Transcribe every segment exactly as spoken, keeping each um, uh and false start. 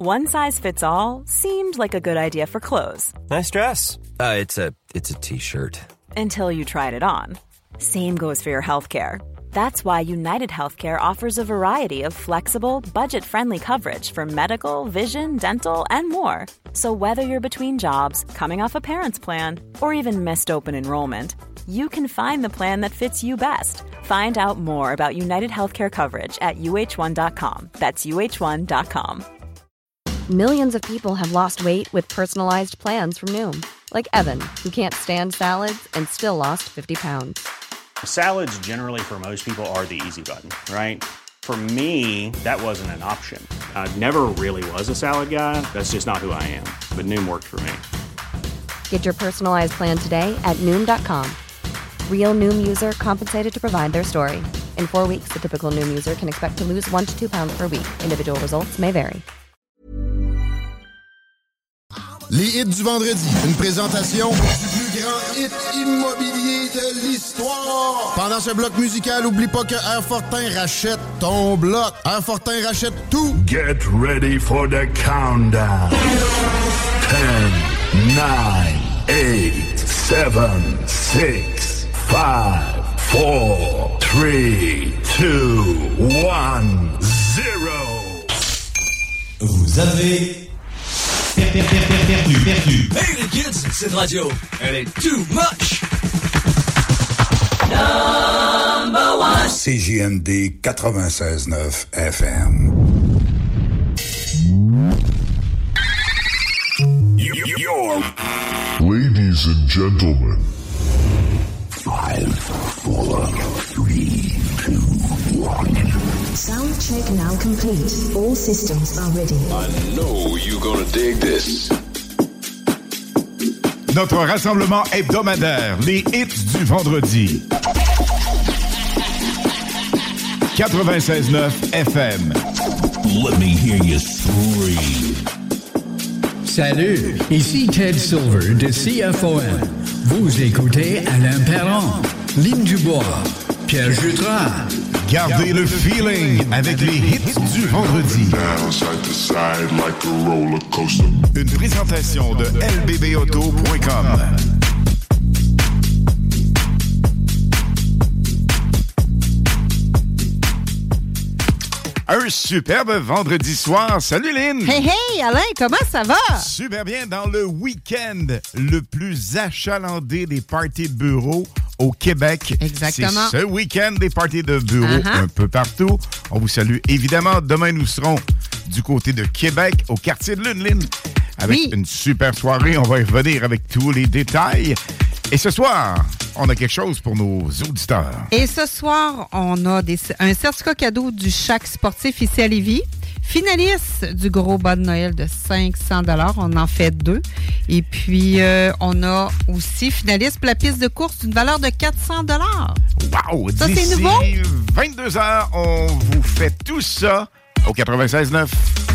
One size fits all seemed like a good idea for clothes. Nice dress. Uh, it's a it's a t-shirt. Until you tried it on. Same goes for your healthcare. That's why United Healthcare offers a variety of flexible, budget-friendly coverage for medical, vision, dental, and more. So whether you're between jobs, coming off a parent's plan, or even missed open enrollment, you can find the plan that fits you best. Find out more about United Healthcare coverage at U H one dot com. That's U H one dot com. Millions of people have lost weight with personalized plans from Noom. Like Evan, who can't stand salads and still lost fifty pounds. Salads generally for most people are the easy button, right? For me, that wasn't an option. I never really was a salad guy. That's just not who I am. But Noom worked for me. Get your personalized plan today at Noom dot com. Real Noom user compensated to provide their story. In four weeks, the typical Noom user can expect to lose one to two pounds per week. Individual results may vary. Les hits du vendredi, une présentation du plus grand hit immobilier de l'histoire. Pendant ce bloc musical, oublie pas que Airfortin rachète ton bloc. Airfortin rachète tout. Get ready for the countdown. ten, nine, eight, seven, six, five, four, three, two, one, zero. Vous avez perdu, perdu, perdu. Hey les kids, cette radio, elle est too much. Number one. C J M D quatre-vingt-seize neuf F M. You're... Ladies and gentlemen. Five, four, three, two, one. Sound check now complete. All systems are ready. I know you're gonna dig this. Notre rassemblement hebdomadaire, les hits du vendredi. quatre-vingt-seize neuf F M. Let me hear you scream. Salut, ici Ted Silver de C F O M. Vous écoutez Alain Perron, Lynn Dubois, Pierre Jutras. Gardez le feeling avec les hits du vendredi. Une présentation de L B B auto point com. Un superbe vendredi soir. Salut Lynn! Hey hey Alain, comment ça va? Super bien dans le week-end le plus achalandé des parties de bureau au Québec. Exactement. C'est ce week-end des parties de bureau uh-huh. un peu partout. On vous salue évidemment. Demain, nous serons du côté de Québec, au quartier de Lune, Lynn, avec oui. une super soirée. On va y revenir avec tous les détails. Et ce soir, on a quelque chose pour nos auditeurs. Et ce soir, on a des, un certificat cadeau du Shack sportif ici à Lévis. Finaliste du gros bas de Noël de cinq cents dollars. On en fait deux. Et puis, euh, on a aussi finaliste pour la piste de course d'une valeur de quatre cents dollars. Wow! Ça, D'ici c'est nouveau? vingt-deux heures, on vous fait tout ça au quatre-vingt-seize neuf.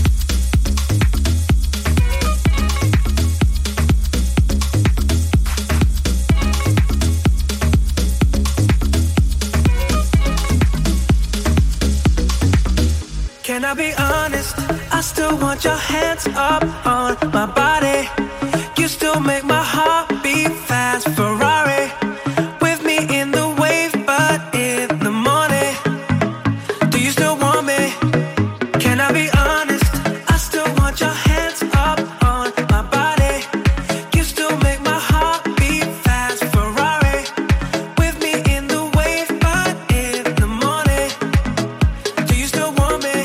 Can I be honest? I still want your hands up on my body. You still make my heart beat fast. Ferrari with me in the wave, but in the morning. Do you still want me? Can I be honest? I still want your hands up on my body. You still make my heart beat fast. Ferrari with me in the wave, but in the morning. Do you still want me?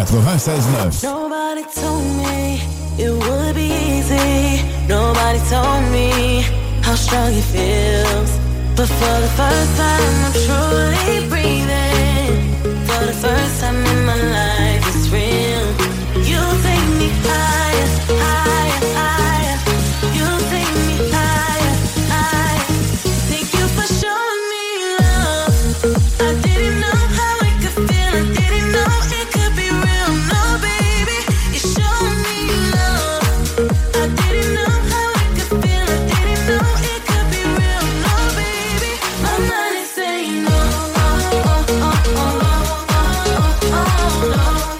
quatre-vingt-seize neuf. Nobody told me it would be easy. Nobody told me how strong it feels. But for the first time, I'm truly breathing. For the first time in my life, it's real. You take me higher, higher, higher. You take me higher, higher. Thank you for showing me love. I didn't know how it could feel. I didn't know it could be real. No, baby, you showed me love. I didn't know how it could feel. I didn't know it could be real. No, baby, my mind is saying no. Oh, oh, oh, oh, oh, oh, oh, no.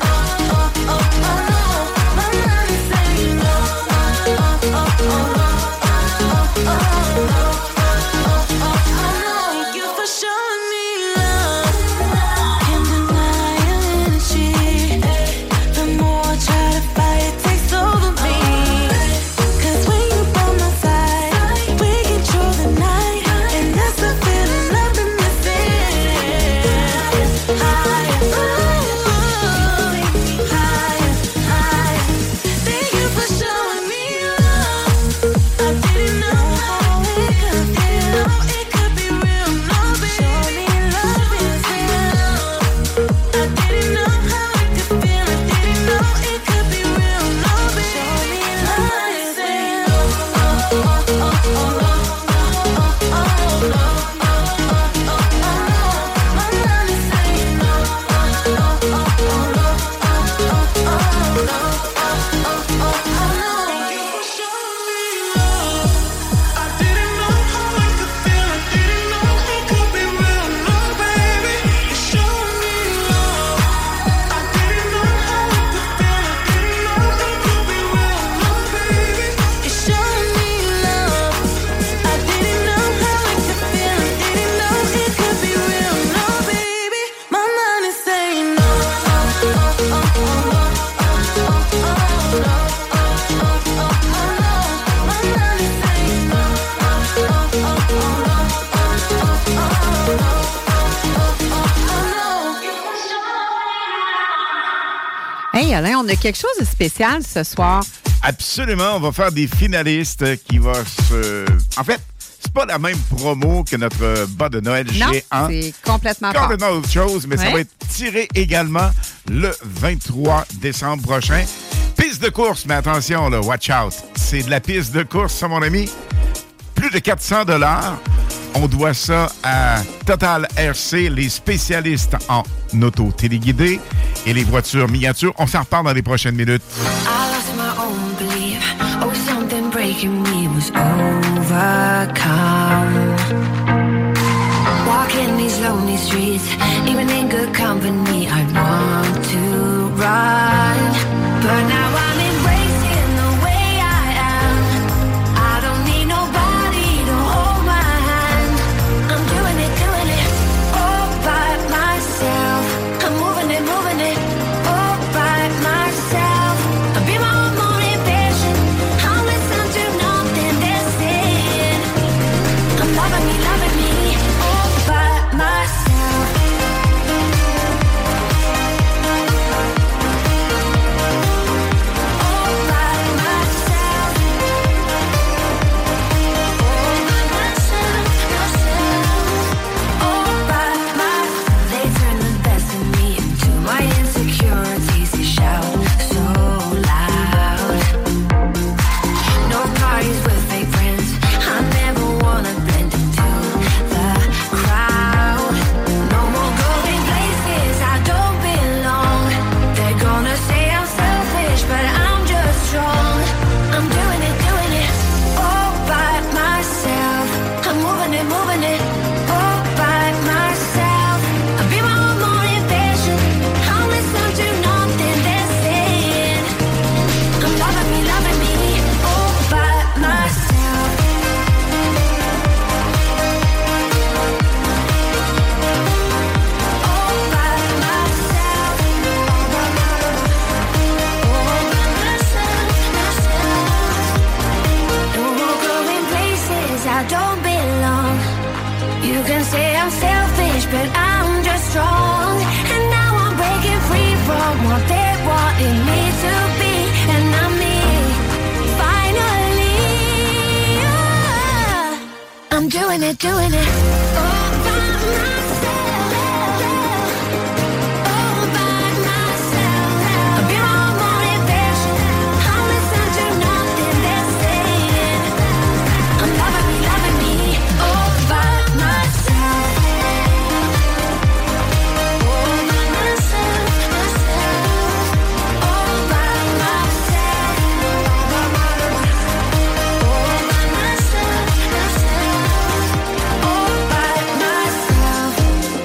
Hey Alain, on a quelque chose de spécial ce soir. Absolument, on va faire des finalistes qui vont se... En fait, c'est pas la même promo que notre bas de Noël non, géant. c'est complètement pas. Complètement autre chose, mais ouais. Ça va être tiré également le vingt-trois décembre prochain. Piste de course, mais attention, là, watch out. C'est de la piste de course, ça, mon ami. Plus de quatre cents dollars. On doit ça à Total R C, les spécialistes en auto téléguidée et les voitures miniatures. On s'en reparle dans les prochaines minutes. I lost my own belief. Oh, something breaking me was overcome. Walking these lonely streets, even in good company, I want to run. But now I'm embracing the way I am. I don't need nobody to hold my hand. I'm doing it, doing it all by myself. I'm moving it, moving it all by myself. I'll be my own motivation. I'll listen to nothing they're saying. I'm loving me, loving me all by myself. doing it, doing it all by myself. All by myself. I've been on motivation. I'll listen to nothing they're saying. I'm loving me, loving me all by myself. All by myself, myself. All by myself. All by myself, myself. All by myself.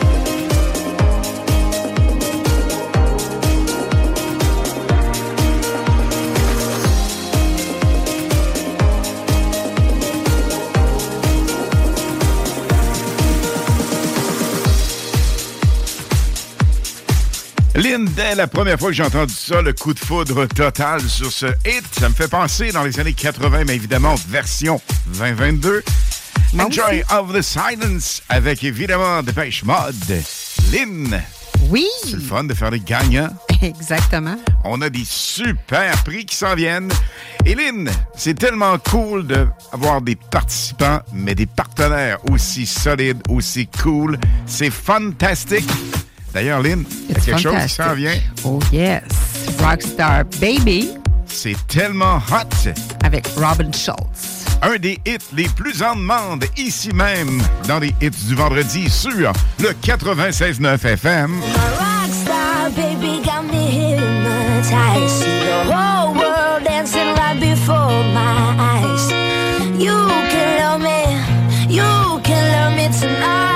Lynn, dès la première fois que j'ai entendu ça, le coup de foudre total sur ce hit, ça me fait penser dans les années quatre-vingts, mais évidemment version vingt vingt-deux. Moi Enjoy aussi. of the Silence avec évidemment Dépêche Mode. Lynn, Oui, c'est le fun de faire des gagnants. exactement. On a des super prix qui s'en viennent. Et Lynn, c'est tellement cool d'avoir des participants, mais des partenaires aussi solides, aussi cool. C'est fantastique. D'ailleurs, Lynn, il y a It's quelque chose qui fantastic. s'en vient. Oh yes, Rockstar Baby C'est tellement hot. avec Robin Schultz. Un des hits les plus en demande ici même dans les hits du vendredi sur le quatre-vingt-seize neuf F M. My rockstar baby got me hypnotized. See the whole world dancing right before my eyes. You can love me, you can love me tonight.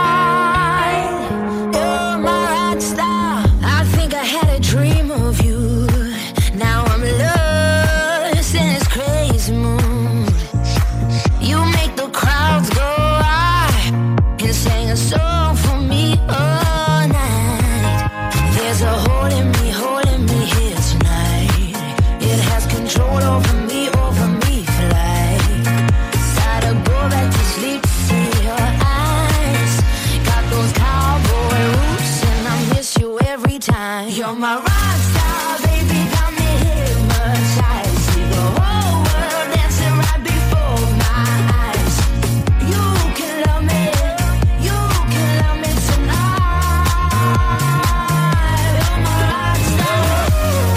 You're my rockstar. I think I had a dream of you. Now I'm lost in this crazy mood. You make the crowds go wild and sing a song for me all night. There's a hole in me, hole in me here tonight. It has control over me, over me for life. Gotta go back to sleep to see your eyes. Got those cowboy roots and I miss you every time. You're my rock star, baby, got me hypnotized. See the whole world dancing right before my eyes. You can love me, you can love me tonight. You're my rock star.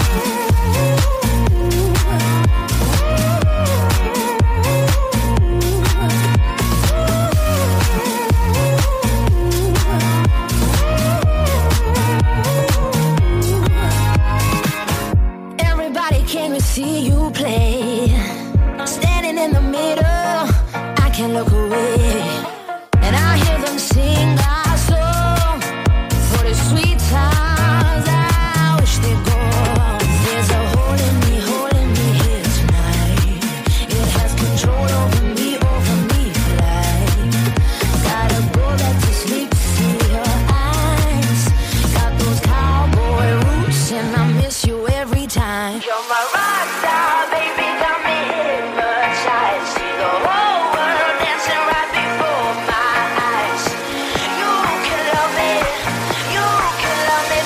Everybody came to see you play. Standing in the middle, I can't look away. And I hear them sing our song for the sweet times I wish they'd go. There's a hole in me, hole in me here tonight. It has control over me, over me for life. Gotta go back to sleep to see your eyes. Got those cowboy roots and I miss you every time. You're my rock star, baby, got me hypnotized. See the whole world dancing right before my eyes. You can love me, you can love me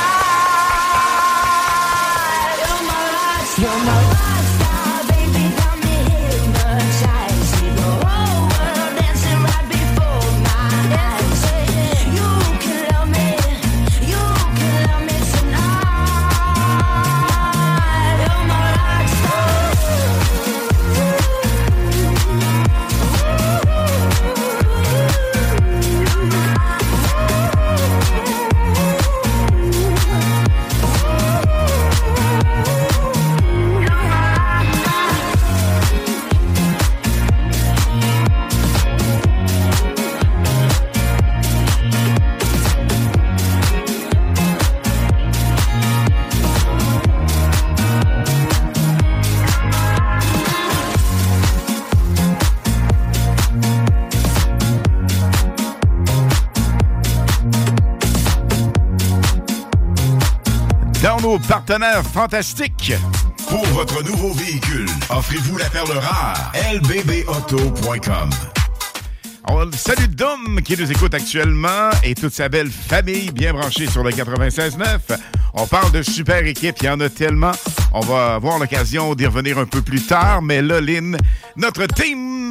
tonight. You're my rock star, you're my rock star, baby, got me hypnotized. See the whole world dancing right before my eyes. You can love me, you can love me tonight. You're my rock star. Dans nos partenaires fantastiques. Pour votre nouveau véhicule, offrez-vous la perle rare. L B B auto point com. On salue Dom qui nous écoute actuellement et toute sa belle famille bien branchée sur le quatre-vingt-seize neuf. On parle de super équipe, il y en a tellement. On va avoir l'occasion d'y revenir un peu plus tard, mais là, Lynn, notre team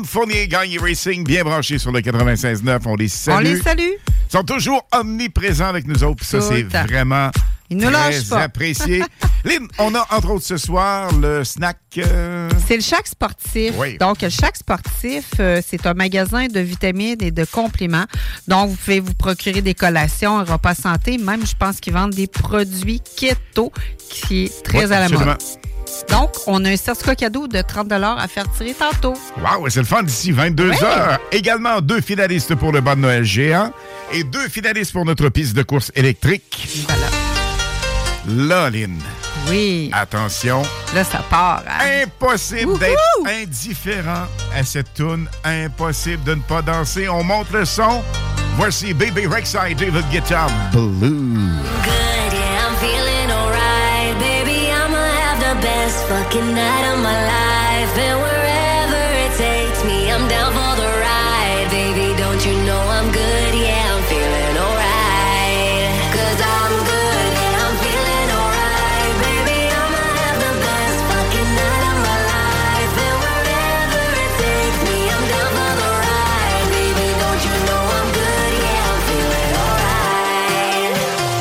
Kim Fournier, Gagné Racing, bien branché sur le quatre-vingt-seize neuf. On les salue. On les salue. Ils sont toujours omniprésents avec nous autres. Ça, c'est vraiment Ils nous lâchent très pas. apprécié. Lynn, on a entre autres ce soir le snack... Euh... C'est le Shack Sportif. Oui. Donc, le Shack Sportif, euh, c'est un magasin de vitamines et de compléments. Donc, vous pouvez vous procurer des collations, un repas santé. Même, je pense qu'ils vendent des produits keto, qui est très Oui, à la absolument. mode. Donc, on a un certificat cadeau de trente dollars à faire tirer tantôt. Wow, c'est le fun d'ici vingt-deux heures. Oui. Également, deux finalistes pour le bas de Noël géant et deux finalistes pour notre piste de course électrique. Voilà. Là, Lynn. Oui. Attention. Là, ça part. Hein? Impossible Wouhou! d'être indifférent à cette toune. Impossible de ne pas danser. On monte le son. Voici Baby Rexha et David Guetta Blue. Good, yeah, I'm feeling alright. Baby, I'ma have the best fucking night of my life. And wherever it takes me, I'm down for the ride. Baby, don't you know I'm good? Yeah, I'm feeling alright. Cause I'm good, yeah, I'm feeling alright. Baby, I'ma have the best fucking night of my life. And wherever it takes me, I'm down for the ride. Baby, don't you know I'm good? Yeah, I'm feeling alright.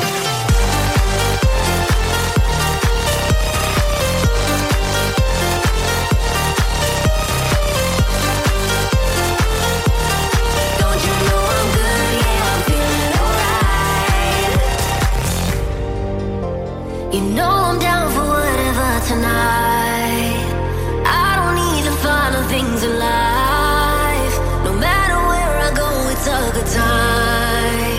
Don't you know I'm good? Yeah, I'm feeling alright. You know I'm down for whatever tonight. I don't need the final things in life. No matter where I go, it's a good time.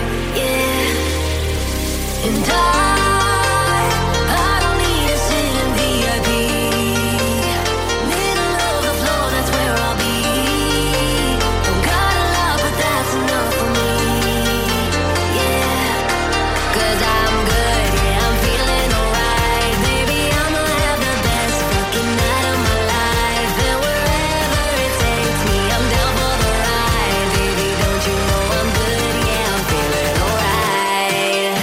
Yeah. And I, I don't need to sit in V I P. Middle of the floor, that's where I'll be. Don't got a lot, but that's enough for me. Yeah. Cause I'm good, yeah, I'm feeling alright. Baby, I'ma have the best fucking night of my life. And wherever it takes me, I'm down for the ride. Baby, don't you know I'm good? Yeah, I'm feeling alright.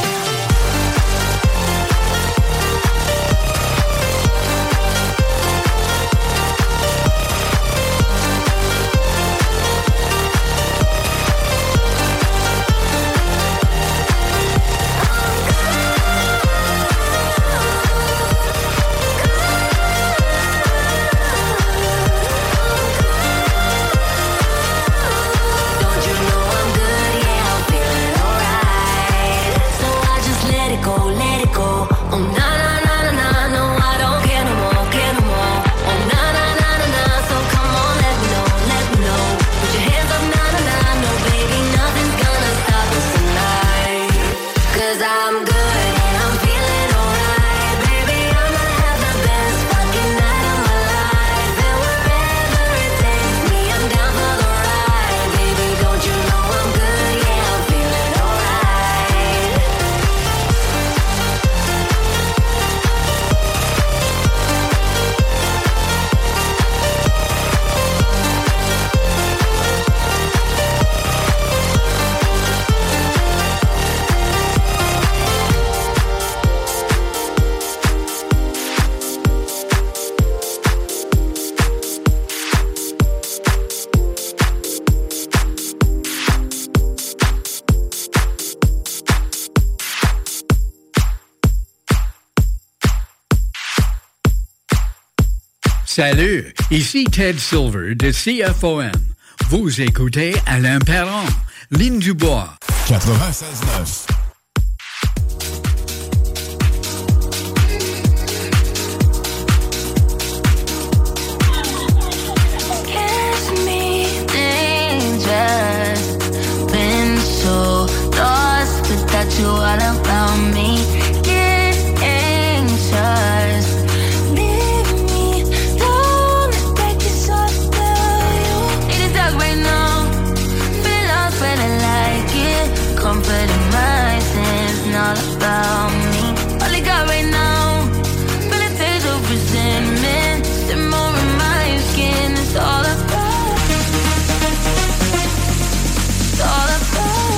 Don't you know I'm good? Yeah, I'm feeling alright. So I just let it go, let it go. Oh na na na na na, no I don't care no more, care no more. Oh na na na na na, so come on, let me know, let me know. Put your hands up, na na na, no baby, nothing's gonna stop us tonight. Cause I'm good and I'm feeling alright. Baby, I'ma have the best fucking night of my life. And wherever it takes me, I'm down for the ride. Baby, don't you know I'm good? Yeah, I'm feeling alright. Salut, ici Ted Silver de C F O M. Vous écoutez Alain Perron, Ligne du Bois. quatre-vingt-seize neuf. Kiss me dangerous. Been so lost without you all around me. Get anxious. Leave me alone. Take it so slow. Need a dog right now. Feel lost, but I like it. Comfort in my sins, not about me. All I got right now. Feel a taste of resentment. Simmer in my skin. It's all about. It's all about.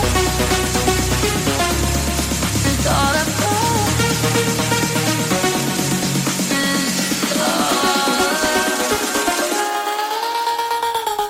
It's all about. It's all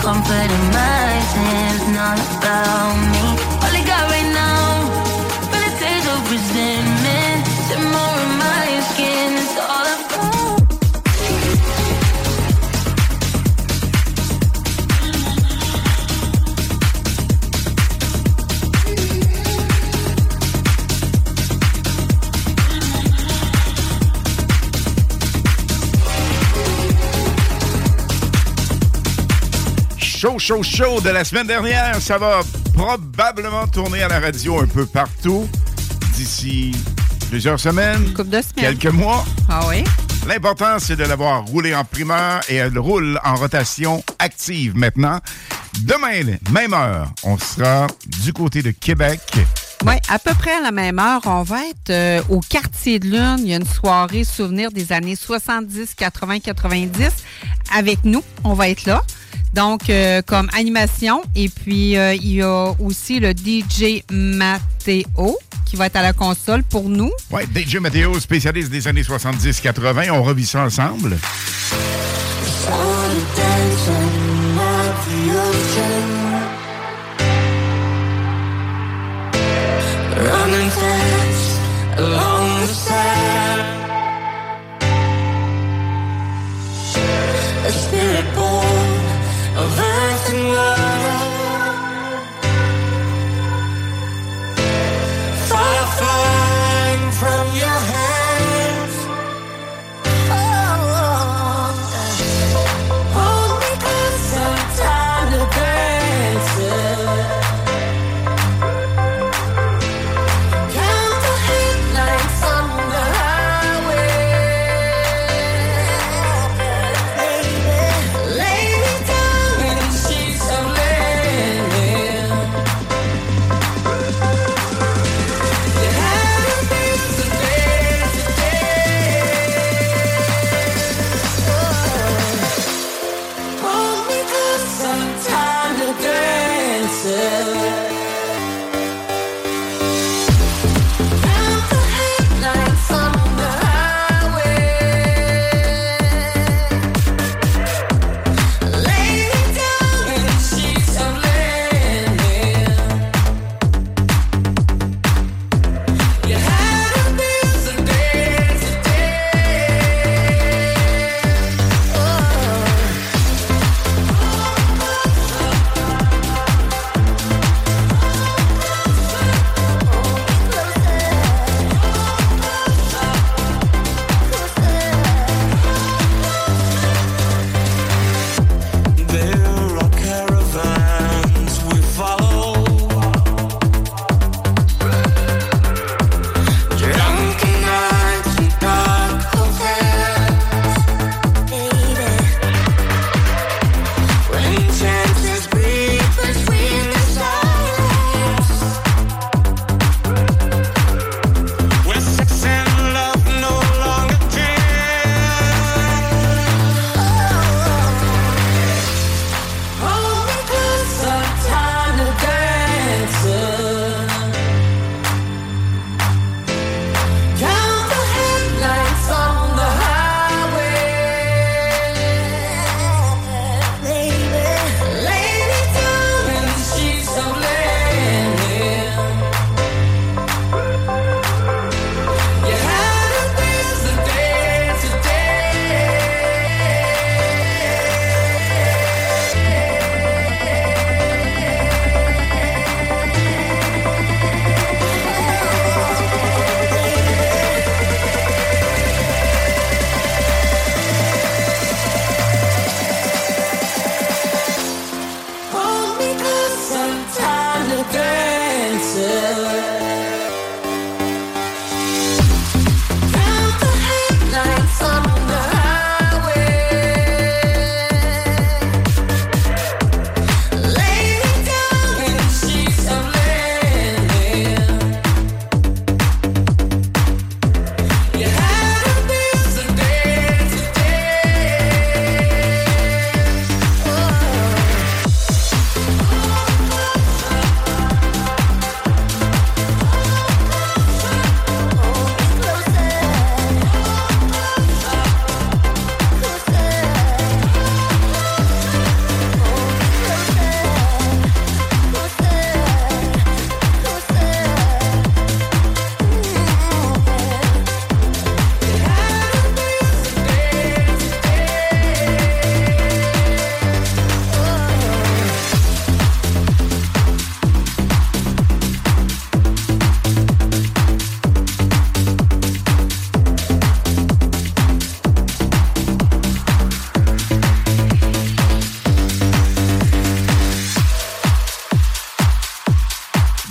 comfort in my sins, not about me. All I got right now, but a taste of resentment, simmer in my skin, it's all about. Show, show, show de la semaine dernière. Ça va probablement tourner à la radio un peu partout d'ici plusieurs semaines. Une couple de semaines. Quelques mois. Ah oui? L'important, c'est de l'avoir roulé en primeur et elle roule en rotation active maintenant. Demain, même heure, on sera du côté de Québec. Oui, à peu près à la même heure, on va être euh, au Quartier de Lune. Il y a une soirée souvenir des années soixante-dix, quatre-vingts, quatre-vingt-dix. Avec nous, on va être là. Donc, euh, comme animation. Et puis, euh, il y a aussi le D J Mathéo qui va être à la console pour nous. Oui, D J Mathéo, spécialiste des années soixante-dix quatre-vingts. On revit ça ensemble. Running fast along the sand, a spirit born of earth and water, fire flying from your hands. Oh,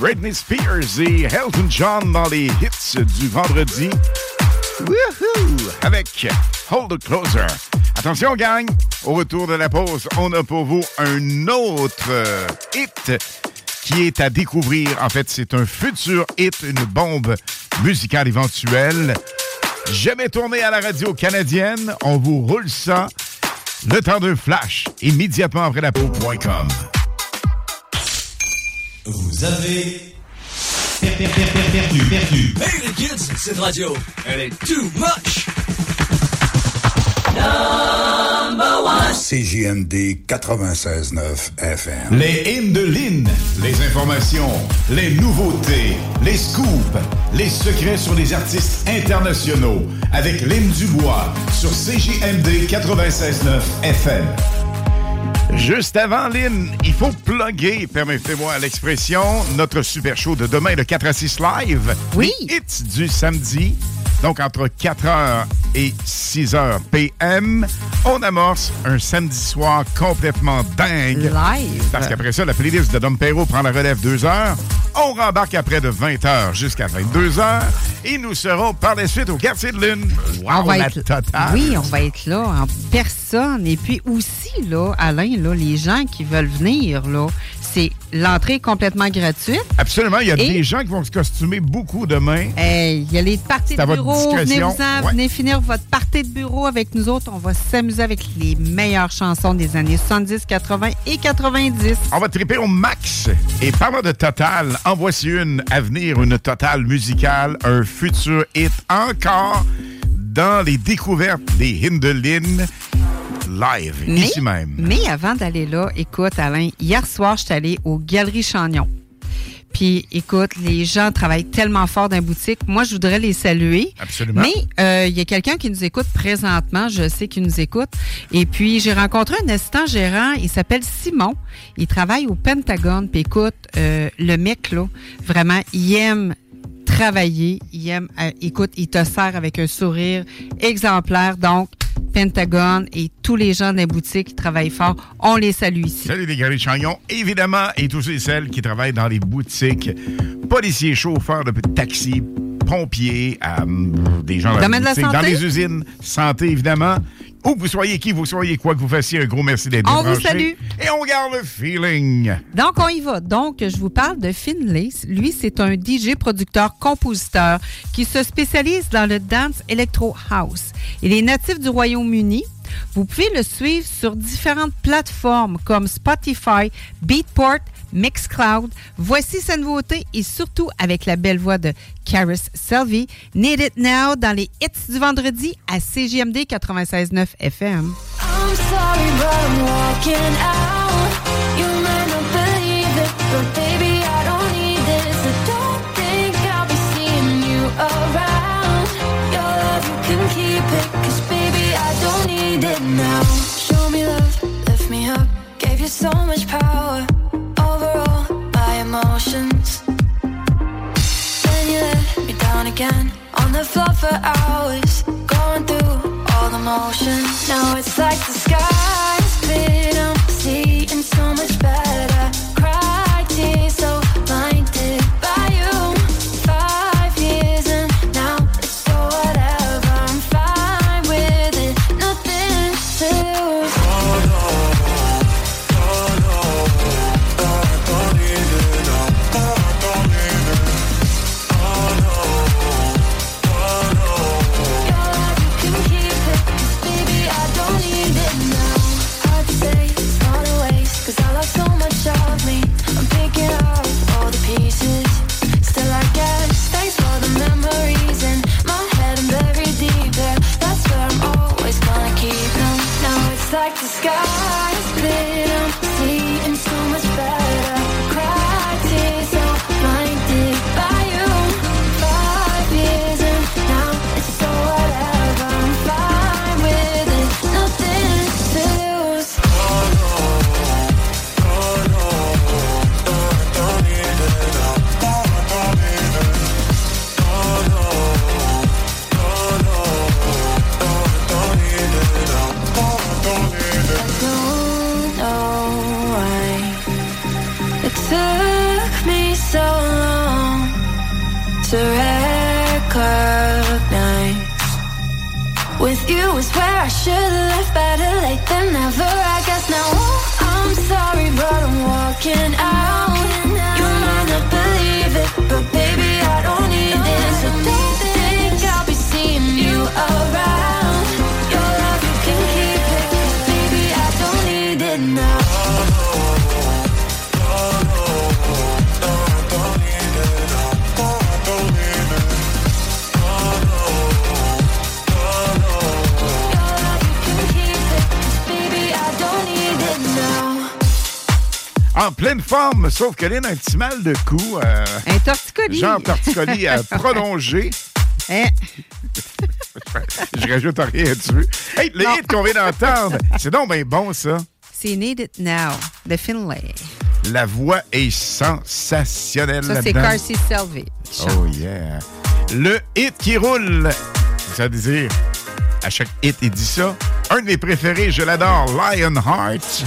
Britney Spears et Elton John dans les hits du vendredi. Woohoo! Avec Hold It Closer. Attention, gang! Au retour de la pause, on a pour vous un autre euh, hit qui est à découvrir. En fait, c'est un futur hit, une bombe musicale éventuelle. Jamais tourné à la radio canadienne. On vous roule ça. Le temps d'un flash, immédiatement après la pause point com. Vous avez per- per- per- per- perdu, perdu. Hey les kids, cette radio, elle est too much. Number one. C J M D quatre-vingt-seize neuf F M. Les hymnes de Lynn, les informations, les nouveautés, les scoops, les secrets sur les artistes internationaux avec Lynn Dubois sur C J M D quatre-vingt-seize neuf F M. Juste avant, Lynn, il faut plugger, permettez-moi l'expression, notre super show de demain, le quatre à six live. Oui. Les hits du samedi, donc entre quatre heures et six heures P M. On amorce un samedi soir complètement dingue. Live. Parce qu'après ça, la playlist de Dom Perrault prend la relève deux heures. On rembarque après de vingt heures jusqu'à vingt-deux heures. Et nous serons par la suite au quartier de Lune. Wow, on va la être, totale. Oui, on va être là en personne. Et puis aussi, là, Alain, là, les gens qui veulent venir, là, c'est l'entrée est complètement gratuite. Absolument. Il y a Et des gens qui vont se costumer beaucoup demain. Hey, il y a les parties c'est de bureau. Venez-vous-en, ouais. venez finir votre partie de bureau avec nous autres. On va s'amuser avec les meilleures chansons des années soixante-dix, quatre-vingts et quatre-vingt-dix. On va triper au max. Et parlant de Total, en voici une à venir, une Total musicale, un futur hit encore dans les découvertes des Hindelin live, mais, ici même. Mais avant d'aller là, écoute, Alain, hier soir, je suis allée aux Galeries Chagnon. Puis, écoute, les gens travaillent tellement fort dans la boutique. Moi, je voudrais les saluer. Absolument. Mais il euh, y a quelqu'un qui nous écoute présentement. Je sais qu'il nous écoute. Et puis, j'ai rencontré un assistant gérant. Il s'appelle Simon. Il travaille au Pentagone. Puis, écoute, euh, le mec, là, vraiment, il aime travailler. Il aime... Euh, écoute, il te sert avec un sourire exemplaire. Donc, Pentagone et tous les gens de la boutique qui travaillent fort, on les salue ici. Salut les Galeries Chagnon, évidemment, et tous et celles qui travaillent dans les boutiques, policiers, chauffeurs de taxi, pompiers, euh, des gens dans, Domaine la boutique, de la dans santé? les usines, santé évidemment. Où que vous soyez, qui vous soyez, quoi que vous fassiez, un gros merci d'être On branchés. vous salue. Et on garde le feeling. Donc, on y va. Donc, je vous parle de Finlay. Lui, c'est un D J, producteur, compositeur qui se spécialise dans le dance electro house. Il est natif du Royaume-Uni. Vous pouvez le suivre sur différentes plateformes comme Spotify, Beatport, Mixcloud. Voici sa nouveauté et surtout avec la belle voix de Caris Selby, Need It Now dans les hits du vendredi à C J M D quatre-vingt-seize neuf F M. I'm sorry, but I'm walking out. You might not believe it, but baby, I don't need this. I don't think I'll be seeing you around. Your love, you can keep it, cause baby, I don't need it now. Show me love, lift me up, gave you so much power over all my emotions. Then you let me down again, on the floor for hours, going through all the motions. Now it's like the sky's split, I'm seeing so much better. Cried tears so blinded by you. Five years and now it's so whatever. I'm fine with it, nothing to lose. Oh no, oh no, I don't need it now. I don't need it. Oh no, oh no. Your love, you can keep it, cause baby, I don't need it now. I'd say it's not a waste, cause I lost so much of me. I'm picking up all the pieces. Still I guess, thanks for the memories in my head and buried deep there. That's where I'm always gonna keep them. Now it's like the sky is split, I'm seeing so much better. Cried tears so blinded by you. Five years and now it's so whatever. I'm fine with it, nothing to lose. Oh no, oh no, I don't need it now. I don't need it. Oh no, oh no, I don't need it now. I don't need it. I don't know why to recognize. With you is where I should've left, better late than never. I guess now oh, I'm sorry, but I'm walking out. You might not believe it, but baby I don't need it. So don't think I'll be seeing you around. Your love you can keep it, 'cause baby I don't need it now. En pleine forme, sauf que Lynn a un petit mal de cou. Euh, un torticolis. Genre torticolis euh, prolongé. Hein? Je rajoute rien dessus. Hey, le hit qu'on vient d'entendre, c'est donc bien bon, ça. C'est Need It Now, de Finlay. La voix est sensationnelle Ça, c'est là-dedans. Carcy Selby. Oh yeah. Le hit qui roule. Ça veut dire, à chaque hit, il dit ça. Un de mes préférés, je l'adore, Lionheart.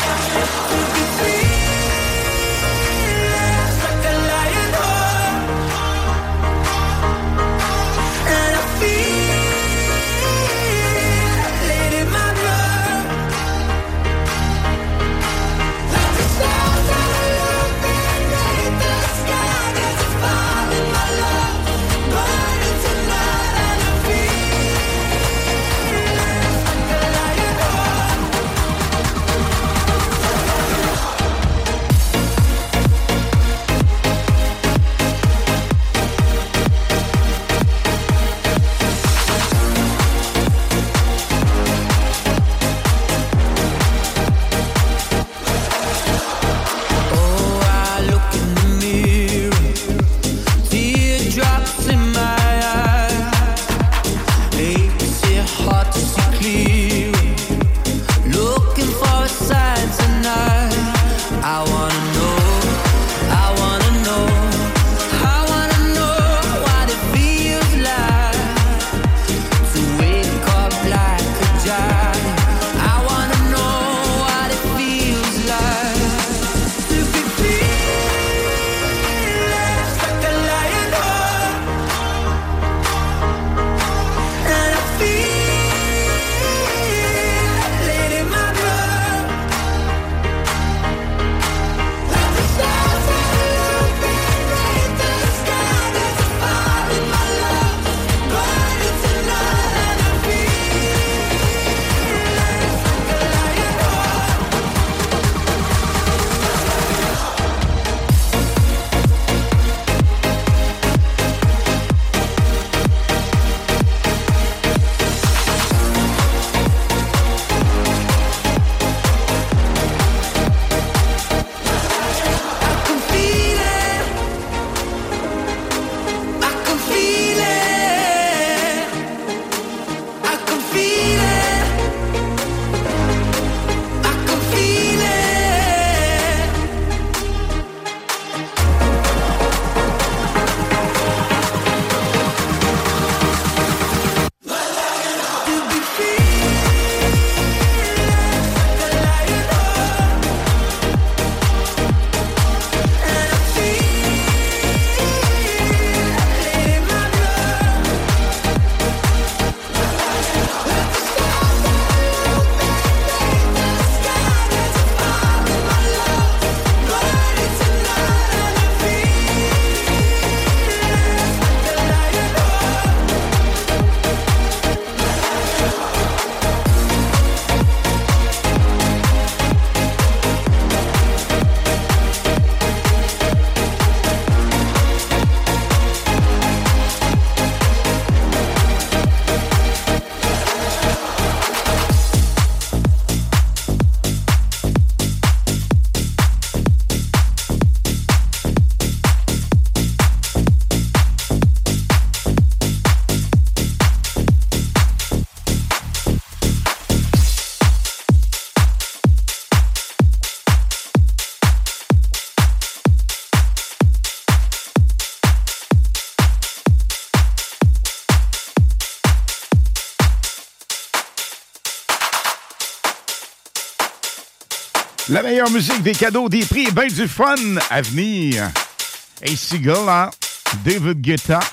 La meilleure musique, des cadeaux, des prix et bien du fun à venir. Hey, Seagull, hein? David Guetta,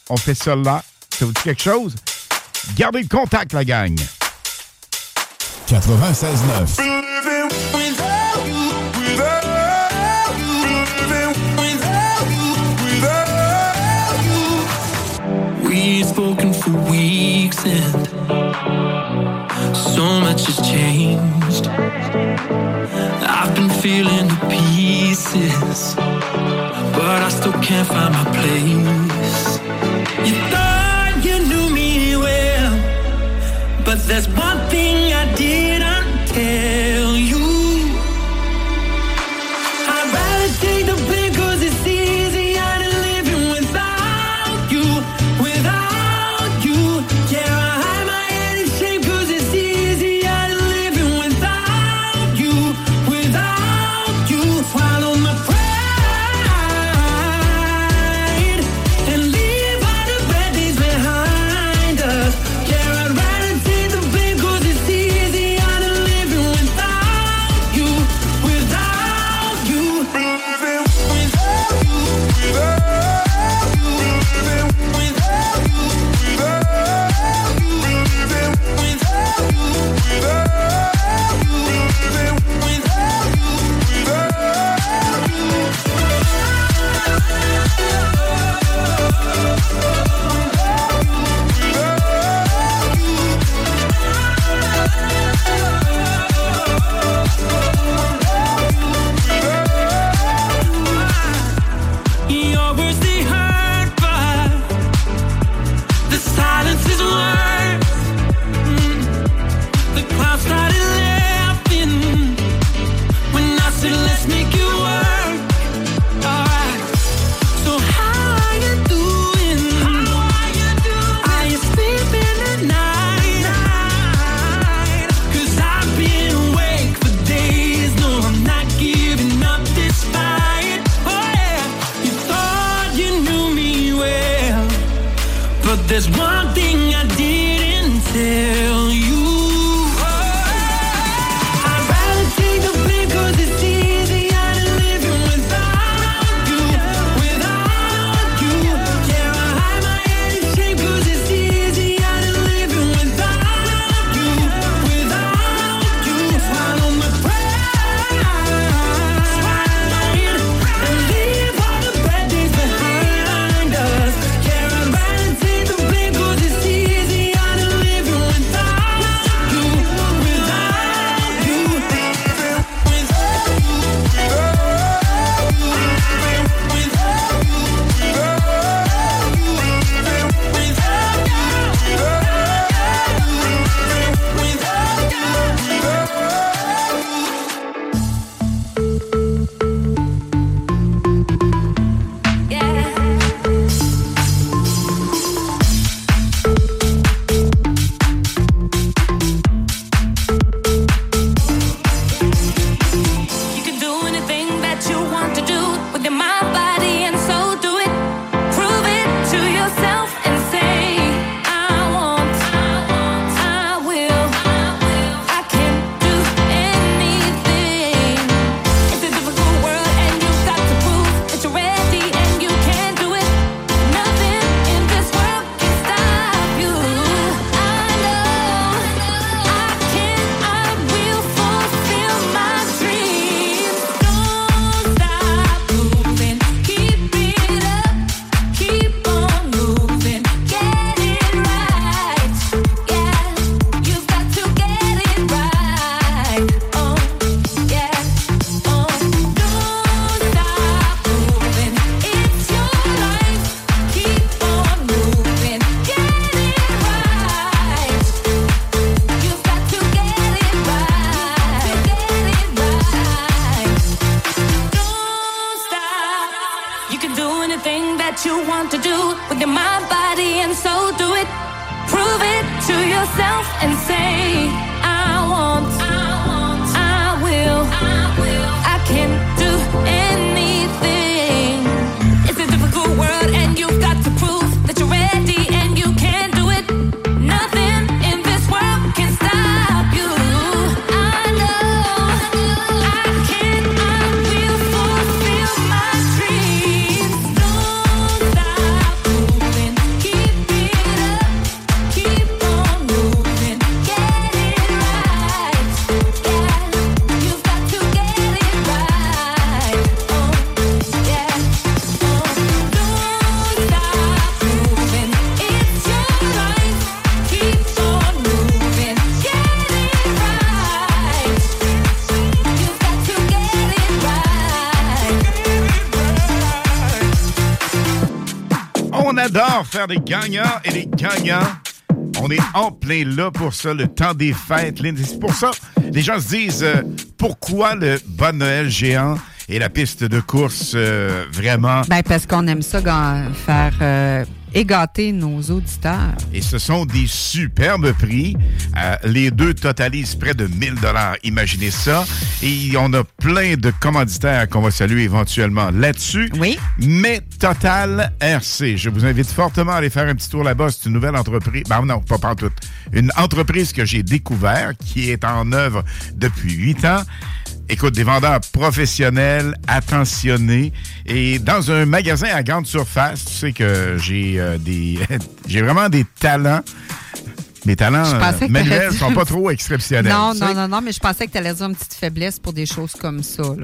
On fait ça là. Ça vous dit quelque chose? Gardez le contact, la gang. quatre-vingt-seize neuf. We've spoken for weeks and so much has changed. I've been feeling the pieces, but I still can't find my place. You thought you knew me well, but there's one thing I didn't tell you. I'd rather take the blame 'cause it's easier than living without you, without you. Yeah, I hide my head in shame 'cause it's easier than living without you, without you. Swallow my pride and leave all the bad days behind us. Yeah, I'd rather take the blame 'cause it's easier than living without you, without you. Living without you, without you, living without you, without you, living without you, without you, living without you, your words they hurt, but the silence is worse. Mm. The clouds started laughing when I said let's make it work. Alright. So how are you doing? How are you doing? Are you sleeping at night? Cause I've been awake for days. No, I'm not giving up this fight. Oh yeah. You thought you knew me well, but there's one thing I didn't tell you. I'd rather take the blame 'cause it's easier than living without you, without you. Yeah, I hide my head in shame 'cause it's easier than living without you, without you. Swallow my pride and leave all the bad days behind us. Yeah, I'd rather take the blame 'cause it's easier than living without you, without you. You can do anything that you want to do with your mind, body, and soul. Do it. Prove it to yourself and say, I want, I will, I can do anything. It's a difficult world and you've got to prove that you're ready and you can do it. Nothing in this world can stop you. I know I can, I will fulfill my dreams. Don't stop moving, keep it up, keep on moving, get it right. Yeah, you've got to get it right. Oh, yeah, oh, don't stop moving, it's your life. Keep on moving, get it right. You've got to get it right, get it right. Don't stop. You can do anything that you want to do with your mind, body, and soul. Do it. Prove it to yourself and say, I want, I will, I can do anything. It's a difficult world and you've got to prove that you're ready and you can do it. Nothing in this world can stop you. I know I can, I will fulfill my dreams. Don't stop moving, adore faire des gagnants et des gagnants. On est en plein là pour ça, le temps des fêtes. C'est pour ça, les gens se disent euh, pourquoi le Bon Noël géant et la piste de course euh, vraiment... Ben parce qu'on aime ça, ga- faire euh, égater nos auditeurs. Et ce sont des superbes prix. Euh, les deux totalisent près de mille dollars. Imaginez ça. Et on a plein de commanditaires qu'on va saluer éventuellement là-dessus. Oui. Mais Total R C, je vous invite fortement à aller faire un petit tour là-bas. C'est une nouvelle entreprise. Ben non, pas partout. Une entreprise que j'ai découverte, qui est en œuvre depuis huit ans. Écoute, des vendeurs professionnels, attentionnés. Et dans un magasin à grande surface, tu sais que j'ai euh, des j'ai vraiment des talents. Mes talents euh, manuels sont pas trop exceptionnels. Non, non, non, non, mais je pensais que tu allais dire une petite faiblesse pour des choses comme ça, là.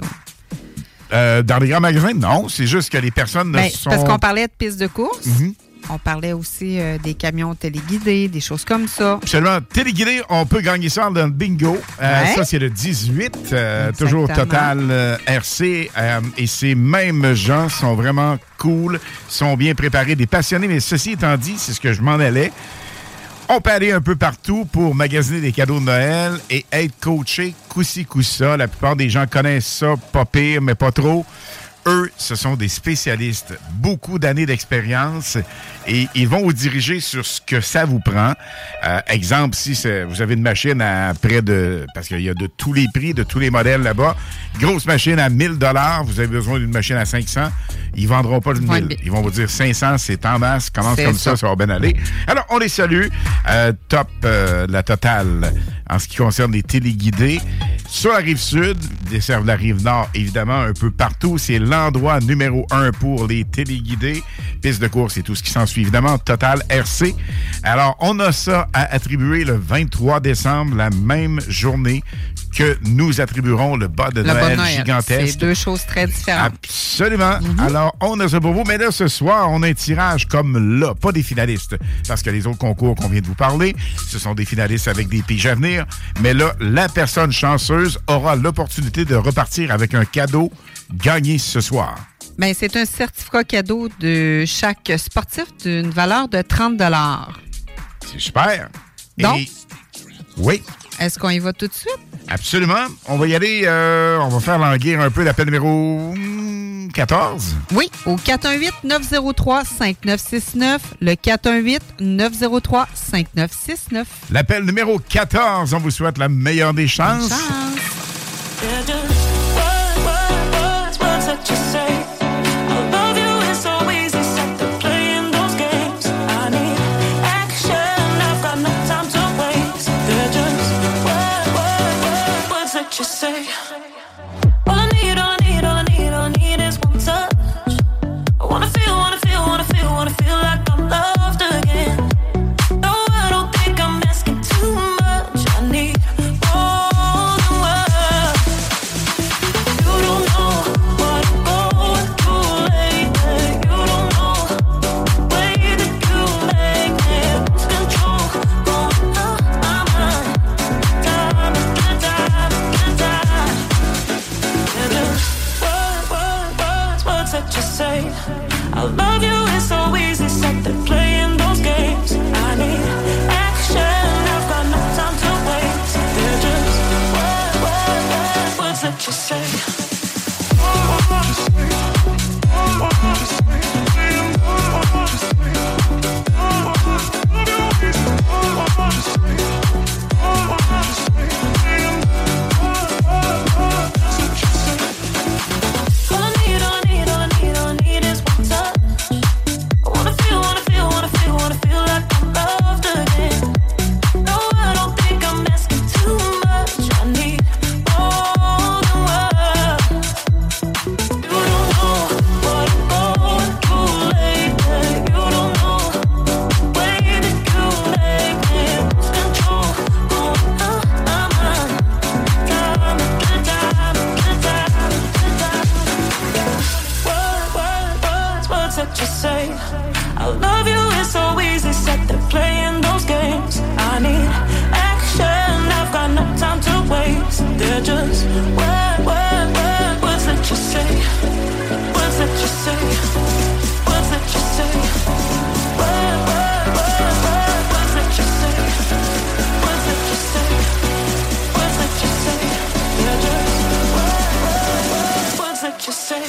Euh, dans les grands magasins, non. C'est juste que les personnes Ben, ne sont... Parce qu'on parlait de pistes de course. Mm-hmm. On parlait aussi euh, des camions téléguidés, des choses comme ça. Absolument. Téléguidé, on peut gagner ça dans le bingo. Euh, Ouais. Ça, c'est le dix-huit. Euh, toujours Total euh, R C. Euh, et ces mêmes gens sont vraiment cool, sont bien préparés, des passionnés. Mais ceci étant dit, c'est ce que je m'en allais. On peut aller un peu partout pour magasiner des cadeaux de Noël et être coaché coup-ci, coup-ça. La plupart des gens connaissent ça, pas pire, mais pas trop. Eux, ce sont des spécialistes, beaucoup d'années d'expérience et ils vont vous diriger sur ce que ça vous prend. Euh, exemple, si c'est, vous avez une machine à près de... Parce qu'il y a de tous les prix, de tous les modèles là-bas. Grosse machine à mille dollars, vous avez besoin d'une machine à cinq cents. Ils ne vendront pas de mille. Ils vont vous dire cinq cents, c'est en masse. Commence C'est comme ça. ça, ça va bien aller. Alors, on les salue. Euh, top euh, la totale en ce qui concerne les téléguidés. Sur la rive sud, desservent la rive nord, évidemment, un peu partout. C'est l'endroit numéro un pour les téléguidés. Piste de course et tout ce qui s'ensuit, évidemment, Total R C. Alors, on a ça à attribuer le vingt-trois décembre, la même journée que nous attribuerons le bas de Le Noël, Bon Noël. gigantesque. C'est deux choses très différentes. Absolument. Mm-hmm. Alors, on a ça pour vous. Mais là, ce soir, on a un tirage comme là, pas des finalistes. Parce que les autres concours qu'on vient de vous parler, ce sont des finalistes avec des piges à venir. Mais là, la personne chanceuse aura l'opportunité de repartir avec un cadeau gagné ce soir. Ben, c'est un certificat cadeau de chaque sportif d'une valeur de trente dollars. C'est super. Donc, Et... oui. Est-ce qu'on y va tout de suite? Absolument. On va y aller. Euh, on va faire languir un peu l'appel numéro quatorze. Oui, au quatre un huit neuf zéro trois cinq neuf six neuf, le quatre un huit neuf zéro trois cinq neuf six neuf. L'appel numéro quatorze. On vous souhaite la meilleure des chances. Bonne chance. You say all I need, all I need, all I need, all I need is one touch. I wanna feel, wanna feel, wanna feel, wanna feel like I'm loved again. No, I don't think I'm asking too much. I need more than words. You don't know what I'm going through lately. You don't know the way that you make me lose control. Going out my mind, time after time. That you say, I love you, it's so easy, set to playing those games. I need action, I've got no time to waste. They're just words, words, words, words that you say. I love you, it's so easy, set to playing those games. I need action, I've got no time to waste. They're just words, words, words, words that you say. Words that you say. Words that you say. what you say.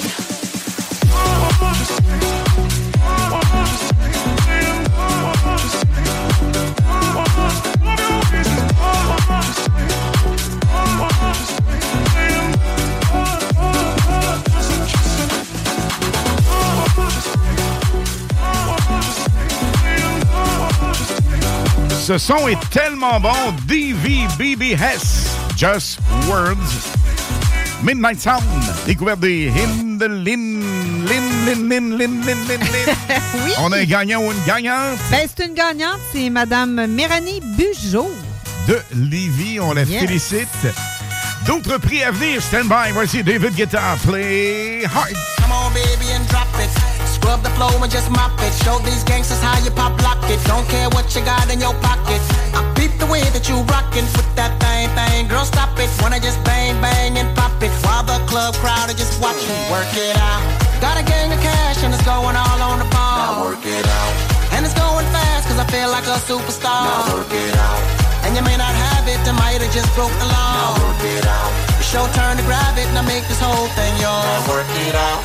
Ce son est tellement bon. D V B B S, Just Words. Midnight Sound, découverte des Hindelin, Lin, Lin, Lin, Lin, Lin, Lin, Lin. Oui. On a un gagnant ou une gagnante? Ben, c'est une gagnante, c'est Madame Méranie Bugeaud. De Lévis, on la yes. félicite. D'autres prix à venir, stand by. Voici David Guetta, Play Hard. Come on, baby, and drop it. Scrub the floor and just mop it. Show these gangsters how you pop lock it. Don't care what you got in your pocket. I peep the way that you rockin' with that thing, thing. Girl, stop it. Wanna just bang, bang, and pop it. While the club crowd are just watching. Work it out. Got a gang of cash and it's going all on the ball. Now work it out. And it's going fast cause I feel like a superstar. Now work it out. And you may not have it, I might have just broke the law. Now work it out. It's your turn to grab it, now make this whole thing yours. Now work it out.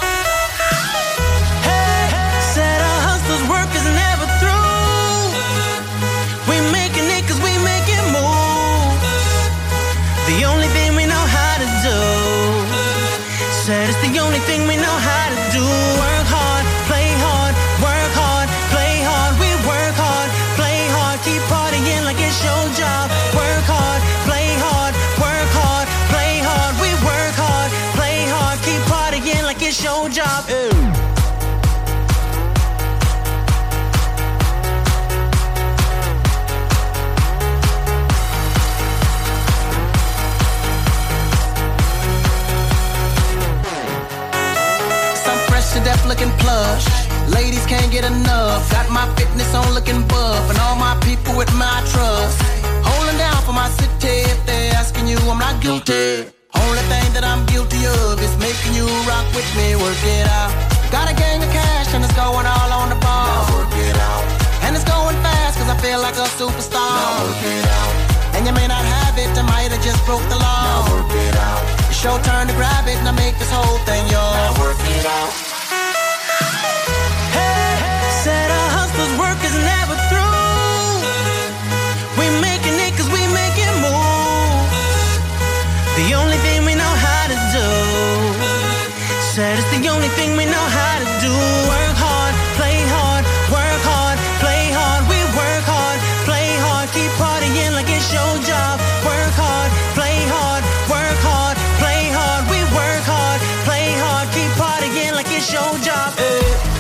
Hey, said our hustlers' work is never through. We making it cause we making moves. The only thing we know how to do. Said it's the only thing we know how to do. Work hard, play hard, work hard, play hard. We work hard, play hard, keep partying like it's your job. Work hard, play hard, work hard, play hard. We work hard, play hard, keep partying like it's your job. Ew. To death looking plush. Ladies can't get enough. Got my fitness on looking buff. And all my people with my trust. Holding down for my city. If they're asking you, I'm not guilty. Only thing that I'm guilty of is making you rock with me. Work it out. Got a gang of cash and it's going all on the ball. Now work it out. And it's going fast cause I feel like a superstar. Now work it out. And you may not have it, I might have just broke the law. Now work it out. It's your turn to grab it, now make this whole thing yours. Now work it out. Said our hustlers' work is never through. We making it cause we making moves. The only thing we know how to do. Said it's the only thing we know how to do. Work hard, play hard, work hard, play hard. We work hard, play hard, keep partying like it's your job. Work hard, play hard, work hard, play hard. We work hard, play hard, keep partying like it's your job. Hey.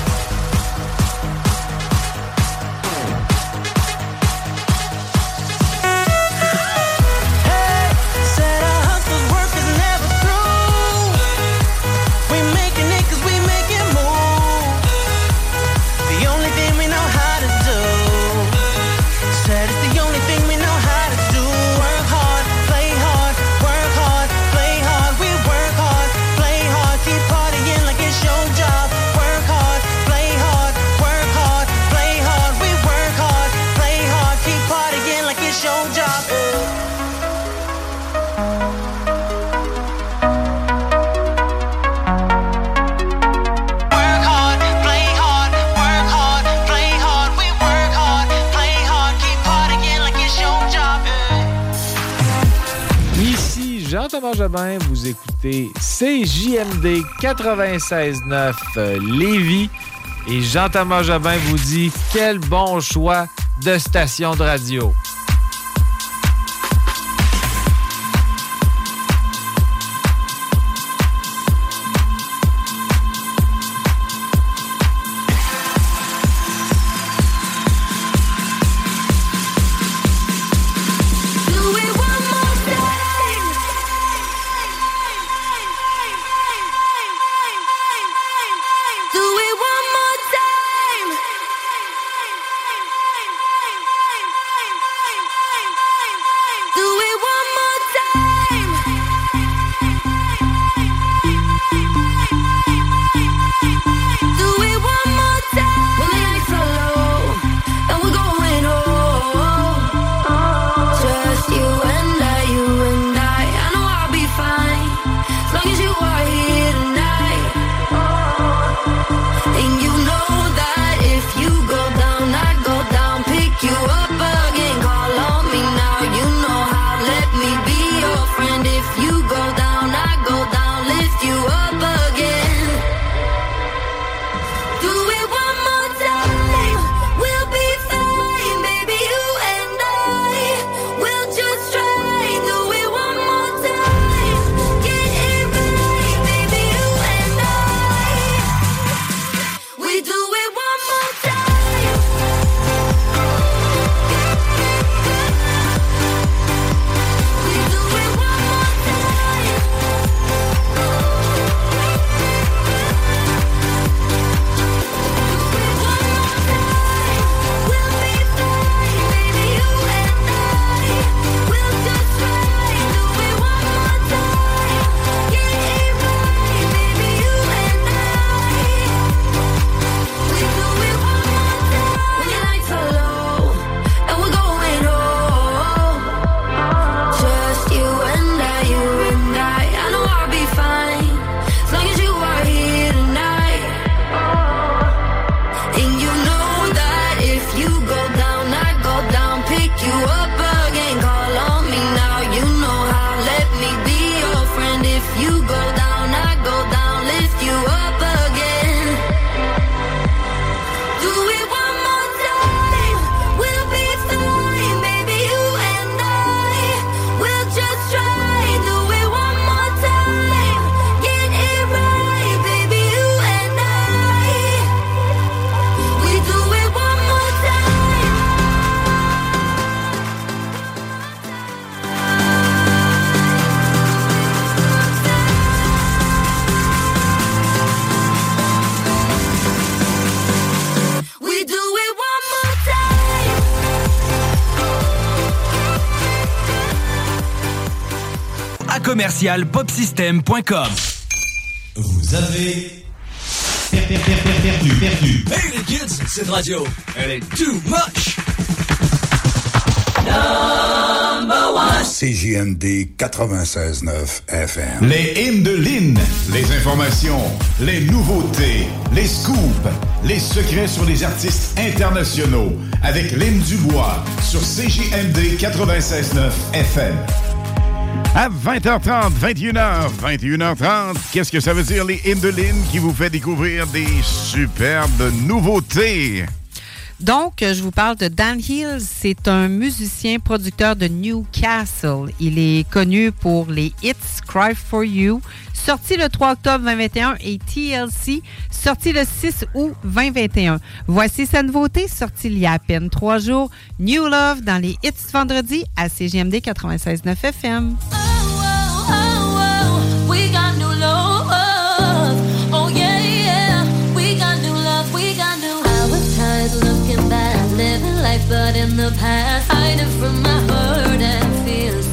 Jean-Thomas Jobin, vous écoutez C J M D quatre-vingt-seize neuf Lévis et Jean-Thomas Jobin vous dit quel bon choix de station de radio. Time. commercial popsystem point com. Vous avez perdu, perdu, perdu. Hey les kids, cette radio, elle est too much. Number one. C J M D quatre-vingt-seize neuf F M. Les hymnes de Lynn, les informations, les nouveautés, les scoops, les secrets sur les artistes internationaux avec Lynn Dubois sur C J M D quatre-vingt-seize neuf F M. À vingt heures trente, vingt et une heures, vingt et une heures trente, qu'est-ce que ça veut dire, les hymnes de Lynn qui vous fait découvrir des superbes nouveautés? Donc, je vous parle de Dan Hills. C'est un musicien producteur de Newcastle. Il est connu pour les hits Cry for You, sorti le trois octobre vingt vingt et un, et T L C, sorti le six août vingt vingt et un. Voici sa nouveauté, sortie il y a à peine trois jours. New Love dans les hits vendredi à C J M D quatre-vingt-seize neuf F M. Oh, oh, oh, we got new love. Oh, yeah, yeah. We got new love. We got new love. I was tired looking back, living life, but in the past, hiding from my hurt and fears.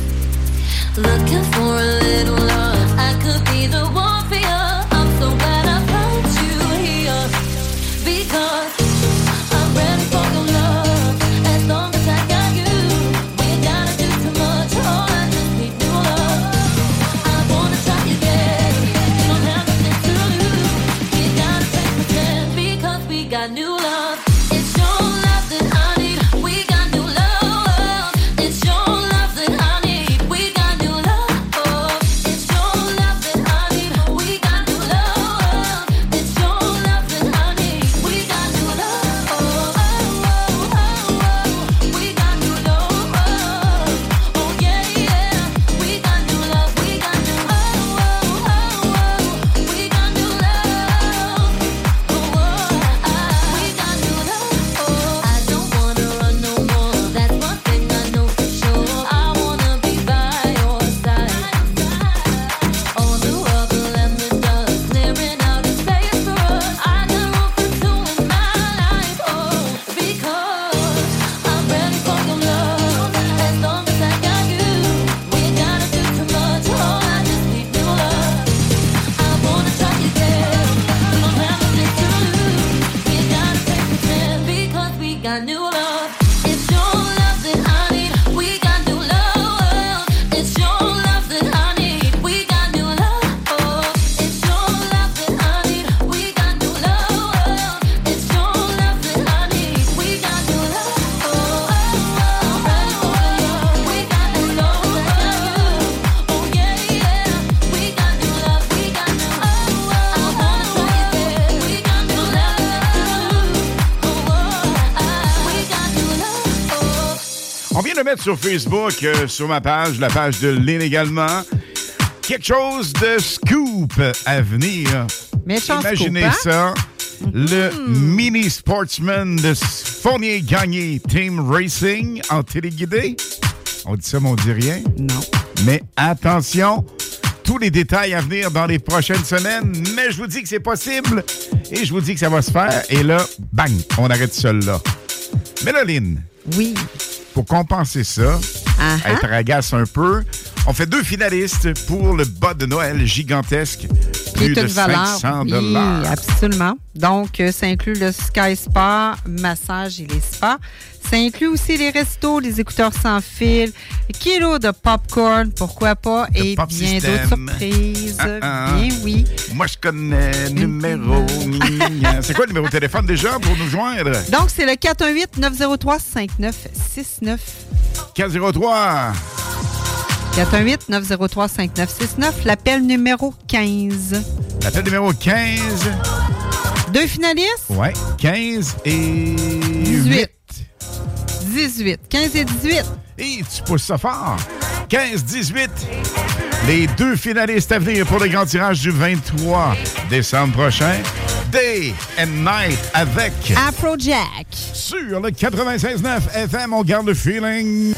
Looking for a little love. I could be the one for you. I'm so glad I found you here. Because I'm ready for your love. As long as I got you, we ain't gotta do too much. Oh, I just need new love. I wanna try you again. You don't have nothing to lose. We ain't gotta take pretend because we got new love. It's your love that I need. We got new love. It's your love that I need. We got new love. It's your love that I need. We got new love. It's your love that I need. We got new love. Oh, oh, oh, oh. We got new love. Oh, yeah, yeah. We got new love. We got new love. Oh, oh, oh. We got new love. Oh, oh, we got new love. Oh, I don't wanna run no more. That's one thing I know for sure. I wanna be by your side. On the rubble and the dust, clearing out a space for us. I got room for two in my life. Oh, because I'm ready for your love. As long as I got you, we ain't gotta do too much. Oh, I just need new love. I wanna try you again. We don't have nothing to lose. We ain't gotta take pretend because we got new love. It's your love that I need. We got new love. It's your love that I need. We got new love. Oh, it's your love that I need. We got new love. It's your love that I need. We got new love. Oh, oh, oh, ready for your love. We got new love. Oh, yeah, yeah. We got new love. We got new love. I wanna try you again. We got new love. Oh, oh, we got new love. Oh. On vient de mettre sur Facebook, euh, sur ma page, la page de Lynn également, quelque chose de scoop à venir. Méchant Imaginez scoop, hein? ça. Le mini sportsman de Fournier Gagné Team Racing en téléguidé. On dit ça, mais on dit rien. Non. Mais attention, tous les détails à venir dans les prochaines semaines. Mais je vous dis que c'est possible et je vous dis que ça va se faire. Et là, bang, on arrête ça là. Mais là, Lynn. Oui. Pour compenser ça, Uh-huh. être agace un peu, on fait deux finalistes pour le bas de Noël gigantesque. Qui Plus est de une valeur. cinq cents Oui, dollars. absolument. Donc, euh, ça inclut le Sky Spa, massage et les spas. Ça inclut aussi les restos, les écouteurs sans fil, kilos de popcorn, pourquoi pas, Le et pop bien system. d'autres surprises. Ah, ah. Bien, oui. Moi, je connais numéro. C'est quoi le numéro de téléphone déjà pour nous joindre? Donc, c'est le quatre un huit neuf zéro trois cinq neuf six neuf. quatre zéro trois. quatre un huit neuf zéro trois cinq neuf six neuf. L'appel numéro quinze. L'appel numéro quinze. Deux finalistes? Ouais, quinze et dix-huit. dix-huit. quinze et dix-huit. Et tu pousses ça fort. quinze dix-huit. Les deux finalistes à venir pour le grand tirage du vingt-trois décembre prochain. Day and Night avec Afrojack. Sur le quatre-vingt-seize neuf F M, on garde le feeling.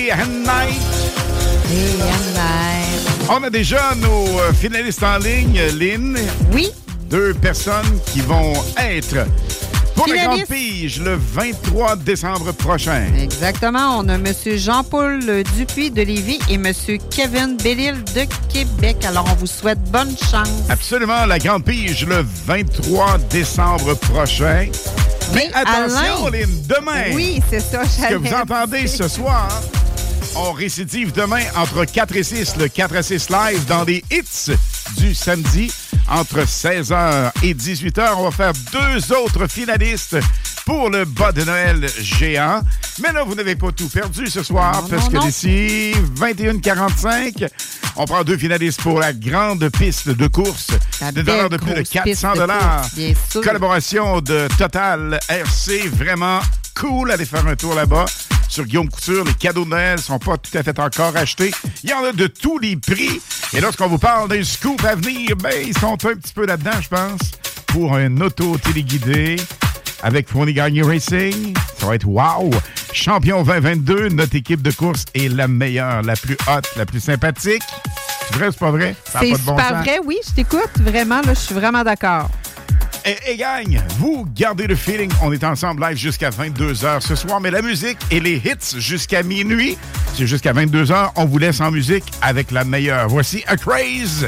Day and Night. Day and Night. On a déjà nos finalistes en ligne, Lynn. Oui. Deux personnes qui vont être pour la Finaliste. Grande Pige le vingt-trois décembre prochain. Exactement. On a M. Jean-Paul Dupuis de Lévis et M. Kevin Bellil de Québec. Alors, on vous souhaite bonne chance. Absolument, la Grande Pige le vingt-trois décembre prochain. Mais attention, Alain, Lynn, demain, oui, c'est ça, ce que j'allais vous entendez dire. ce soir, on récidive demain entre quatre et six, le quatre à six live dans les hits du samedi. Entre seize heures et dix-huit heures, on va faire deux autres finalistes pour le bas de Noël géant. Mais là, vous n'avez pas tout perdu ce soir, non, parce non, que non. d'ici vingt et une heures quarante-cinq, on prend deux finalistes pour la grande piste de course La de valeur de belle plus de grosse quatre cents dollars. piste de course, bien sûr. Collaboration de Total R C, vraiment cool. Allez faire un tour là-bas. Sur Guillaume Couture, les cadeaux de Noël sont pas tout à fait encore achetés. Il y en a de tous les prix. Et lorsqu'on vous parle d'un scoop à venir, ben, ils sont un petit peu là-dedans, je pense, pour un auto téléguidé avec Fournier Gagné Racing. Ça va être wow! Champion vingt vingt-deux, notre équipe de course est la meilleure, la plus haute, la plus sympathique. C'est vrai ou c'est pas vrai? Ça a C'est pas de bon super sens. vrai, oui, je t'écoute. Vraiment, là, je suis vraiment d'accord. Et, et gang, vous gardez le feeling. On est ensemble live jusqu'à vingt-deux heures ce soir, mais la musique et les hits jusqu'à minuit. C'est jusqu'à vingt-deux heures. On vous laisse en musique avec la meilleure. Voici A Craze.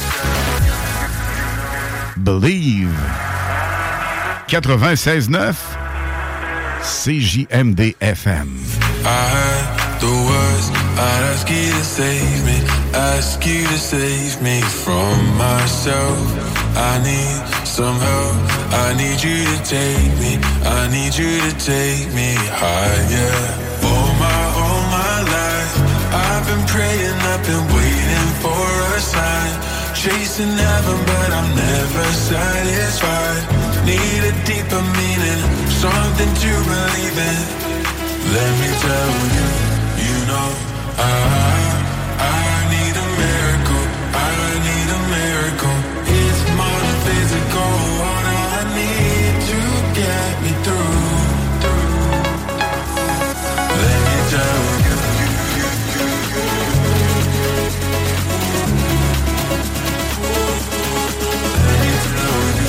Believe. quatre-vingt-seize neuf C J M D F M. I heard the words, I'd ask you to save me, ask you to save me from myself. I need some help, I need you to take me, I need you to take me higher. All my, all my life, I've been praying, I've been waiting for a sign. Chasing heaven, but I'm never satisfied. Need a deeper meaning, something to believe in. Let me tell you, you know, I, I need a miracle, I need a miracle. It's more than physical, what I need to get me through. Let me tell you, let me tell you,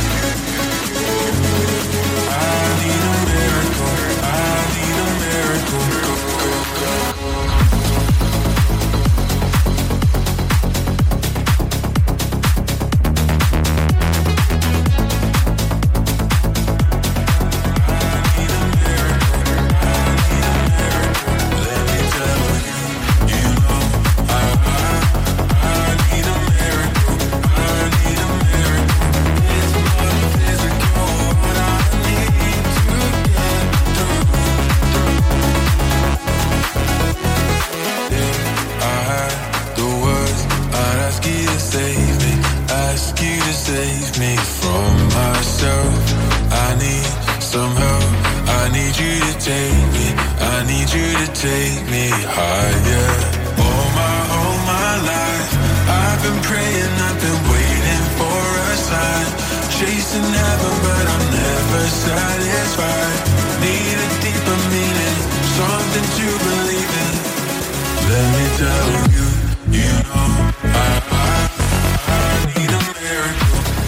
I need a miracle, I need a miracle. Save me from myself. I need some help. I need you to take me. I need you to take me higher. All my, all my life, I've been praying, I've been waiting for a sign. Chasing heaven, but I'm never satisfied. Need a deeper meaning, something to believe in. Let me tell you, you know, I, I, I need a miracle.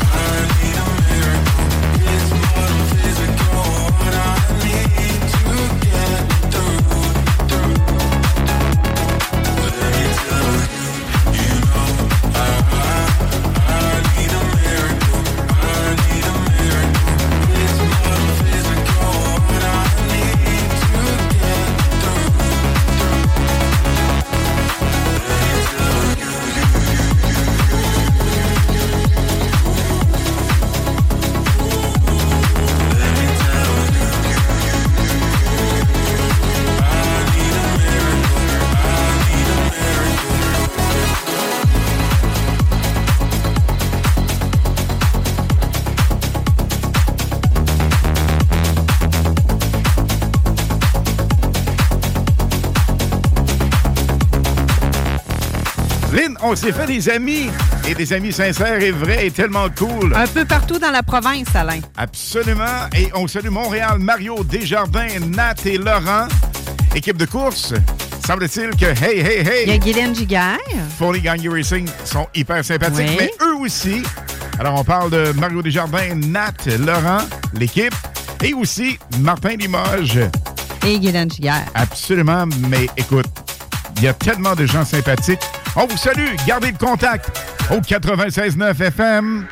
On s'est fait des amis, et des amis sincères et vrais et tellement cool. Un peu partout dans la province, Alain. Absolument. Et on salue Montréal, Mario Desjardins, Nat et Laurent. Équipe de course, Semble-t-il que Hey, Hey, Hey... Il y a Guylaine Giguère. Foley Gang Racing sont hyper sympathiques, Oui. mais eux aussi. Alors, on parle de Mario Desjardins, Nat, Laurent, l'équipe, et aussi Martin Limoges. Et Guylaine Giguère. Absolument, mais écoute, il y a tellement de gens sympathiques. On vous salue, gardez le contact au quatre-vingt-seize neuf F M.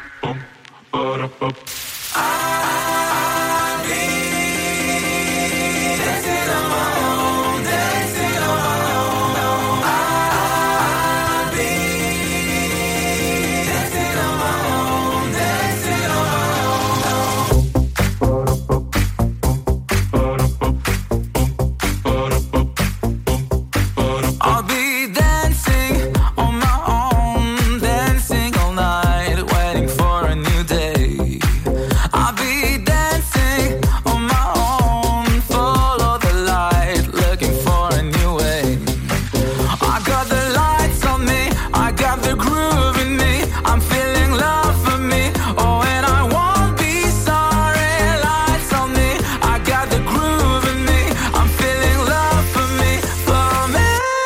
I'll be dancing on my own, dancing all night, waiting for a new day. I'll be dancing on my own, follow the light, looking for a new way. I got the lights on me, I got the groove in me, I'm feeling love for me, oh and I won't be sorry. Lights on me, I got the groove in me, I'm feeling love for me, for me.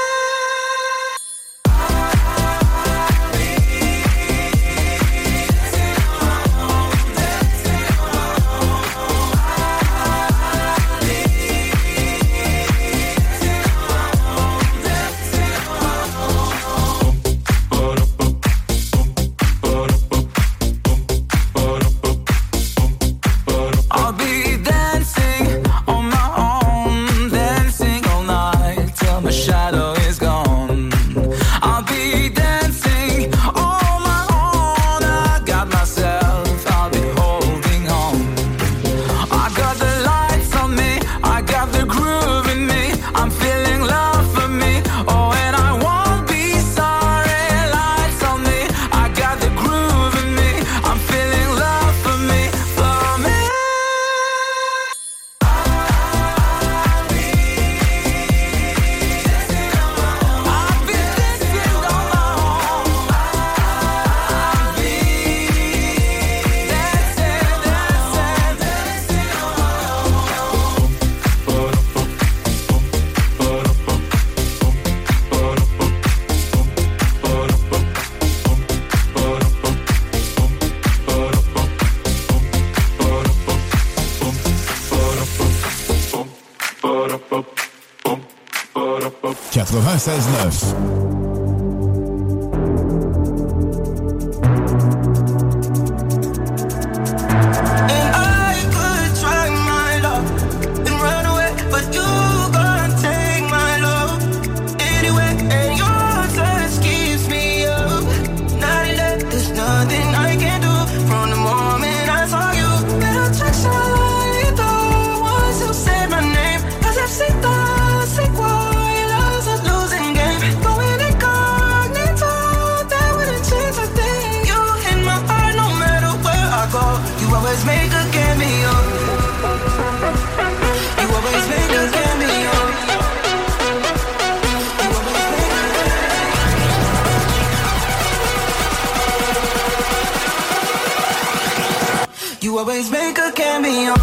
I'll be dancing on my own, dancing all night till my shadow is gone. I'll be dancing on my own. I got myself, I'll be holding on. I got the lights on me, I got the groove in me, I'm feeling love for me, oh and I won't be sorry. Lights on me, I got the groove in me, I'm feeling love for me, for me. quatre-vingt-seize neuf. And I could try my luck and run away, but you gonna take my love anyway. And your touch keeps me up. Night and day, there's nothing I can do. From the moment I saw you, pero attractionito. Once you said my name, necesito, sé cuál es a losing game. Going incognito, that wouldn't change a thing. You in my heart no matter where I go. You always make a cameo. You always make a cameo. You always make a cameo.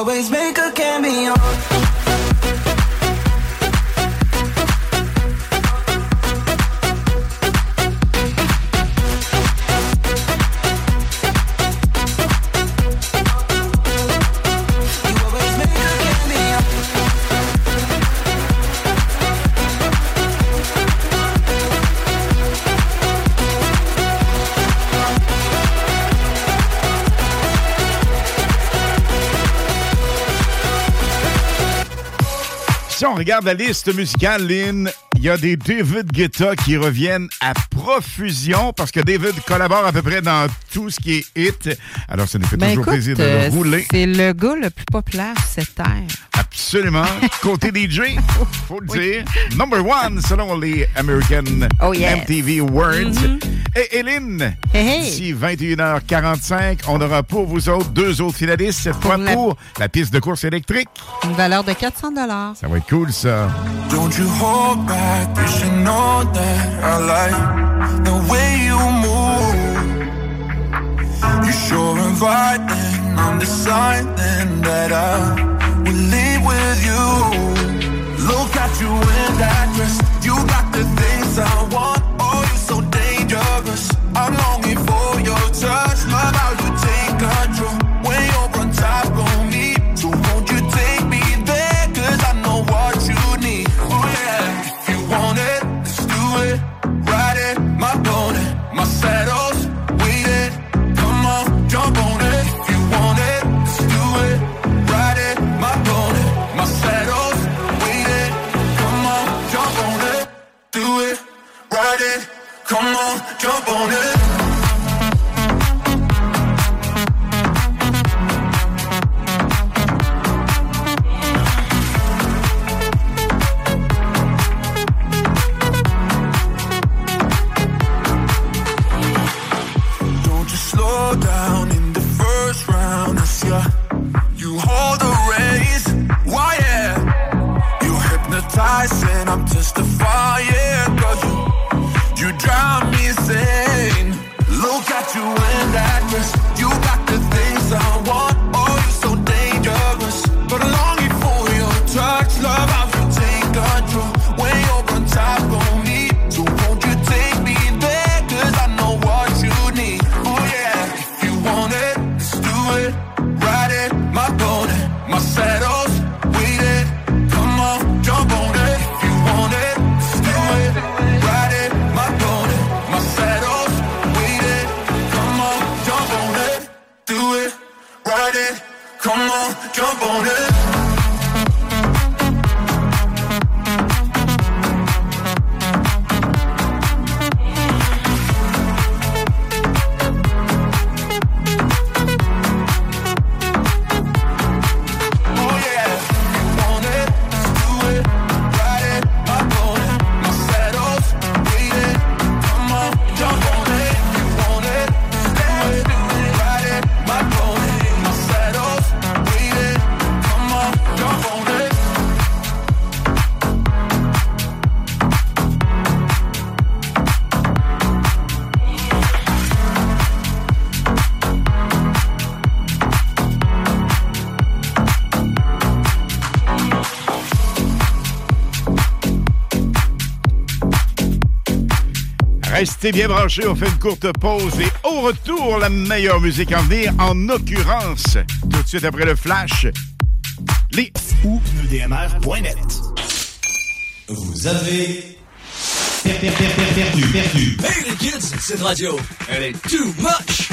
always make a cameo. Si on regarde la liste musicale, Lynn, il y a des David Guetta qui reviennent à profusion parce que David collabore à peu près dans tout ce qui est hit. Alors, ça nous fait ben toujours écoute, plaisir de le euh, rouler. C'est le gars le plus populaire cette terre. Absolument. Côté D J, faut le dire. Number one, selon les American oh, yes. M T V Awards. Mm-hmm. Et Hélène, hey, hey. d'ici vingt et une heures quarante-cinq, on aura pour vous autres deux autres finalistes, cette fois la... pour la piste de course électrique. Une valeur de quatre cents dollars. Ça va être cool, ça. Don't you hold back, you should know that I like the way you move. You're sure inviting, I'm deciding that I will leave with you. Look at you in that dress, you got the things I want. Oh, you're so dangerous, I'm longing for your touch. Love how you take control when you're on top of me. So won't you take me there, cause I know what you need. Oh yeah, if you want it, let's do it. Ride it, my pony, my saddle's waiting. Come on, jump on it. If you want it, let's do it. Ride it, my pony, my saddle's waiting. Come on, jump on it. Do it, ride it. Come on, jump on it. Down in the first round, it's yeah. You hold the reins, why yeah? You hypnotize and I'm testifying, cause you, you drive me insane. Look at you in that dress, you got the things I want. Oh, you're so dangerous, but I'm longing for your touch. Love how you take control when you're on top of me. So won't you take me there, cause I know what you need. Oh yeah. Want it, let's do it, ride it, my pony, my saddle's waiting. Come on, jump on it. If you want it, let's do it, ride it, my pony, my saddle's waiting. Come on, jump on it, do it, ride it. Come on, jump on it. Restez bien branchés, on fait une courte pause et au retour, la meilleure musique en venir, en occurrence, tout de suite après le flash, les ou pneus D M R point net. Vous avez per, per, per, per, perdu, perdu. Hey les kids, cette radio, elle est too much.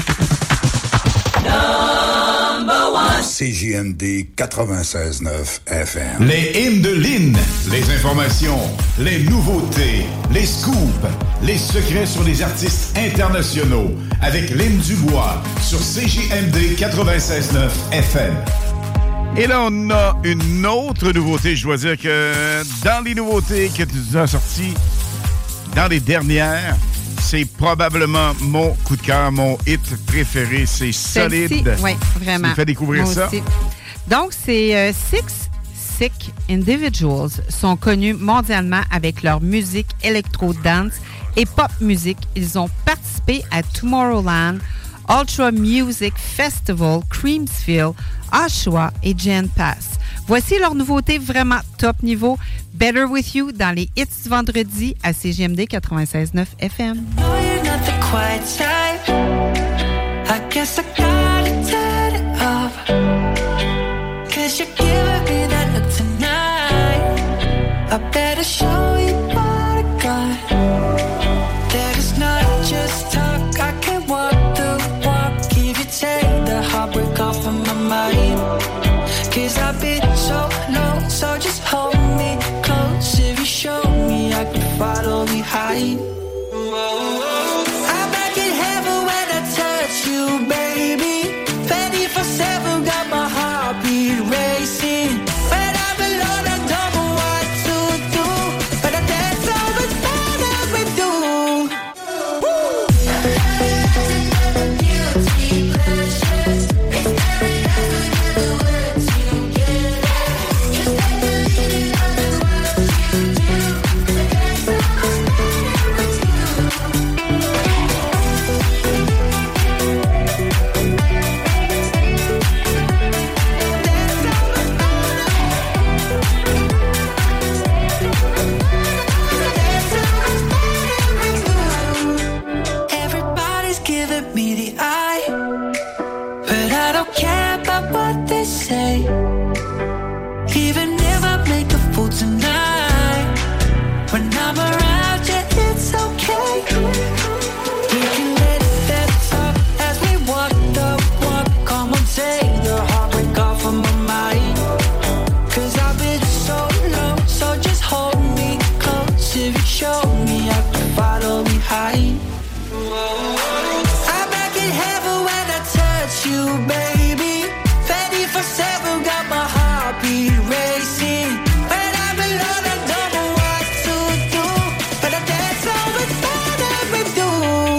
Number one. C J M D quatre-vingt-seize neuf F M. Les hymnes de Lynn, les informations, les nouveautés, les scoops, les secrets sur les artistes internationaux avec Lynn Dubois sur C J M D quatre-vingt-seize neuf F M. Et là, on a une autre nouveauté. Je dois dire que dans les nouveautés que tu nous as sorties, dans les dernières, c'est probablement mon coup de cœur, mon hit préféré. C'est solide. Oui, vraiment. Tu me fais découvrir Moi ça. Aussi. Donc, c'est euh, Six Sick Individuals sont connus mondialement avec leur musique électro-dance et pop musique. Ils ont participé à Tomorrowland, Ultra Music Festival, Creamsville, Oshawa et Gen Pass. Voici leur nouveauté vraiment top niveau, Better With You, dans les hits du vendredi à C J M D quatre-vingt-seize neuf F M. No, you're not the quiet type. I guess I gotta turn it off. Cause you're giving me that look tonight. I better show you what I got. That is not just talk. I can walk the walk. If you take the heartbreak off of my mind. Cause I've been so low, so just hold me close. If you show me, I can follow behind. I'm back in heaven when I touch you, baby. twenty-four seven, got my heartbeat racing. When I'm alone, I don't know what to do. But I dance so much better with you. Everybody's giving me the eye, but I don't care about what they say. Even if I make a fool tonight, when I'm around you, it's okay. We can let that talk as we walk the walk. Come on, take the heartbreak off of my mind. Cause I've been so low, so just hold me close. If you show me, I can follow behind. I'm back in heaven when I touch you, baby. twenty-four seven, got my heartbeat racing. When I'm alone, I don't know what to do. But I dance so much better with you.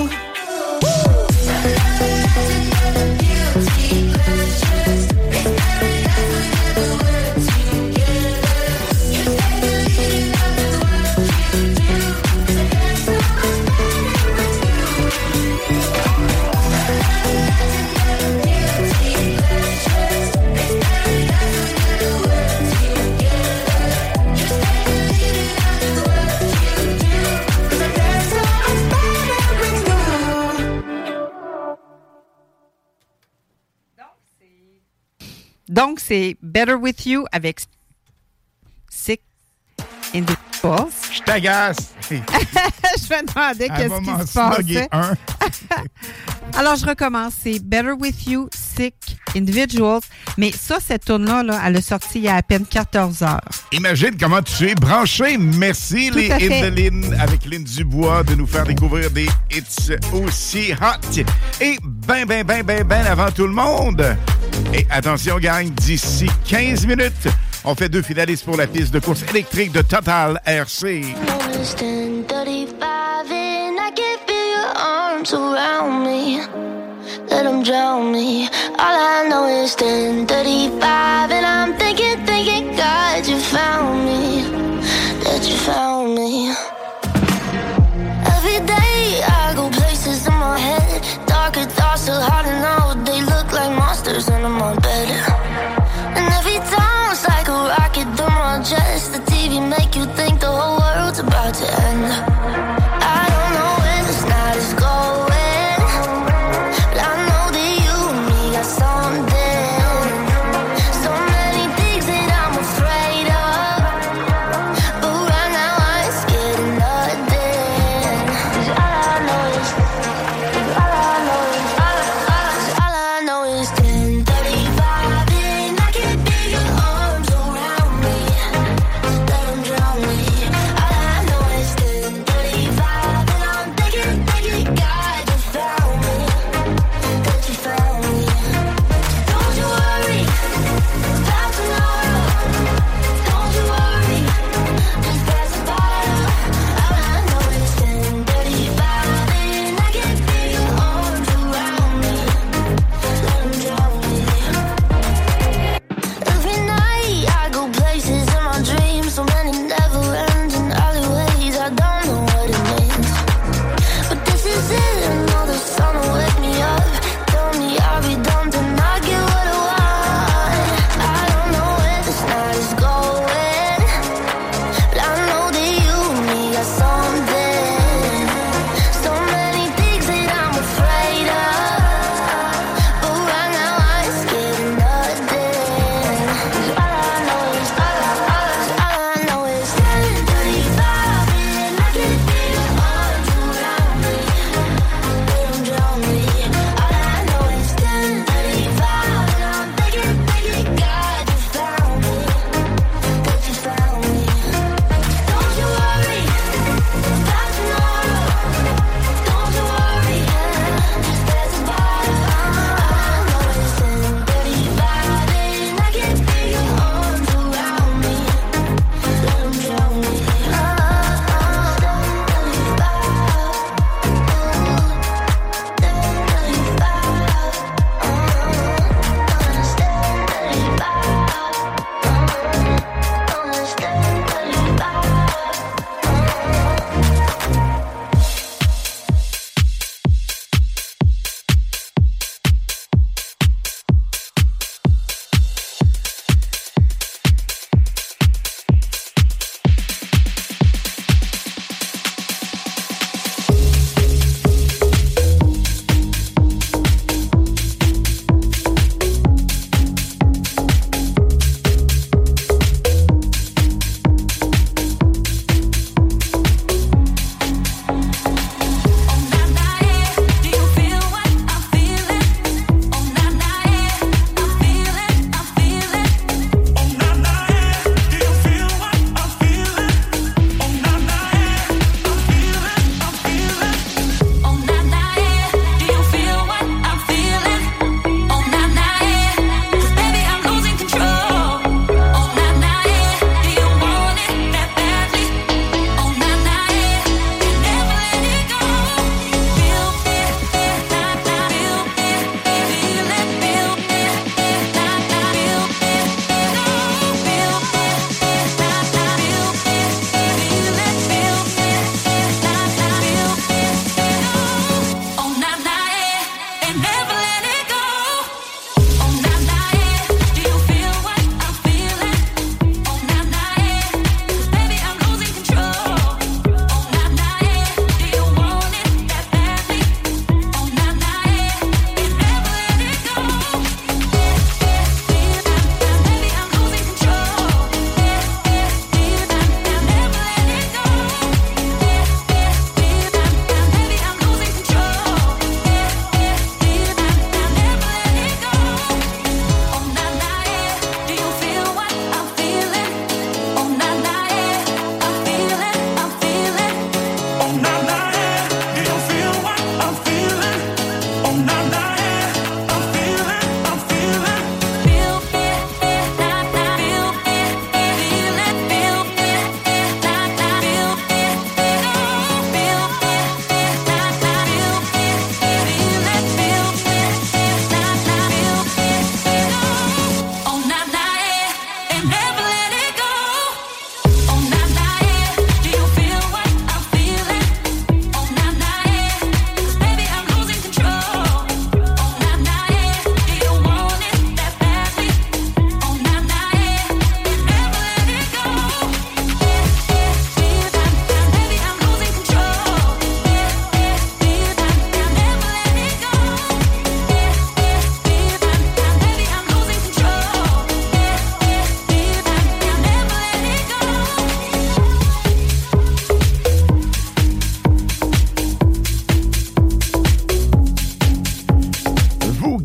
Donc, c'est Better With You avec Sick Individuals. Je t'agace. Je me demandais qu'est-ce qui se passait. Un. Alors, je recommence. C'est Better With You, Sick Individuals. Mais ça, cette tune-là, là, elle a sorti il y a à peine quatorze heures. Imagine comment tu es branché. Merci, Tout les à hits fait. de Lynn avec Lynn Dubois de nous faire découvrir des hits aussi hot. Et ben, ben, ben, ben, ben avant tout le monde. Et attention, gang, d'ici quinze minutes, on fait deux finalistes pour la piste de course électrique de Total R C. It's ten thirty-five and I can feel your arms around me. Let them drown me. All I know is ten thirty-five and I'm thinking, thinking, God, you found me. That you found me. Every day I go places in my head. Darker thoughts so hard to know. They look like monsters under my bed. And every time it's like a rocket through my chest. The T V make you think the whole world's about to end. I don't know where this night is going, but I know that you and me got something. So many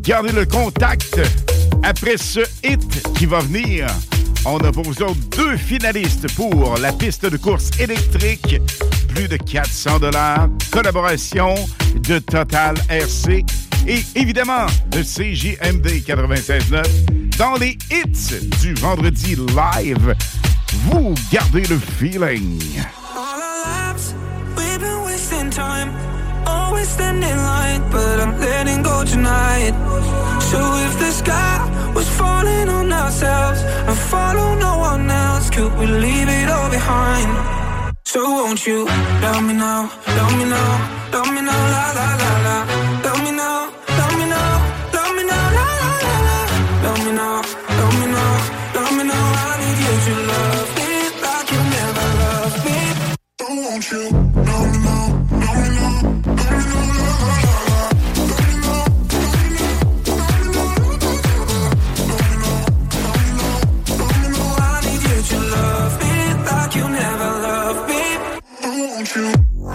gardez le contact. Après ce hit qui va venir, on a pour vous autres deux finalistes pour la piste de course électrique. Plus de quatre cents dollars. Collaboration de Total R C. Et évidemment, de C J M D quatre-vingt-seize neuf. Dans les hits du vendredi live, vous gardez le feeling. All our lives, we've been wasting time. Always standing in line, but I'm letting go tonight. So if the sky was falling on ourselves and follow no one else, could we leave it all behind? So won't you love me now, love me now, love me now, la la la la. Love me now, love me now, love me now, la la la la. Love me now, love me now, love me now. I need you to love me like you never loved me. So won't you love me now, love me now, love me now, la la la la. Love me now, love me now, love me now, love me now, love me now. I need you to love me like you never loved me. So won't you?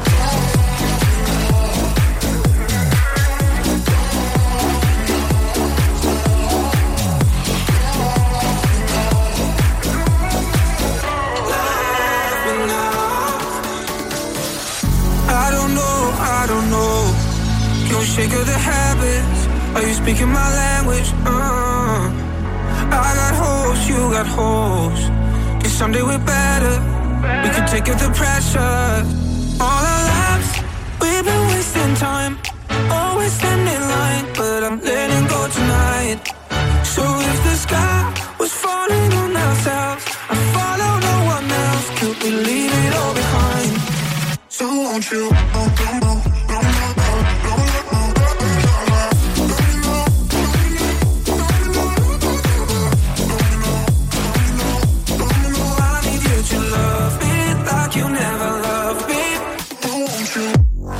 Sick of the habits. Are you speaking my language? Uh, I got holes, you got holes. Cause someday we're better. We can take up the pressure. All our lives, we've been wasting time. Always standing in line, but I'm letting go tonight. So if the sky was falling on ourselves and follow no one else, could we leave it all behind? So won't you? Oh, oh, oh, oh, oh. You never loved me. Won't you?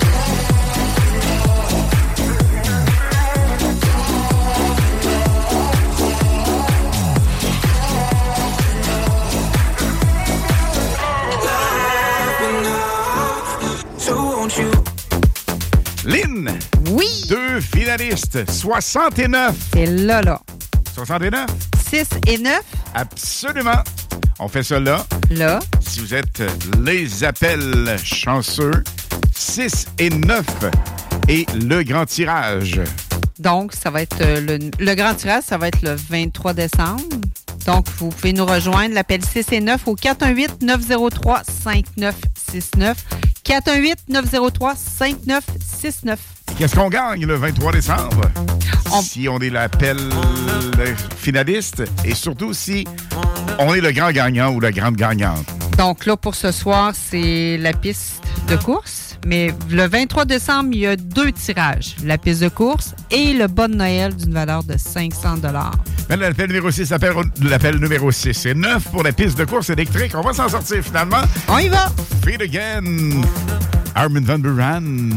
So won't you? Lynn. Oui. Deux finalistes. soixante-neuf. C'est là, là. soixante-neuf? six et neuf? Absolument. On fait ça là. Là. Si vous êtes les appels chanceux, six et neuf et le grand tirage. Donc, ça va être le, le grand tirage, ça va être le vingt-trois décembre. Donc, vous pouvez nous rejoindre, l'appel six et neuf au quatre un huit neuf zéro trois cinq neuf six neuf. quatre un huit neuf zéro trois cinq neuf six neuf. Qu'est-ce qu'on gagne le vingt-trois décembre? On... Si on est l'appel finaliste et surtout si on est le grand gagnant ou la grande gagnante. Donc là, pour ce soir, c'est la piste de course. Mais le vingt-trois décembre, il y a deux tirages. La piste de course et le bon de Noël d'une valeur de cinq cents dollars. L'appel numéro six, l'appel, l'appel numéro six et neuf pour la piste de course électrique. On va s'en sortir finalement. On y va! Feed Again, Armin van Buuren.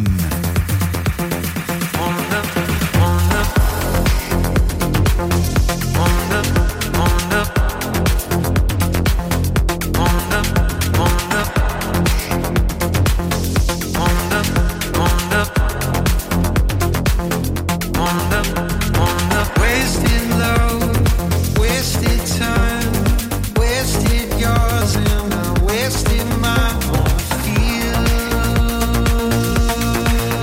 Wasted yours and I wasted mine. Feel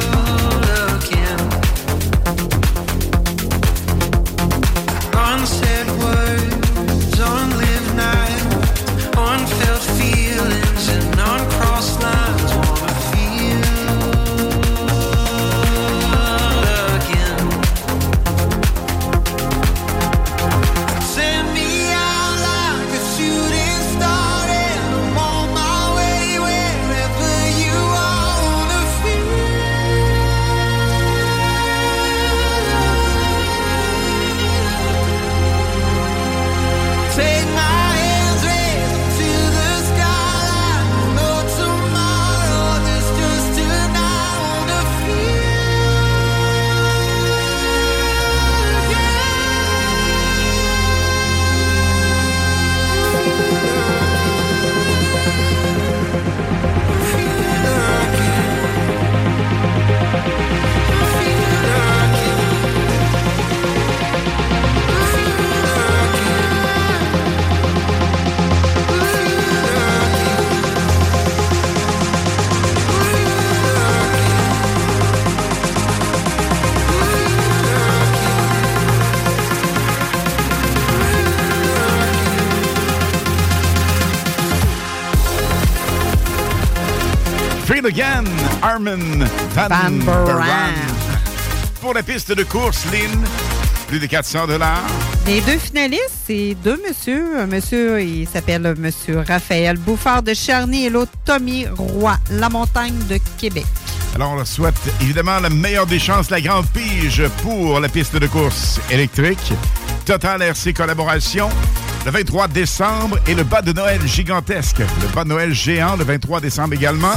It Again, Armin Van, Van Buuren. Buuren. Pour la piste de course, Lynn, plus de quatre cents dollars. Les deux finalistes, c'est deux messieurs. Un monsieur, il s'appelle monsieur Raphaël Bouffard de Charny et l'autre Tommy Roy, La Montagne de Québec. Alors, on leur souhaite évidemment la meilleure des chances, la grande pige pour la piste de course électrique. Total R C Collaboration, le vingt-trois décembre, et le bas de Noël gigantesque. Le bas de Noël géant, le vingt-trois décembre également.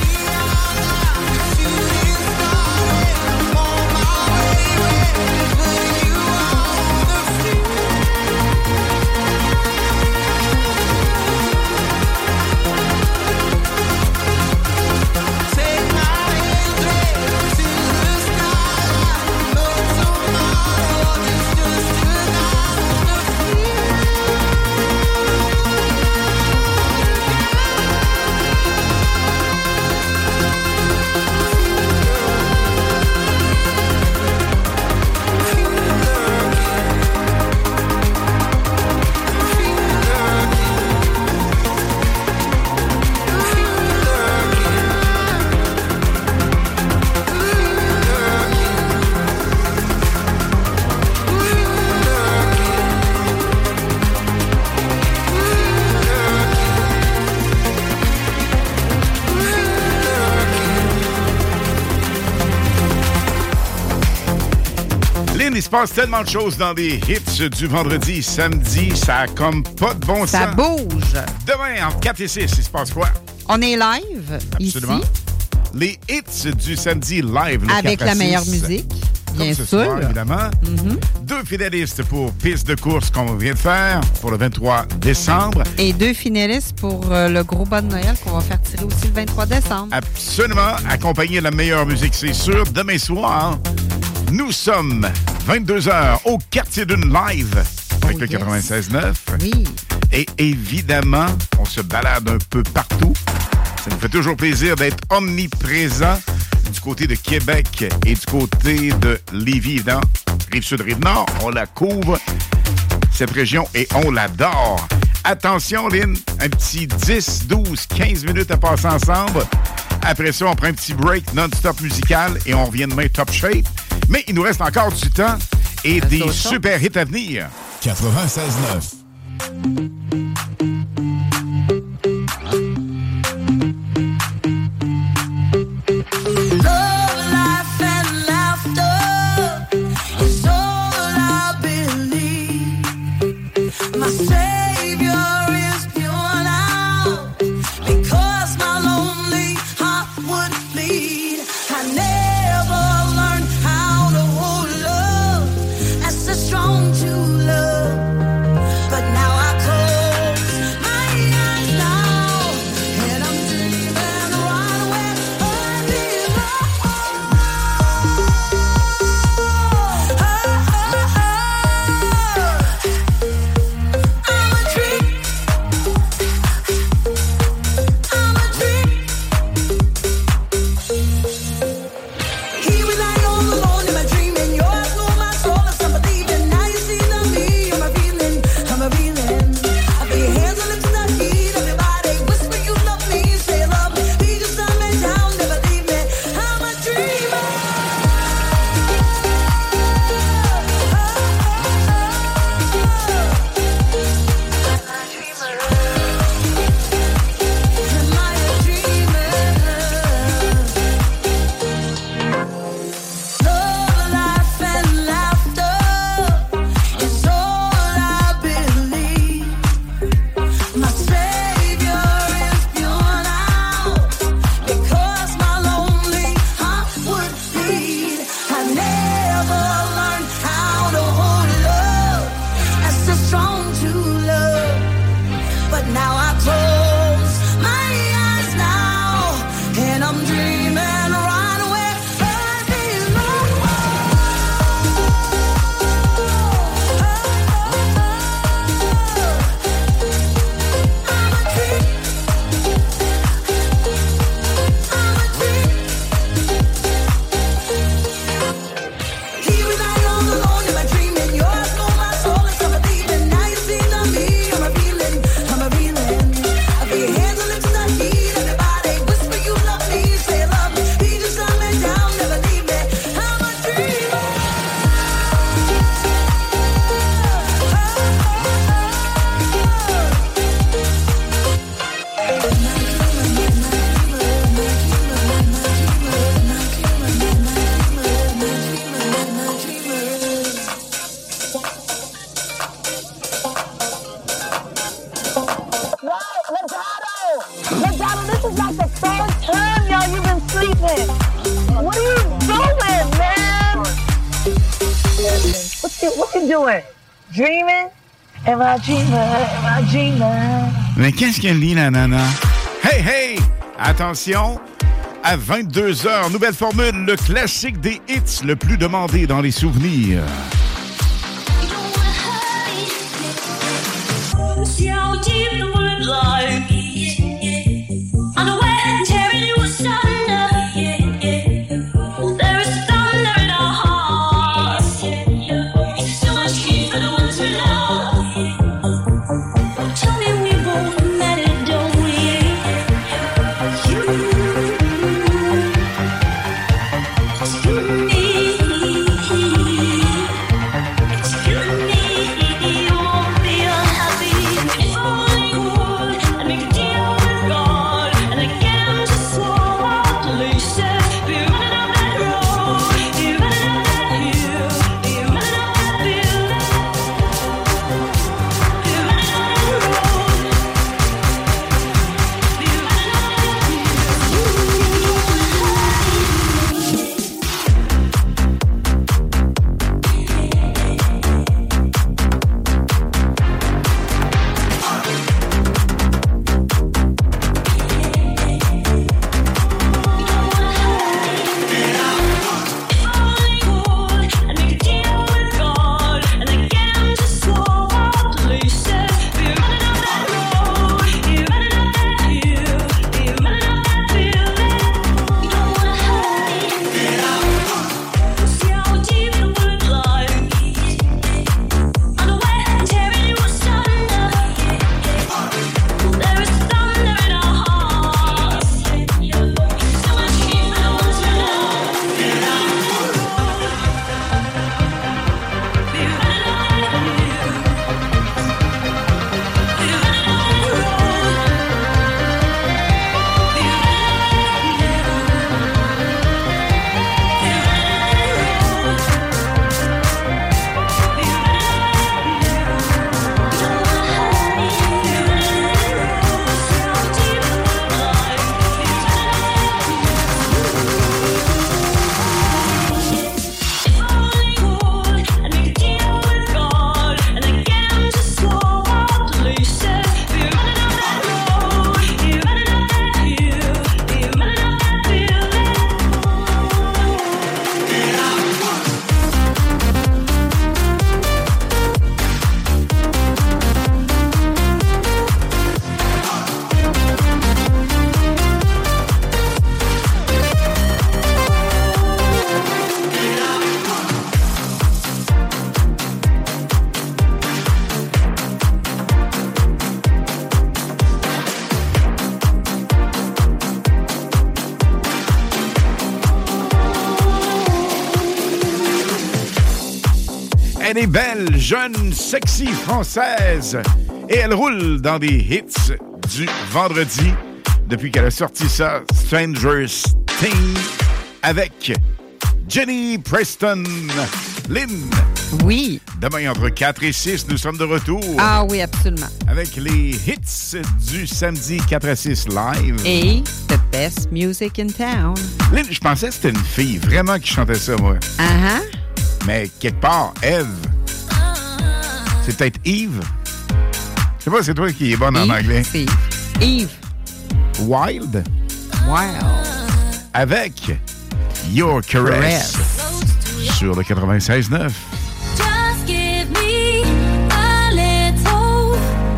Il se passe tellement de choses dans les hits du vendredi, samedi, ça a comme pas de bon sens. Ça bouge. Demain, entre quatre et six, il se passe quoi? On est live, Absolument. Ici. Les hits du samedi live. Le avec la meilleure musique, bien sûr. sûr. Soir, évidemment. Mm-hmm. Deux finalistes pour piste de course qu'on vient de faire pour le vingt-trois décembre. Et deux finalistes pour euh, le gros bas de Noël qu'on va faire tirer aussi le vingt-trois décembre. Absolument. Accompagné de la meilleure musique, c'est sûr. Demain soir, nous sommes vingt-deux heures au Quartier d'une live avec oh, le yes. quatre-vingt-seize neuf. Oui. Et évidemment, on se balade un peu partout. Ça nous fait toujours plaisir d'être omniprésent du côté de Québec et du côté de Lévis, évidemment. Rive-Sud, Rive-Nord, on la couvre, cette région, et on l'adore. Attention, Lynn, un petit dix, douze, quinze minutes à passer ensemble. Après ça, on prend un petit break non-stop musical et on revient demain top shape. Mais il nous reste encore du temps et ça des super hits à venir. quatre-vingt-seize neuf. Strong to love, but now I call you, what you doing? Dreaming? Am I dreaming? Am I dreaming? Mais qu'est-ce qu'elle lit, la nana? Hey, hey! Attention! À vingt-deux heures, nouvelle formule, le classique des hits le plus demandé dans les souvenirs. See how deep the wood lies. On the wet and tearing you asunder. There is thunder in our hearts. So much heat for the ones we love. Tell me we both met it, don't we? You, it's you and me. It's you and me. You won't be unhappy. If only you would, I'd make a deal with God, and again just swallow up the leases. Be running down that road, be running down that hill, be running down that building, be running down that road, be running down that hill. I'd make a deal with God, and again just swallow up the leases. Be running down that road, be running down that hill, be running down that building. You don't wanna hide. See how deep the wood lies. On the wet and tearing you asunder. There is thunder in our hearts. So much heat for the ones we love. Be running down that road. Be running down that hill. Be running down that road. Be I'd make a deal with God, and again just swallow up the leases. Be running down that road, be running down that hill, be running down that building. Elle est belle, jeune, sexy française. Et elle roule dans des hits du vendredi depuis qu'elle a sorti ça, Stranger Things, avec Jenny Preston. Lynn. Oui. Demain, entre quatre et six, nous sommes de retour. Ah oui, absolument. Avec les hits du samedi quatre à six live. Et the best music in town. Lynn, je pensais que c'était une fille vraiment qui chantait ça, moi. Uh-huh. Mais quelque part, Eve. C'est peut-être Eve. Je sais pas, c'est toi qui es bonne Eve, en anglais. C'est Eve. Wild. Wild. Avec Your Caress. Sur le quatre-vingt-seize neuf. Just give me a little.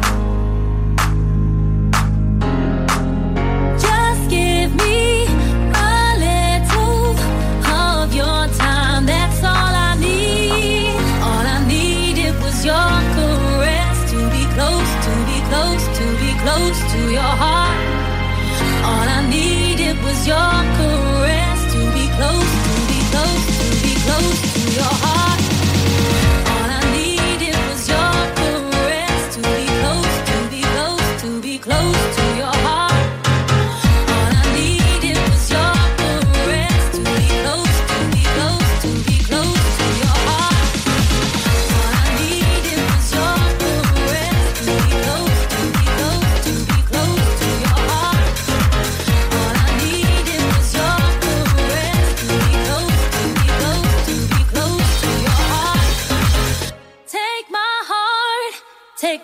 Just give me a little of your time. That's all I need. All I needed was your caress. To be close, to be close, to be close to your heart. All I needed was your caress. To be close, to be close, to be close to your heart. All I needed was your caress. To be close, to be close, to be close to your heart. All I needed was your caress. To be close, to be close, to be close to your heart. All I needed was your caress. To be close, to be close, to be close to your heart. All I needed was your caress. To be close, to be close, to be close to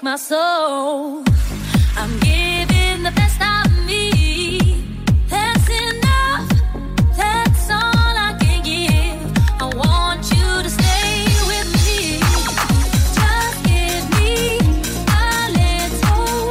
my soul. I'm giving the best of me. That's enough. That's all I can give. I want you to stay with me. Just give me a little.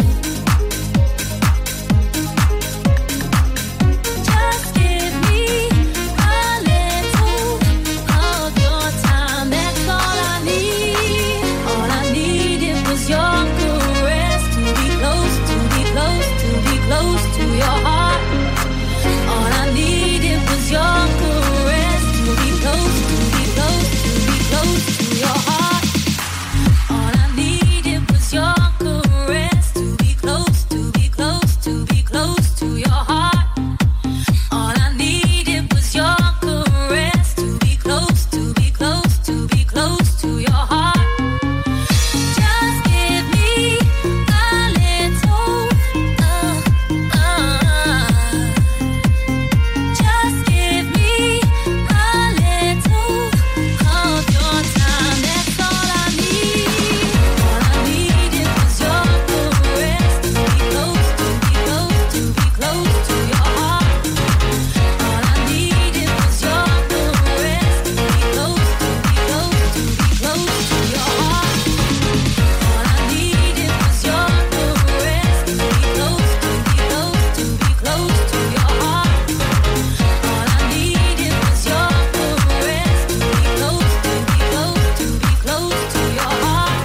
Just give me a little of your time. That's all I need. All I needed was your caress. To be close, to be close, to be close to your heart. All I needed was your caress. To be close, to be close, to be close to your heart. All I needed was your caress. To be close, to be close, to be close to your heart. All I needed was your caress. To be close, to be close, to be close to your heart. Just give me a little, uh, uh. Just give me a little of your time. That's all I need. All I needed was your caress. To be close, to be close, to be close to your heart. All I needed was your caress. To be close, to be close, to be close to your heart. All I needed was your caress. To be close, to be close, to be close to your heart. All I needed was your caress. To be close, to be close, to be close to your heart.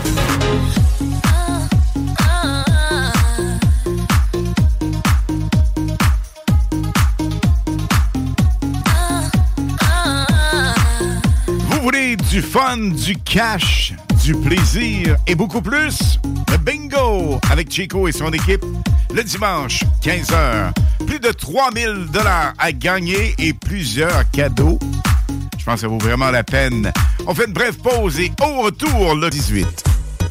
Vous voulez du fun, du cash, du plaisir et beaucoup plus? Le bingo avec Chico et son équipe le dimanche, quinze heures. Plus de trois mille dollars à gagner et plusieurs cadeaux. Je pense que ça vaut vraiment la peine. On fait une brève pause et au retour, le dix-huit.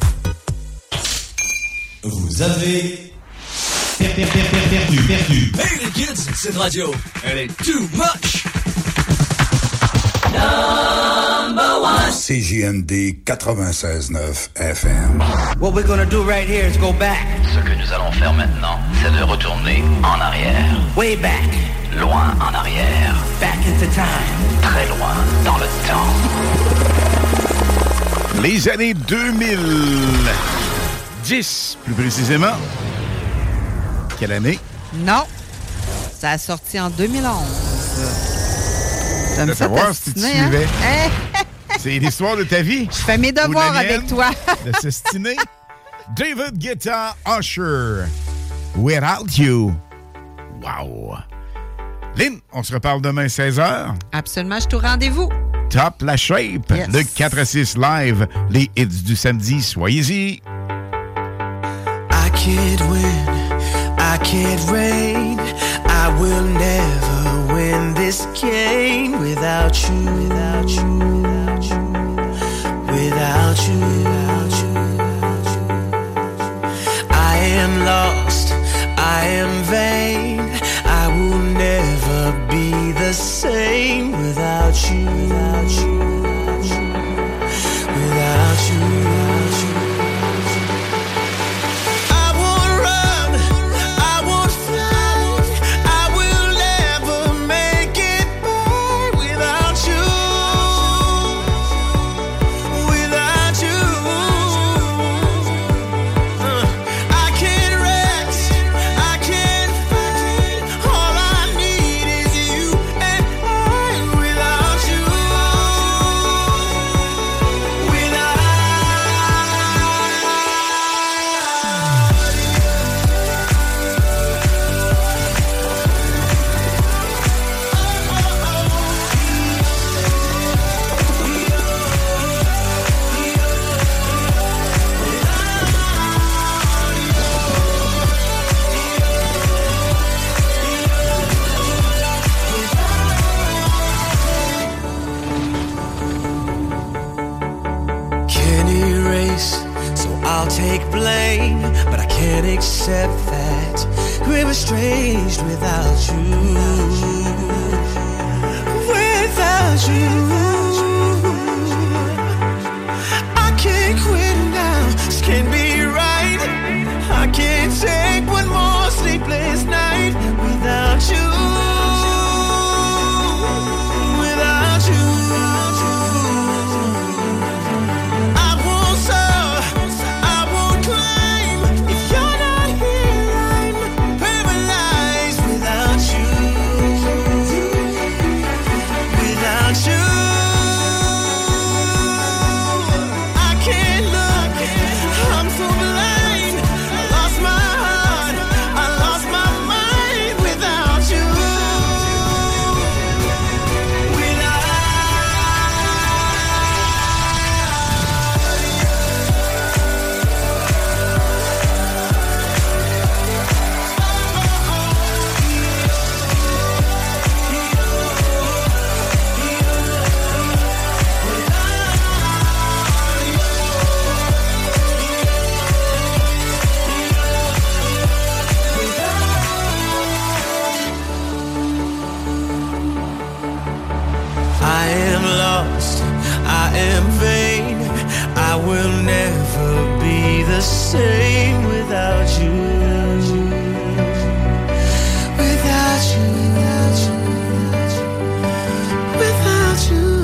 Vous avez per- per- per- per- perdu, perdu. Hey les kids, cette radio, elle est too much. Number one. C J M D quatre-vingt-seize neuf F M. What we're gonna do right here is go back. Ce que nous allons faire maintenant, c'est de retourner en arrière. Way back. Loin en arrière. Back into time. Très loin dans le temps. Les années deux mille dix, plus précisément. Quelle année? Non. Ça a sorti en deux mille onze. Je veux savoir si tu suivais. Hein? C'est l'histoire de ta vie. Je fais mes devoirs Ou de la mienne, avec toi. De s'estiner. David Guetta, Usher, Without You. Wow. Lynn, on se reparle demain seize heures. Absolument, je te rendez-vous. Top la shape. Yes. Le quatre à six live. Les hits du samedi. Soyez-y. I can't win, I can't reign, I will never win this game without you, without you, without you, without you, without you, without you. I am lost, I am vain, I will never be the same without you, without you, without you, without you, without you. Take blame, but I can't accept that we're estranged without you. Without you, I can't quit now. This can't be right. am vain. I will never be the same without you. Without you, without you, without you, without you.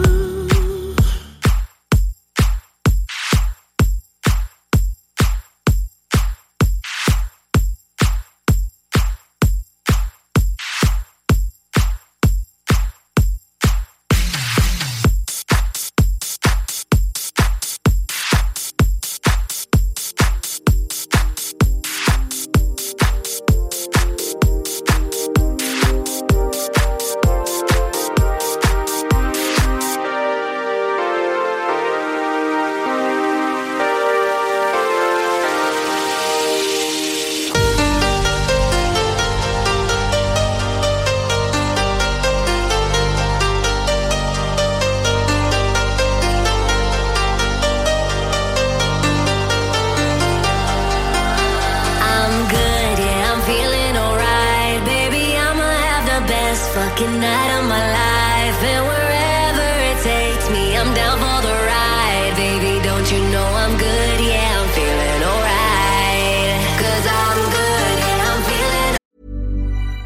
Fucking night of my life, and wherever it takes me, I'm down for the ride. Baby, don't you know I'm good? Yeah, I'm feeling alright. Cause I'm good, yeah, I'm feeling.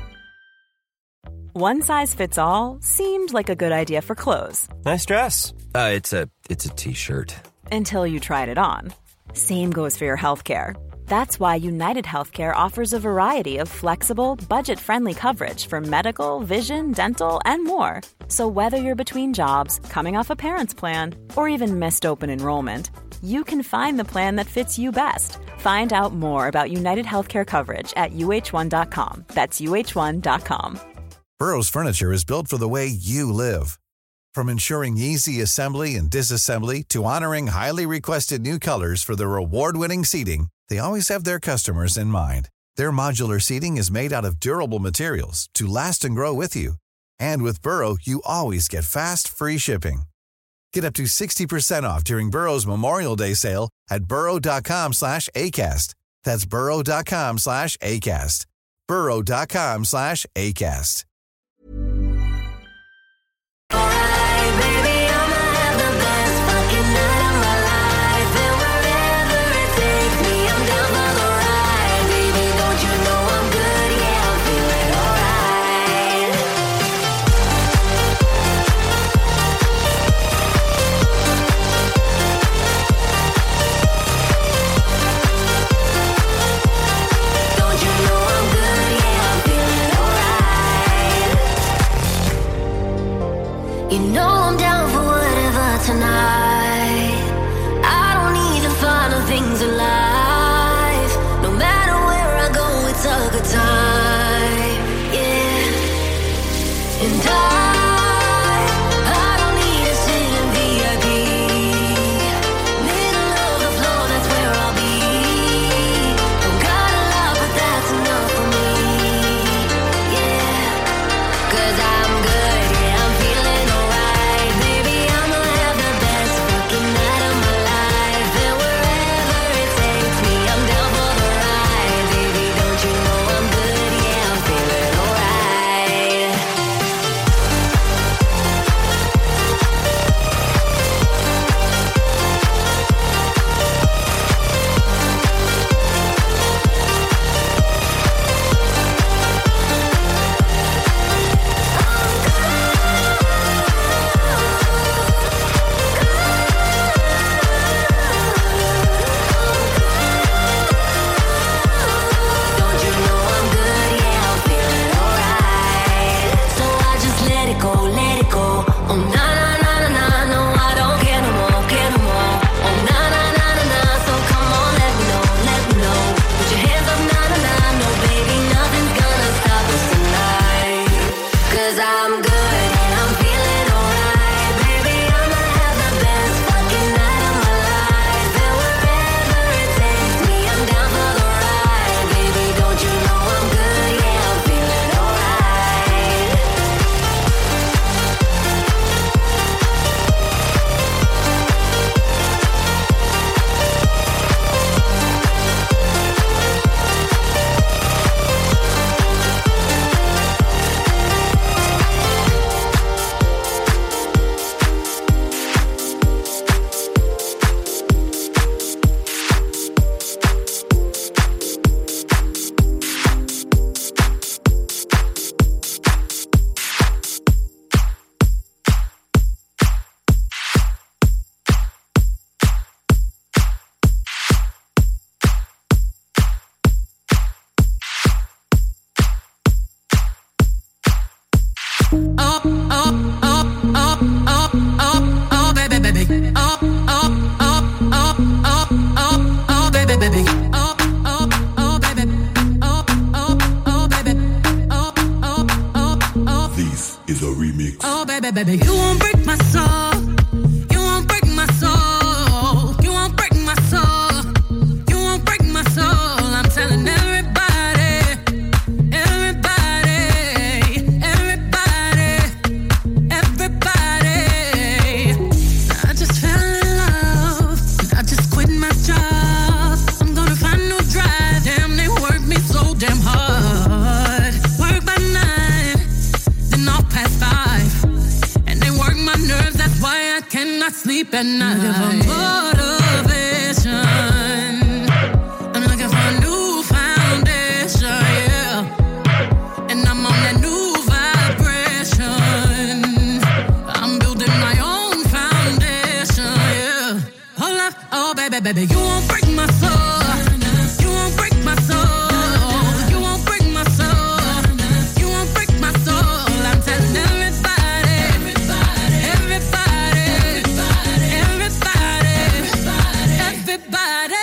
One size fits all seemed like a good idea for clothes. Nice dress. Uh, it's a it's a t-shirt. Until you tried it on. Same goes for your healthcare. That's why United Healthcare offers a variety of flexible, budget-friendly coverage for medical, vision, dental, and more. So whether you're between jobs, coming off a parent's plan, or even missed open enrollment, you can find the plan that fits you best. Find out more about United Healthcare coverage at U H one dot com. That's U H one dot com. Burrow's furniture is built for the way you live. From ensuring easy assembly and disassembly to honoring highly requested new colors for their award-winning seating, they always have their customers in mind. Their modular seating is made out of durable materials to last and grow with you. And with Burrow, you always get fast, free shipping. Get up to sixty percent off during Burrow's Memorial Day sale at burrow.com slash ACAST. That's burrow.com slash ACAST. burrow.com slash ACAST. You know I'm down for whatever tonight. I don't need the final things in life. No matter where I go, it's a good time. Yeah. And I, I don't need to sit in V I P. Middle of the floor, that's where I'll be. Don't got a lot, but that's enough for me. Yeah. Cause I'm good, yeah, I'm feeling. Take baby, you won't break my soul. You won't break my soul. You won't break my soul. You won't break my soul. I'm telling everybody, everybody, everybody, everybody. I just fell in love. I just quit my job. I'm gonna find no drive. Damn, they work me so damn hard. Work by nine, then off past five. And they work my nerves, that's why I cannot sleep at night. Looking for motivation. I'm looking for a new foundation, yeah. And I'm on that new vibration. I'm building my own foundation, yeah. Hold up, oh baby, baby, you won't break my soul. You won't break my soul. You won't break my soul. You won't break my soul. I'm telling everybody, everybody, everybody, everybody, everybody.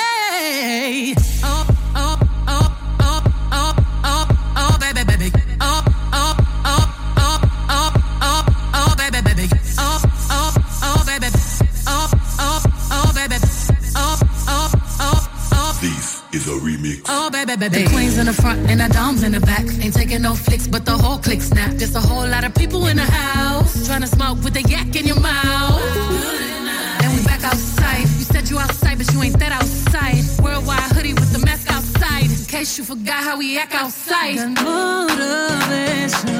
Oh, oh, oh, oh, oh, oh, oh, baby, baby. Oh, oh, oh, oh, oh, oh, oh, baby, baby. Oh, oh, oh, baby. Oh, oh, oh, baby. Oh, oh, oh, oh. This is a remix. Oh, baby, baby. The queen's in the front and the dom's in the back. Ain't taking no flicks, but the whole click snap. There's a whole lot of people in the house trying to smoke with the yak in your mouth. And we back outside. You said you outside, but you ain't that outside. Worldwide hoodie with the mask outside. In case you forgot how we act outside. Got motivation.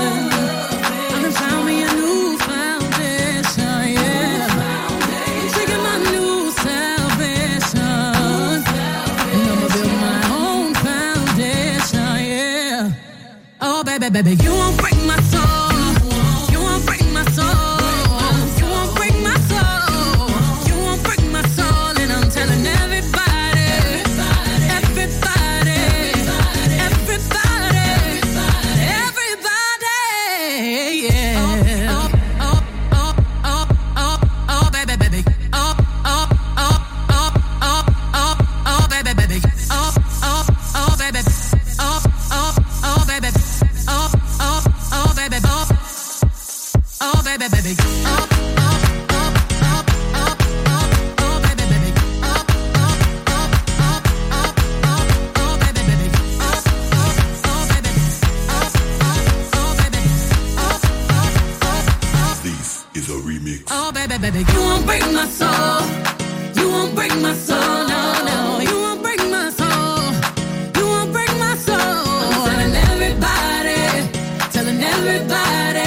I done found me a new foundation, yeah. Taking my new salvation. And I'ma build my own foundation, yeah. Oh, baby, baby, you won't break my soul. You won't break my soul. You won't break my soul. You won't break my soul. And I'm telling everybody, everybody, everybody, everybody, yeah. Oh, oh, oh, oh, oh, oh, baby, baby. Oh, oh, oh, oh, oh, oh, oh, baby, baby. Oh, oh, oh, baby. Oh, oh, oh, baby. Oh, oh, oh, baby. Oh, oh, baby, baby. Oh, oh, oh, oh, oh, oh, oh, baby, baby. Oh, oh, oh, oh, oh, oh, oh, baby, baby. Oh, oh, oh, baby. Oh, oh, oh, baby. Oh, oh, oh, oh. This is a remix. Oh, baby, baby, you won't break my soul. You won't break my soul, no, no. You won't break my soul. You won't break my soul. I'm telling everybody, telling everybody,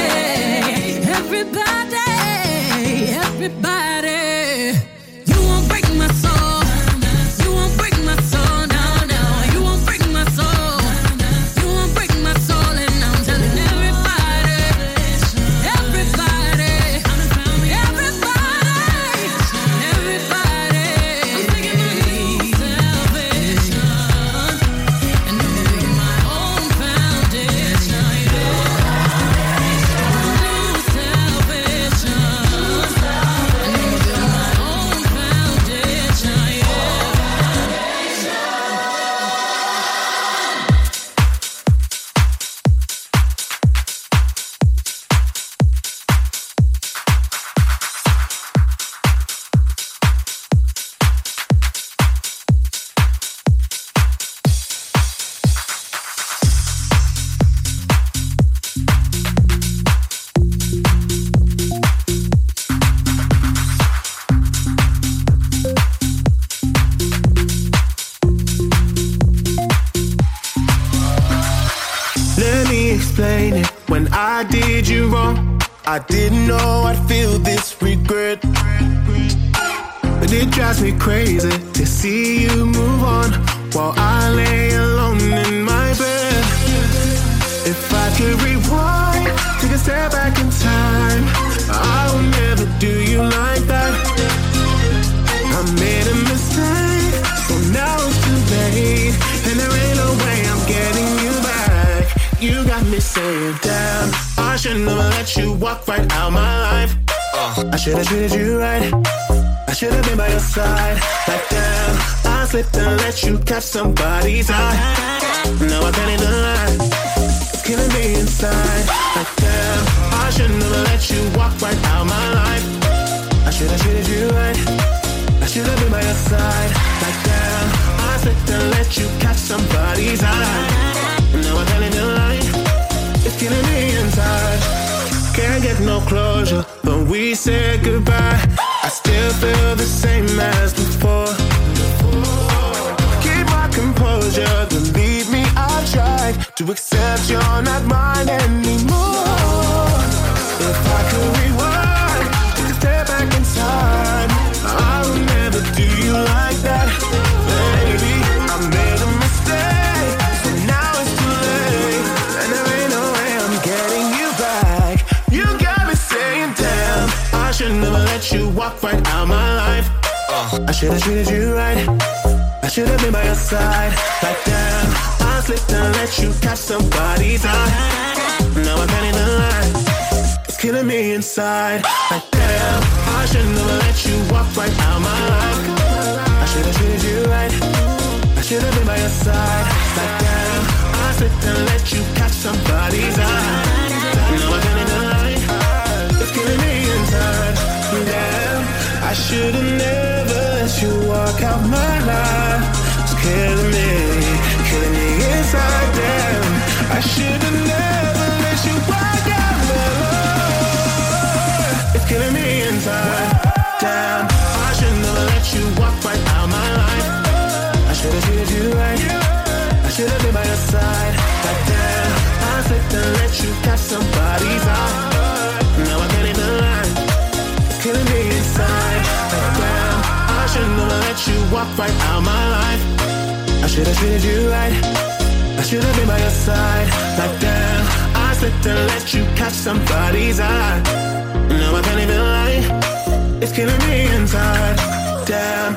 everybody, everybody. You won't break my soul. You won't break my soul, no, no. You won't break my soul. You won't break my soul, and I'm telling everybody, everybody, everybody, everybody. I'm taking my new salvation, and I'm building my own foundation, yeah. New salvation, and I'm building my own foundation, yeah. Let me explain it. When I did you wrong, I didn't know I'd feel this regret. But it drives me crazy to see you move on while I lay alone in my bed. If I could rewind, take a step back in time, I would never do you like that. I made a mistake, so now it's too late, and there ain't no way I'm getting you back. You got me saying, damn, I should never let you walk right out my life. Uh, I should have treated you right, I should have been by your side. Like damn, I slipped and let you catch somebody's eye. Now I can't even lie. It's killing me inside. Like damn, I shouldn't have let you walk right out my life. I should have treated you right. I should have been by your side. Like damn, I slipped and let you catch somebody's eye. Now I can't even lie. It's killing me inside. Can't get no closure when we said goodbye. I still feel the same as before. Keep my composure, believe me, I've tried to accept you're not mine anymore. If I could rewind, take a step back in time, I would never do you like that. Baby, I made a mistake, so now it's too late, and there ain't no way I'm getting you back. You got me saying, damn, I should never let you walk right out my life. uh. I should have treated you right. I should have been by your side. Like damn, I slipped and let you catch somebody's eye. Now I can't even lie. It's killing me inside. Like damn, I should never let you walk right out my life. I should have treated you right. I should have been by your side. Like damn, I slipped and let you catch somebody's eye. Now I can't even lie. It's killing me inside. Damn, I should have never let you walk out my life. It's killing me, killing me inside. Damn, I should have never let you walk out my life. It's killing me inside. Damn, I should never let you walk right out my life. I should have treated you right. I should have been by your side. Like damn, I slipped and let you catch somebody's eye. Now I can't even lie. It's killing me inside. Like damn, I should never let you walk right out my life. I should have treated you right. I should have been by your side. Like damn, I slipped and let you catch somebody's eye. Now I can't even lie. It's killing me inside. Damn.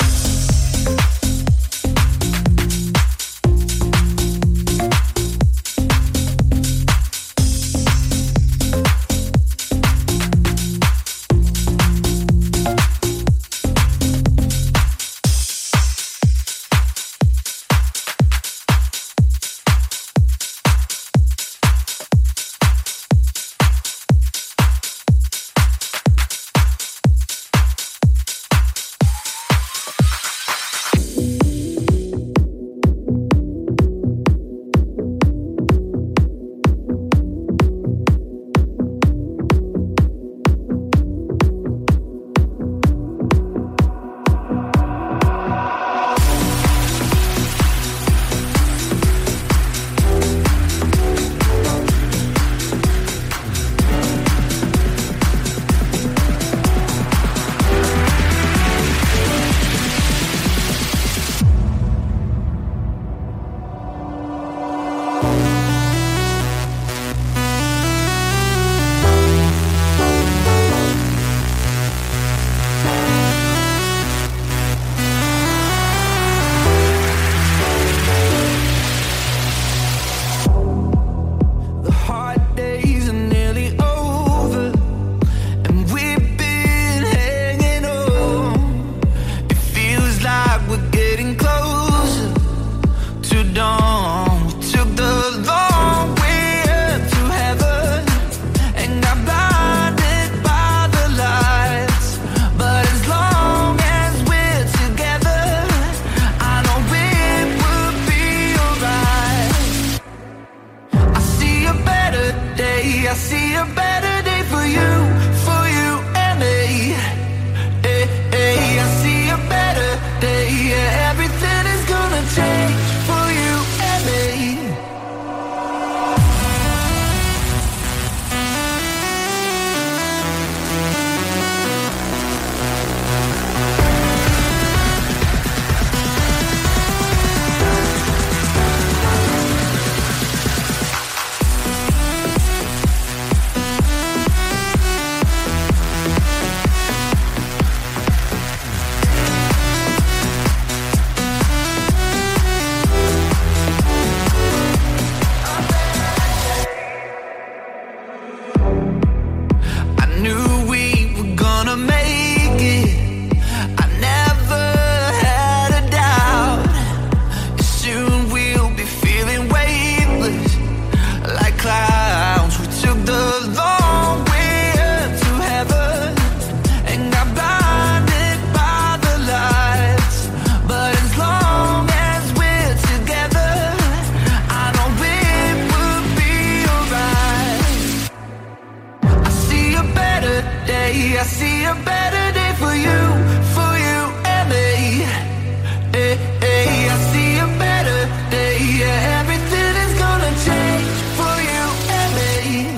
see a better day for you, for you and me. Hey, hey, I see a better day. Yeah, everything is gonna change for you and me.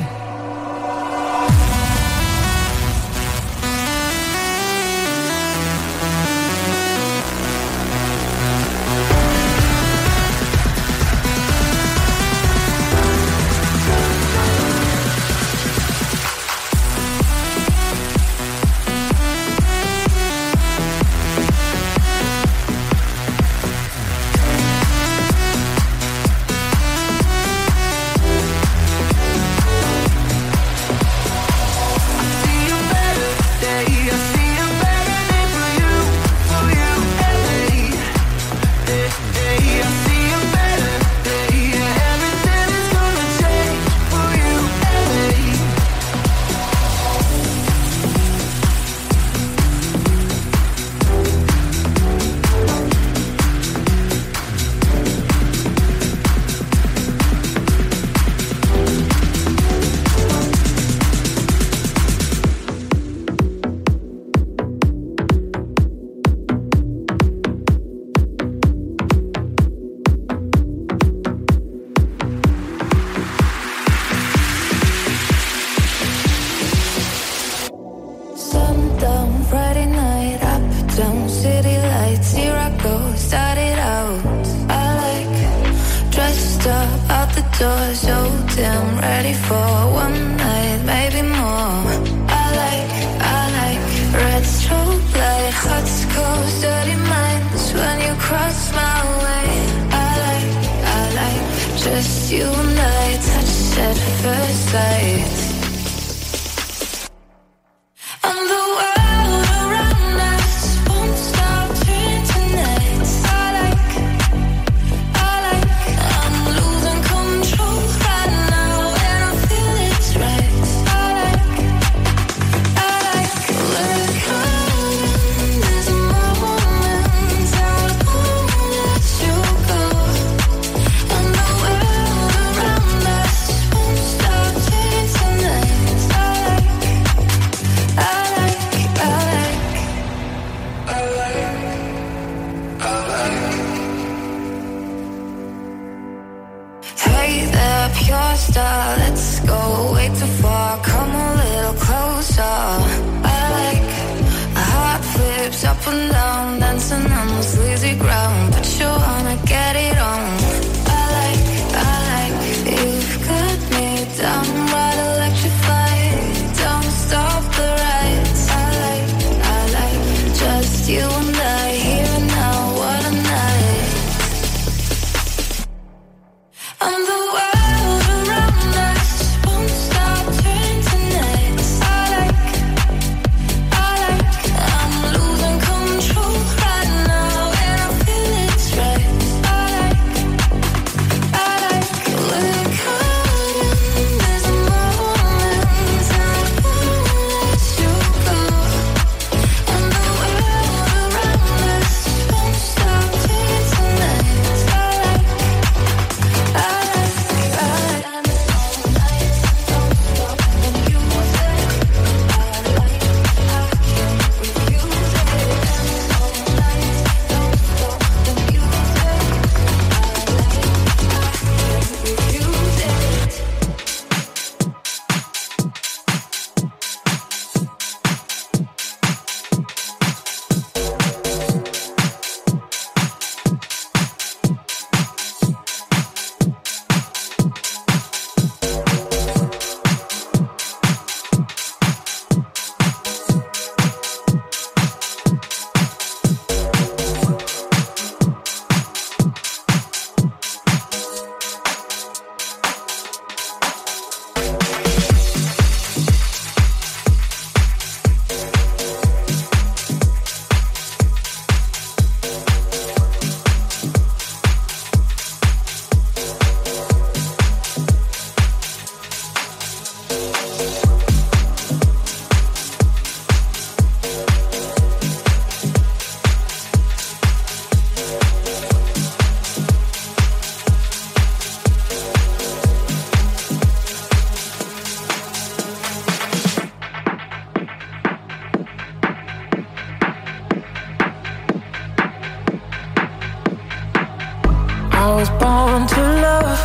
was born to love,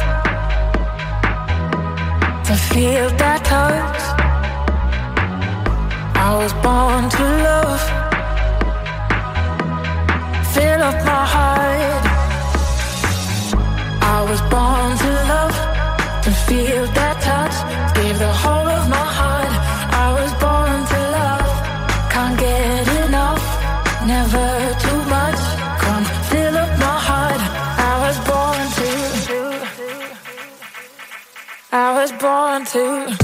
to feel that touch. I was born to love, fill up my heart. I was born to love, to feel that touch, give the whole of my heart. I was born to love, can't get enough, never too much. Come fill up my heart. I was born to, I was born to.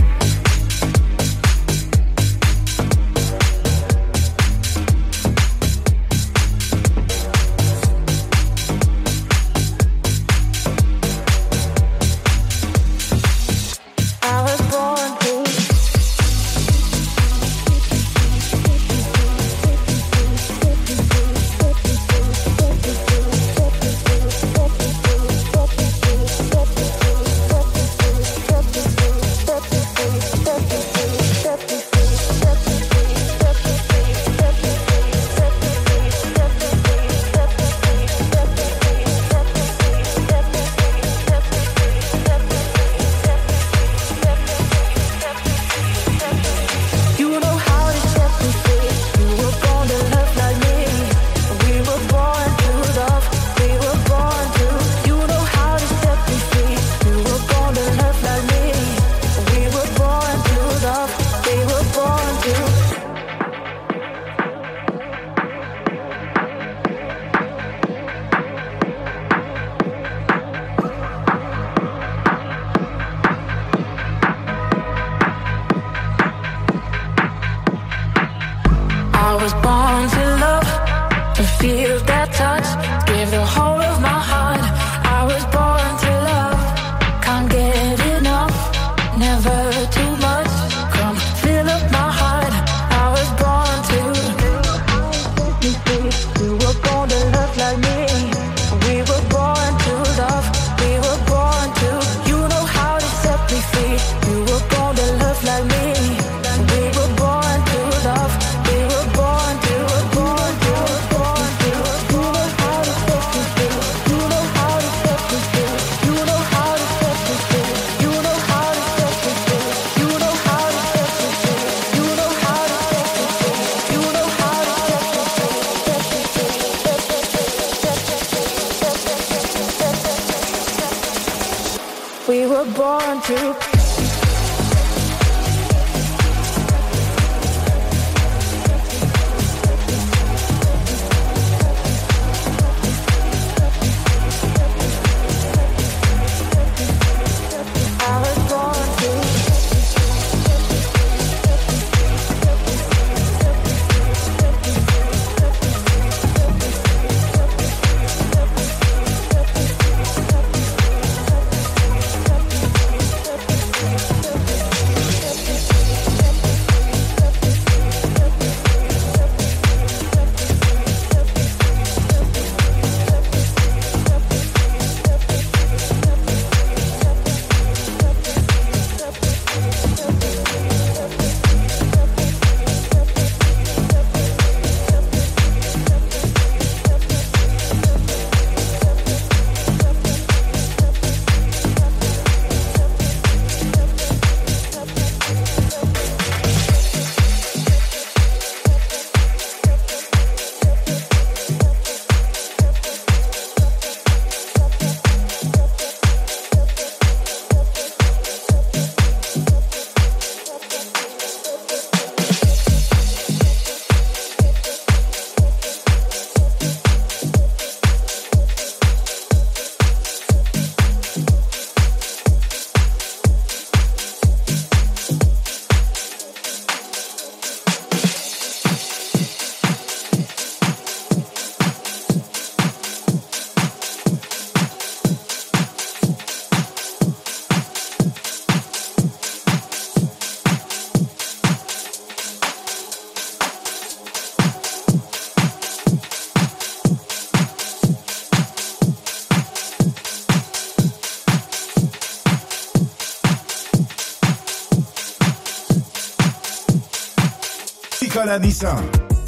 We were born to. Nicolas Nissan.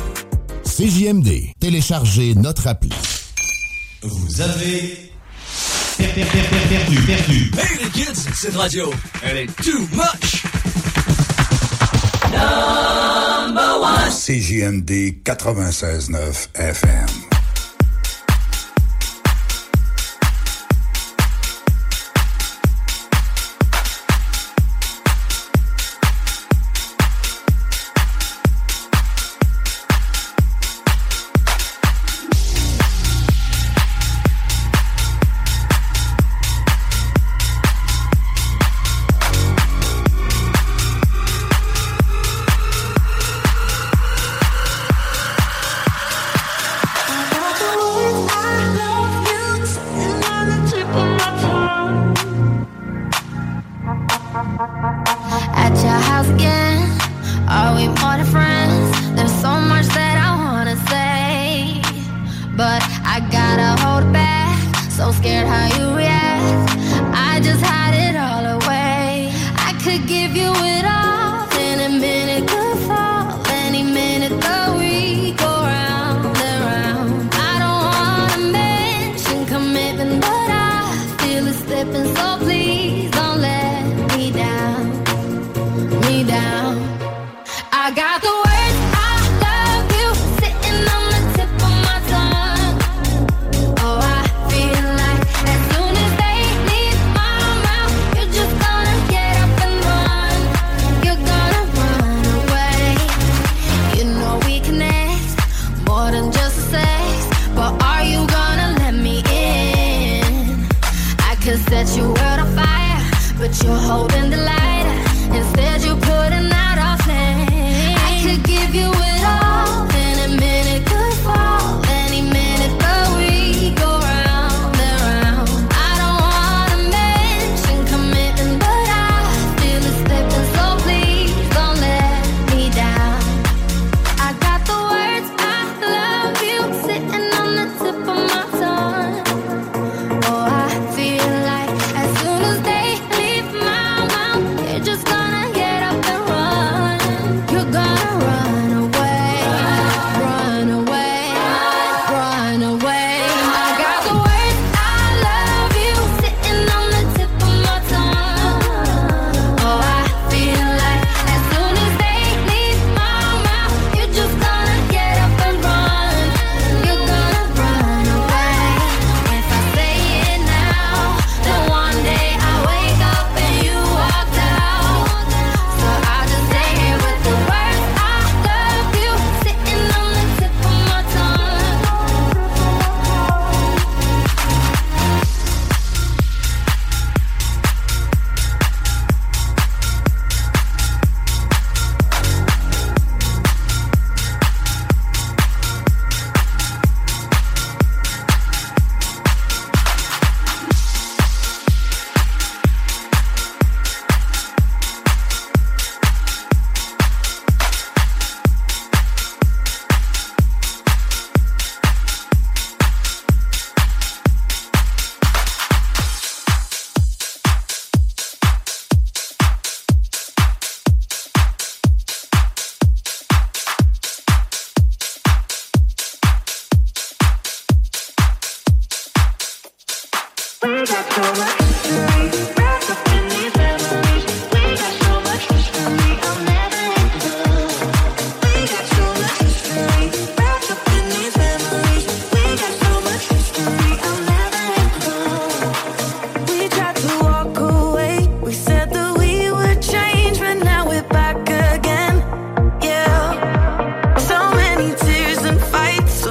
C J M D. Téléchargez notre appli. Vous avez Perdu, perdu, perdu. Hey les kids, cette radio, elle est too much. Number one. C J M D quatre-vingt-seize neuf F M.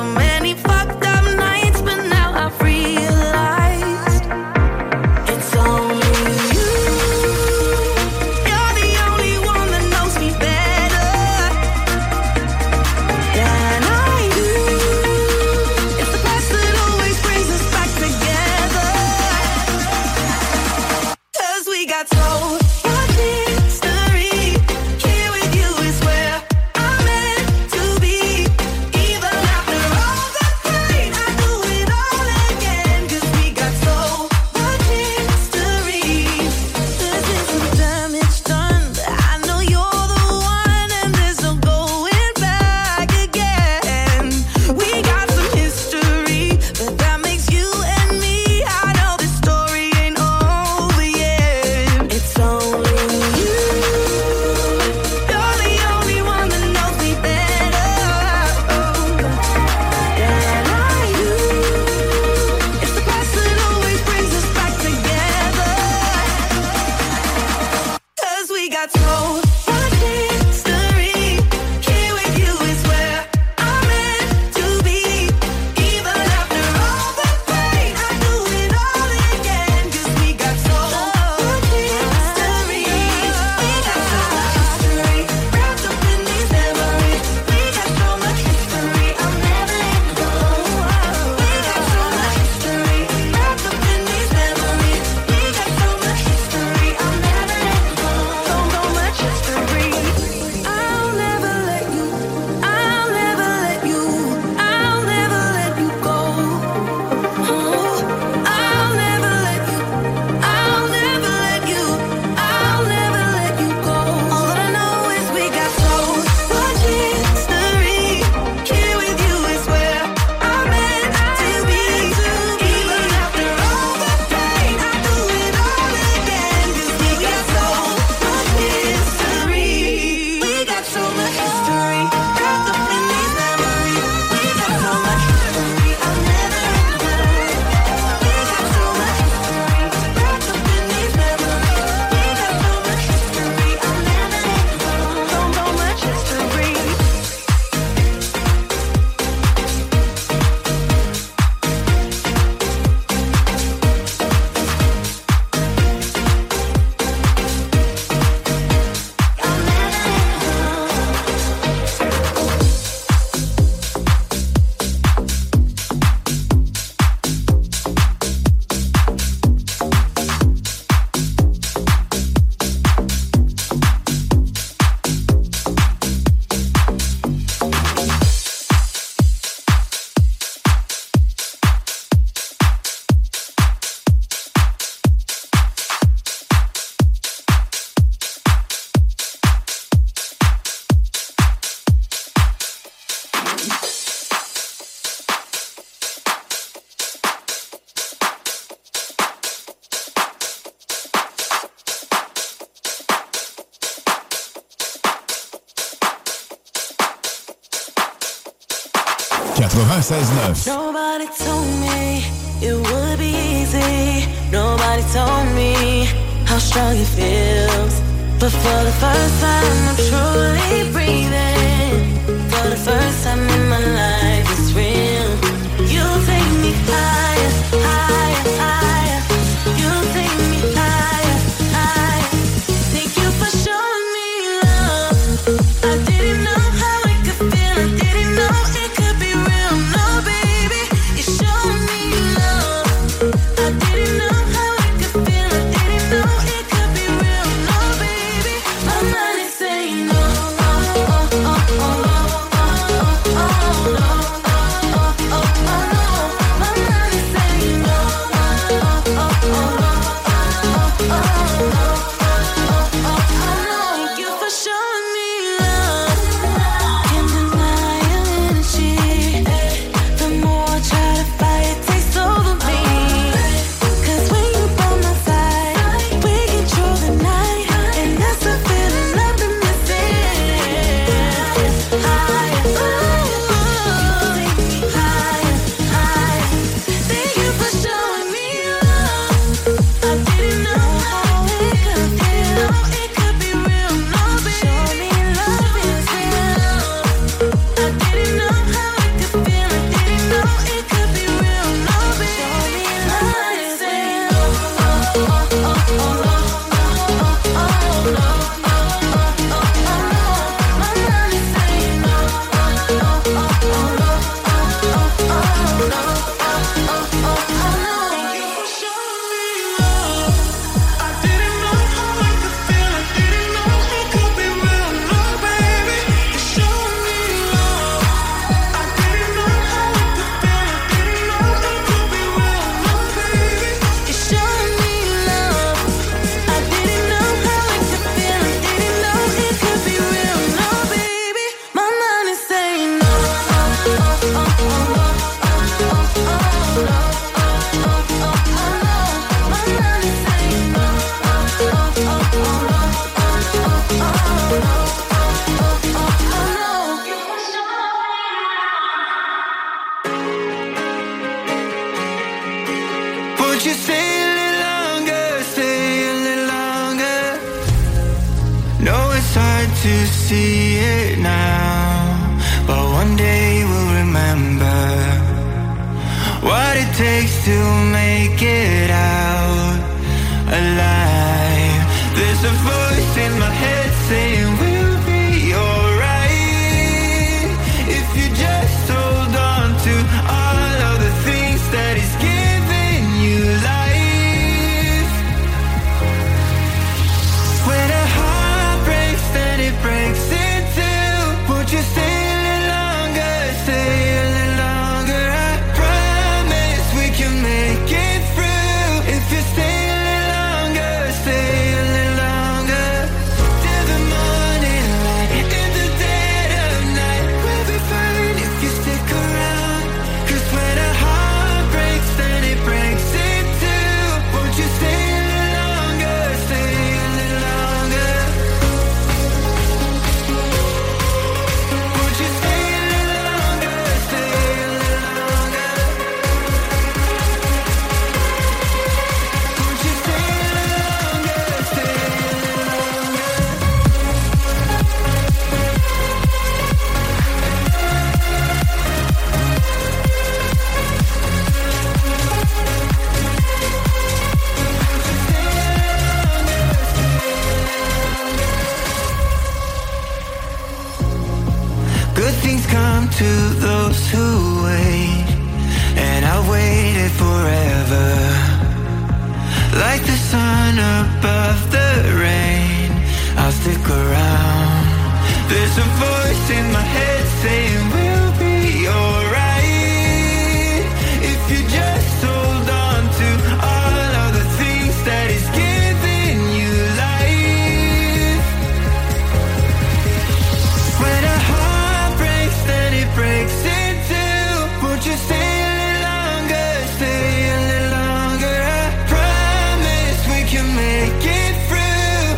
It's all quatre-vingt-seize neuf. Nobody told me it would be easy. Nobody told me how strong it feels. But for the first time, I'm truly breathing. For the first time in my life, it's real. You take me higher, higher, higher. You take me higher, higher. Thank you for showing me love. I didn't know how it could feel. I didn't know it could be real. No, baby, you showed me love. I didn't know how it could feel. I didn't know it could be real. No, baby, my mind is saying no. Oh, oh, oh, oh, oh, oh, oh, no.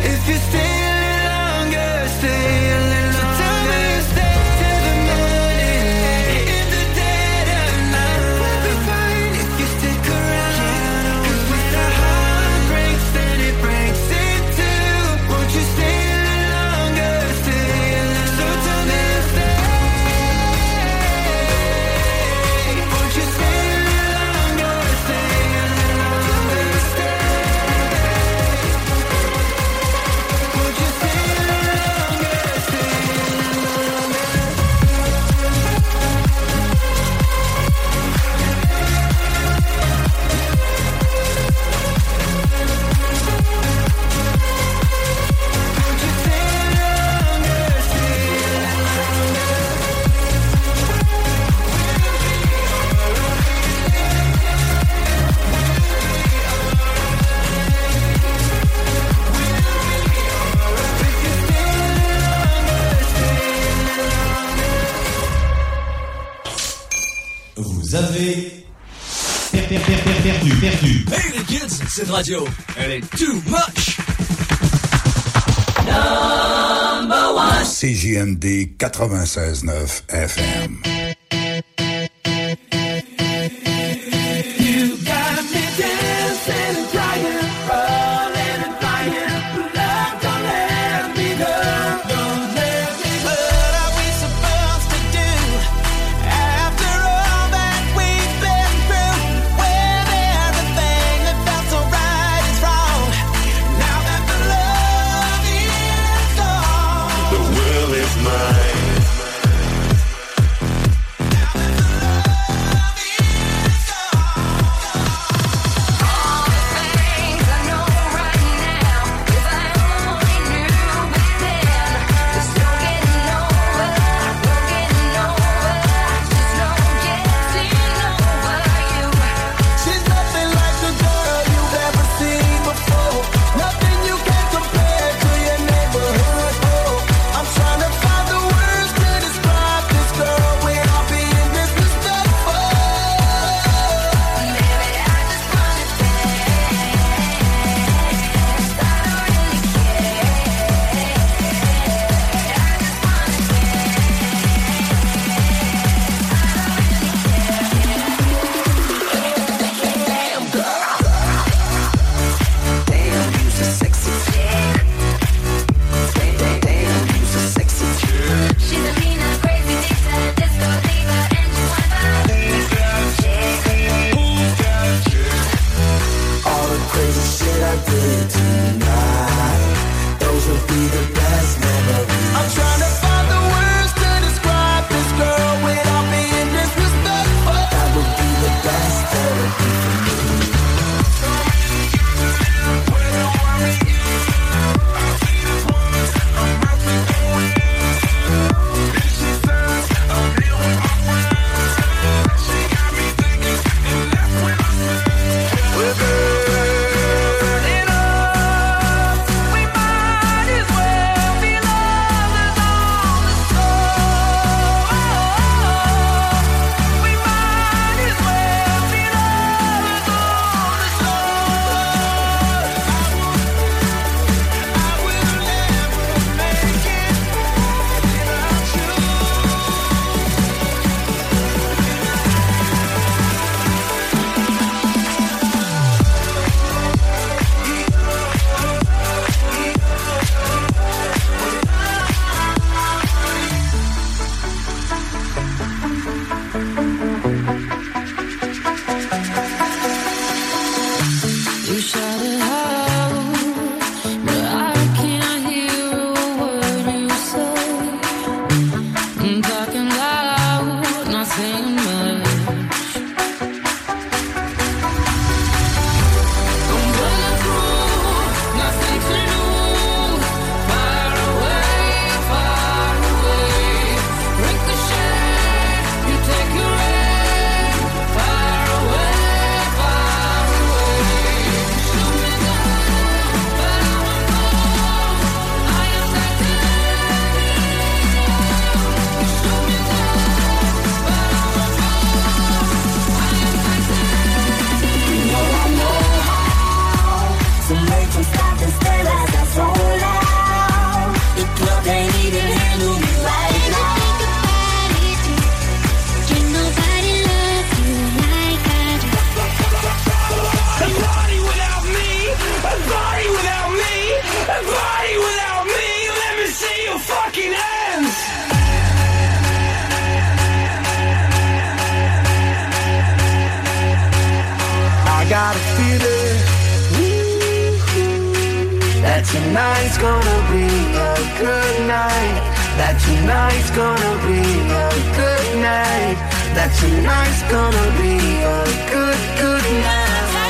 Stay a little longer. So tell me you stay till the morning. Vous avez per- per- per- per- perdu, perdu. Hey les kids, cette radio, elle est too much. Number one. C J M D quatre-vingt-seize neuf F M. You got me dancing and crying, rolling and flying. Love, don't let me go. Don't let me go. What are we supposed to do after all that we've been through? When everything that felt so right is wrong. Now that the love is gone, The world is mine. she's nothing like the girl you've ever seen before. Nothing you can compare to your neighborhood. Oh, I'm trying to find the words to describe this girl without being disrespectful. Maybe I just wanna damn, you's a sexy chick. Damn, damn, damn, you's a sexy chick. She's a mean, crazy, disco, disco diva, and she All the crazy shit I did tonight, those would be the best memories. I'm trying to find the words to describe this girl without being disrespectful. That would be the best therapy for me. We're burning up. We might as well be lovers on the shore. We might as well be lovers on the shore. I will never make it without you. You shout it out, but I can't hear a word you say. I'm talking loud, not saying much. I'm running through, nothing to lose. Far away, far away. Ricochet, you take your aim. Far away, far away. Shoot me down, but I won't fall. I am titanium. You shoot me down, but I won't fall. I am titanium. You know I know how to make them stop and stare as I roll out. The club ain't even handle me right now. Can nobody love you like I do? A party without me, a party without me, a party without me. Let me see your fucking hands. I got a feeling that tonight's gonna be a good night. That tonight's gonna be a good night. That tonight's gonna be a good, good night.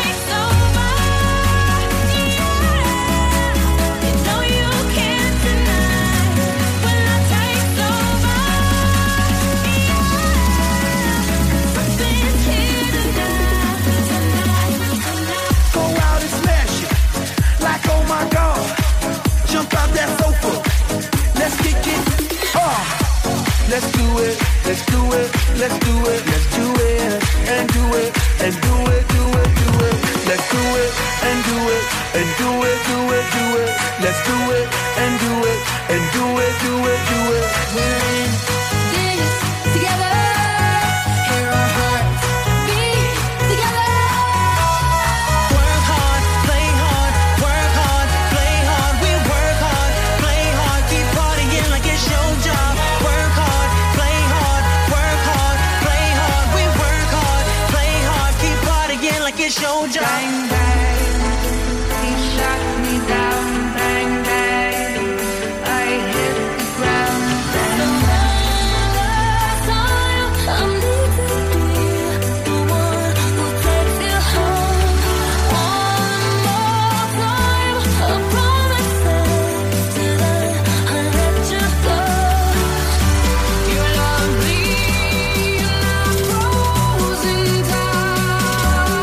Go out and smash it, like oh my god. Jump out that sofa, let's kick it off. Let's do it, let's do it, let's do it, let's do it. and do it, and do it, do it, do it. Let's do it, and do it, and do it, do it, do it. Let's do it, and do it, and do it, do it, do it. We're in this together. Hear our hearts beat together. Work hard, play hard, work hard, play hard. We work hard, play hard, keep partying like it's your job. Work hard, play hard, work hard, play hard. We work hard, play hard, keep partying like it's your job. Bang, bang, he shot me down. Bang, bang, I hit the ground. Bang, bang. I'm leaving you, the one who takes you home. One more time, I promise that I let you go. You love me, and I'm frozen time.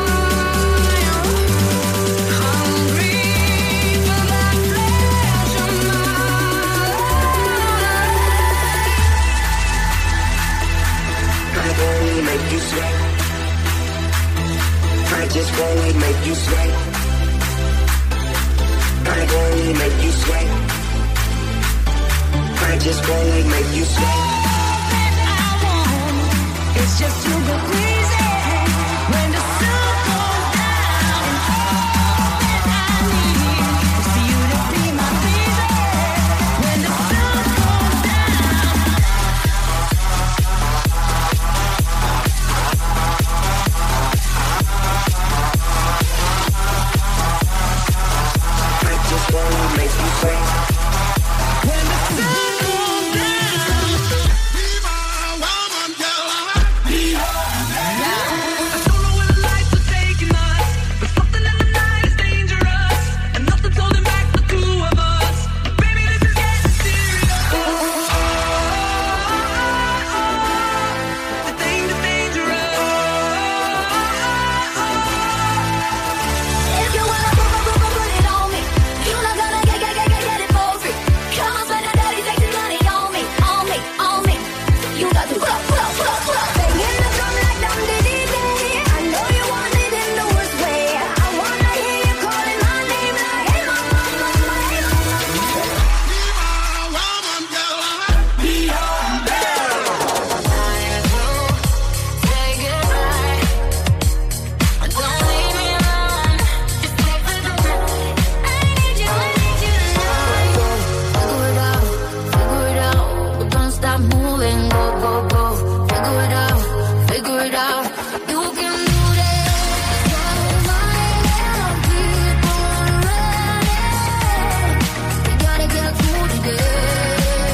Hungry for that flesh of mine. I only make you sweat. I just only make you sweat. I only make you sweat. I just only make you sweat. It's just to go crazy when the sun goes down. And all that I need is for you to be my baby when the sun goes down. I just wanna make you sweat. When the sun goes down. Be my woman, girl. Be your man. I don't know where the lights are taking us, but something in the night is dangerous, and nothing's holding back the two of us. Baby, this is getting serious. The thing is dangerous. If you wanna put, put, put, put it on me, you're not gonna get, get, get, get, get it for free. Come on, spend a daddy, take the money on me, on me, on me. You got to pull up, pull up, pull up, pull up. Banging the drum like dum diddy day. I know you want it in the worst way. I wanna hear you calling my name like, hey mama, mama, hey mama. Be your man. Say goodbye. Don't leave me alone. Just take the goodbye. I need you, I need you tonight. Figure it out, figure it out. But don't stop moving, go, go, go. Figure it out, figure it out. You can do this. You're my little people running. We gotta get through today.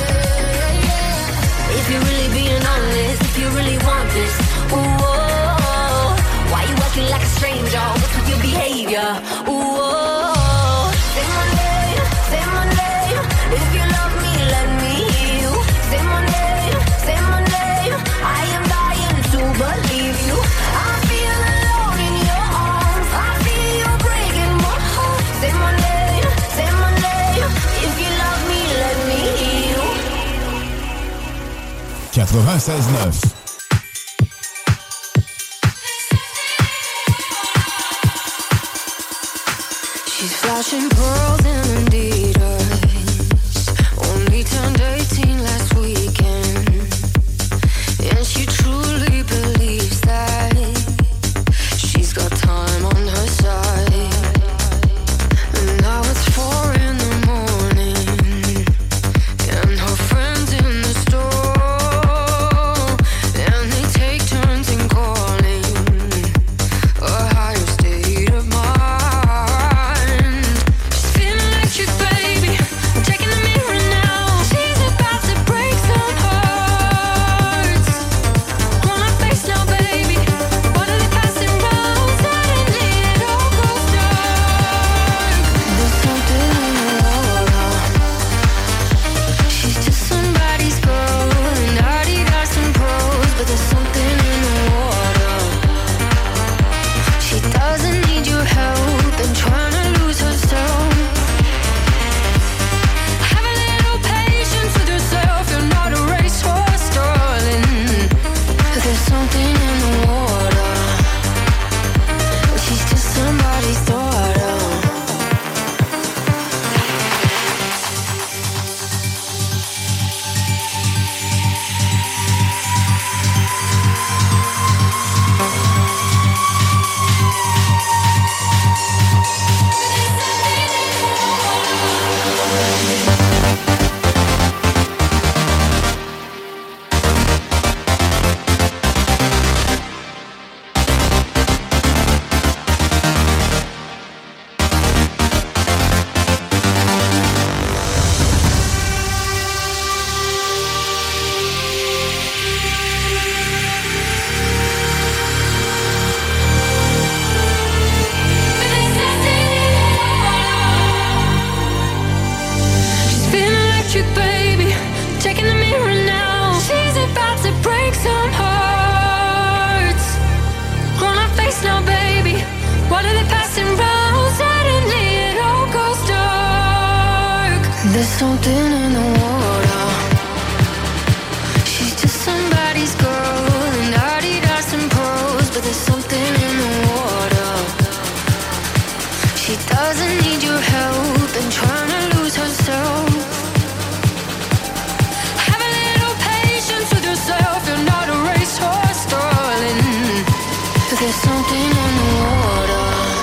If you're really being honest, if you really want this, ooh, oh, why you acting like a stranger? What's with your behavior? Ooh, oh, say my name, say my name. If you love me, let me hear you. Say my name, say my name. I am dying to believe you. I feel alone in your arms. I feel you breaking my heart. Say my name, say my name. If you love me, let me hear you. quatre-vingt-seize neuf. She's flashing pearls in Adidas. Only turned eighteen last weekend, and she truly believes that she's got time on her side. And now it's four in the morning, and her friends in the store, and they take turns in calling a higher state of mind. She's something in the water. She's just somebody's girl in Adidas and pros, but there's something in the water. She doesn't need your help and trying to lose herself. Have a little patience with yourself. You're not a racehorse, darling. There's something in the water.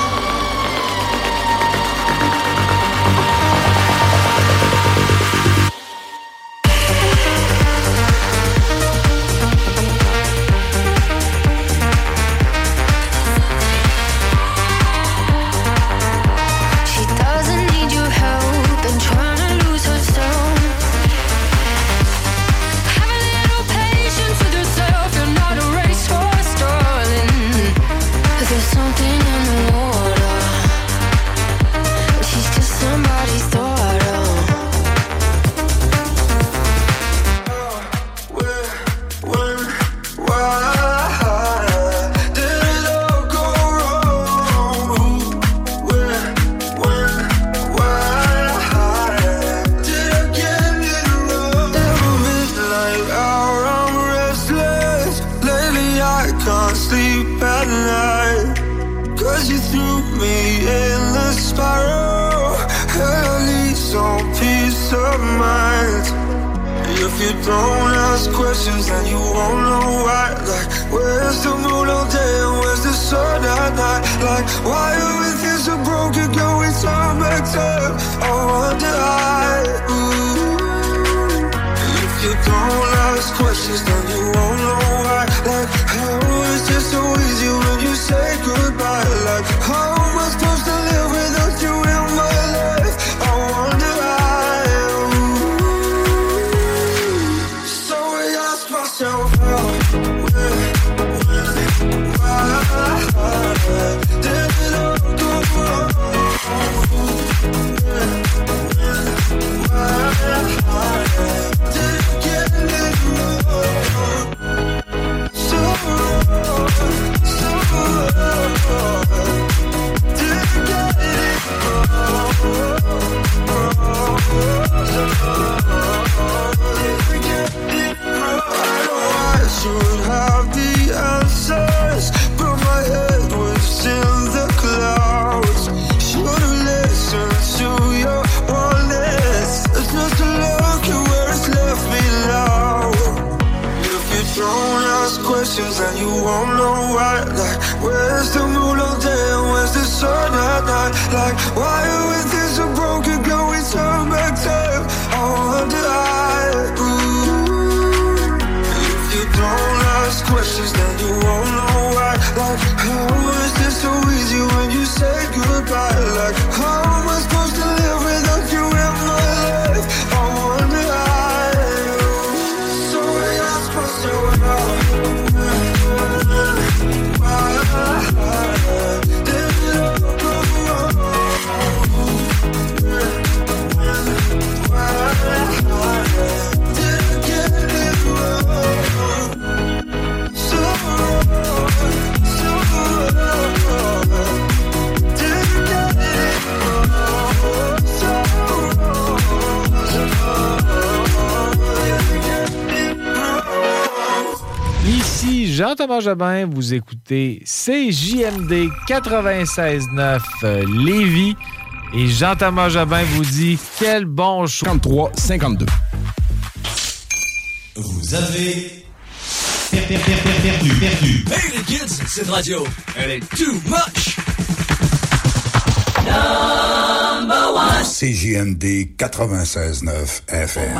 Don't ask questions and you won't know why. Like, where's the moon all day and where's the sun at night? Like, why are we feel so broken? Can we turn back time? I wonder why. Ooh. If you don't ask questions, then you won't know why. Like, how is it so easy when you say goodbye? Like, how am I supposed to live without you in my life? I wonder why. Myself out, when, when, why did it all go wrong? When, when, why did it get it wrong? So wrong, so wrong. Did it get it wrong? So wrong. Did it get it wrong? I should have the answers, but my head was in the clouds. Should've listened to your warnings. It's just a look at where it's left me now. If you don't ask questions, then you won't know why. Like, where's the moon all day and where's the sun at night? Like, why are we things so broken? Can we turn back time? I wonder why. Ooh. Don't ask questions, then you won't know why. Like, how is this so easy when you say goodbye? Like, how am I supposed to live without you in my life? I wonder why. So I ask myself now, why did it all go wrong? Why did I get it wrong? So wrong, so wrong. Did you get it wrong? So wrong, so wrong. Did you get it wrong? Ici Jean-Thomas Jobin, vous écoutez C J M D quatre-vingt-seize neuf euh, Lévis. Et Jean-Thomas Jobin vous dit quel bon choix. cinquante-trois cinquante-deux. Vous avez perdu, perdu, perdu. Hey les kids, cette radio, elle est too much. Number one. C J M D quatre-vingt-seize neuf F M.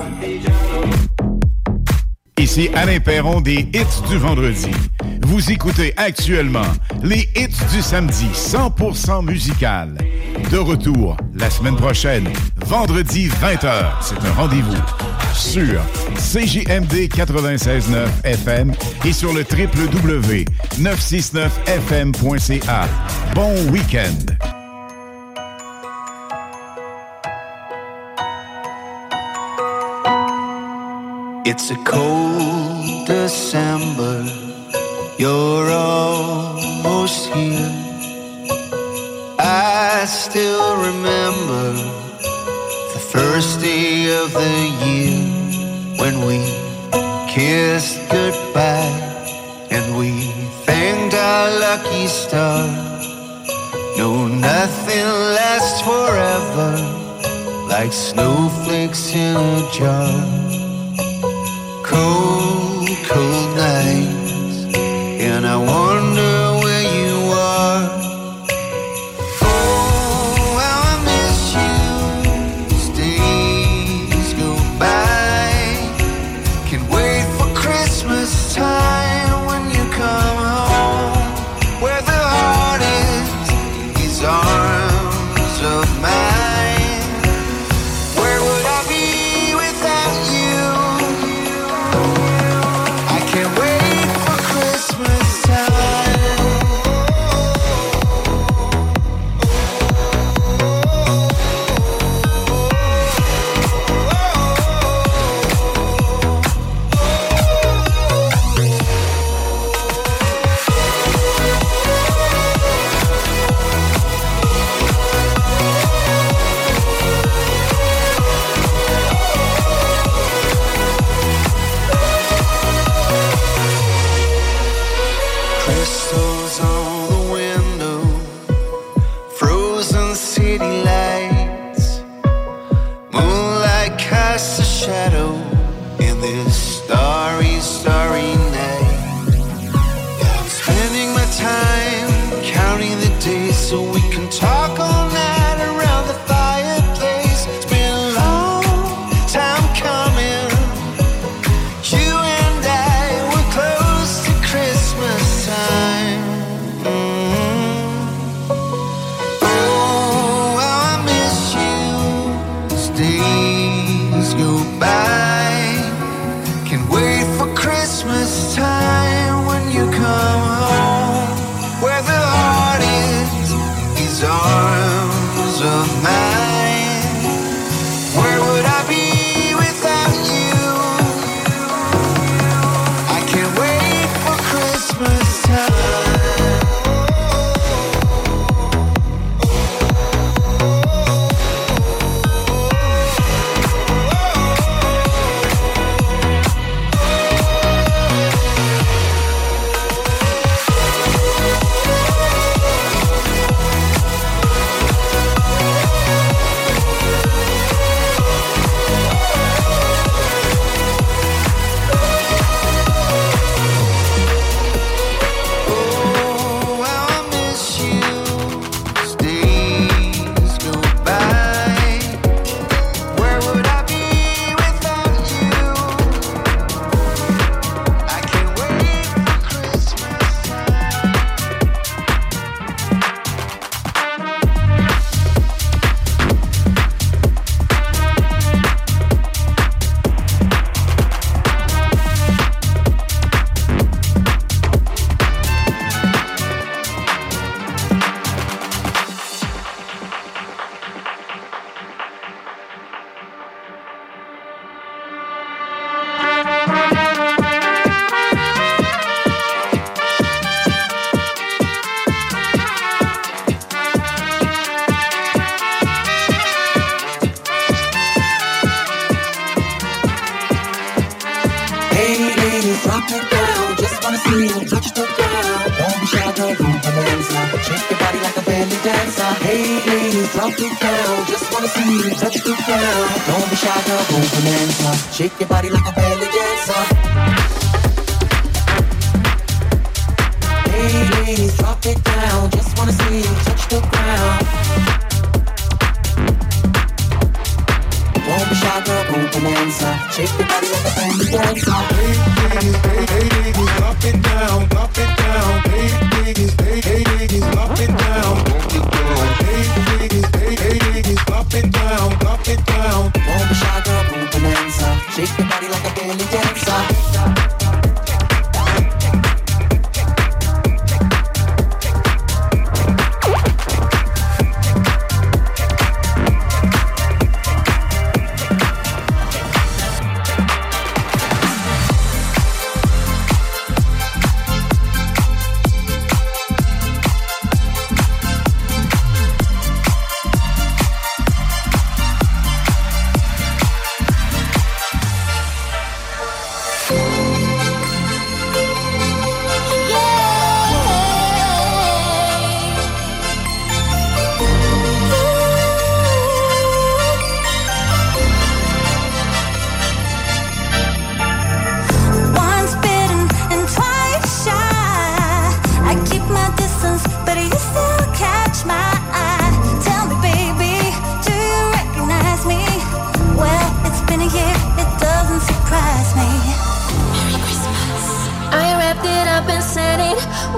Ici Alain Perron des hits du vendredi. Vous écoutez actuellement les hits du samedi cent pour cent musical. De retour la semaine prochaine, vendredi vingt heures. C'est un rendez-vous sur C J M D quatre-vingt-seize neuf F M et sur le w w w point neuf cent soixante-neuf F M point C A. Bon week-end! It's a cold December, you're almost here. I still remember the first day day of the year when we kissed goodbye and we thanked our lucky star. No, nothing lasts forever like snowflakes in a jar. Cold, cold nights, and I wonder where you are. Oh, how I miss you. Days go by. Can't wait for Christmas time when you come home, where the heart is in these arms of mine. Where would I be without you? I can't wait for Christmas time. Crystals on the window, frozen city lights, moonlight casts a shadow in this starry, starry night. Yeah, I'm spending my time counting the days so we can talk all night around the fireplace. It's been a long time coming. You and I were close to Christmas time. Mm. Oh, how I miss you. As days go by. Can't wait for Christmas time when you come home, where the heart is these arms of mine. Where would I be without you? I can't wait for Christmas time. Oh, how I miss you. As days go by. Where would I be without you? I can't wait for Christmas time. Hey ladies, drop it down. Just wanna see you touch the ground. Don't be shy, girl, go bonanza. Shake your body like a belly dancer. Hey ladies, drop it down. Just wanna see you touch the ground. Don't be shy, girl, go bonanza. Shake your body like a belly dancer. Hey ladies, drop it down. Just wanna see you touch the ground. Don't be shy, girl, go bonanza. Shake your body like a belly dancer. Hey ladies, hey, hey ladies, drop it down, drop it down. Hey ladies, hey, hey ladies, drop it down, drop it down. Hey ladies, hey, hey ladies, drop it down, drop it down. Don't be shy, girl, go bonanza. Shake your body like a belly dancer.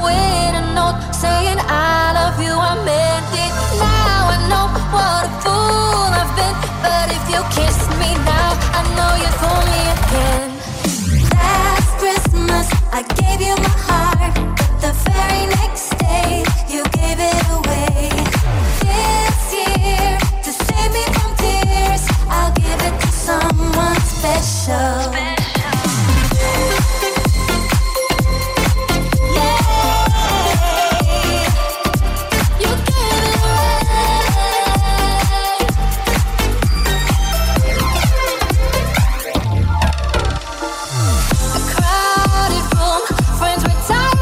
with a note saying I love you, I meant it. Now I know what a fool I've been, but if you kiss me now, I know you'd fool me again. Last Christmas I gave you my heart, but the very next day you gave it away. This year, to save me from tears, I'll give it to someone special. Crowded room, friends retire.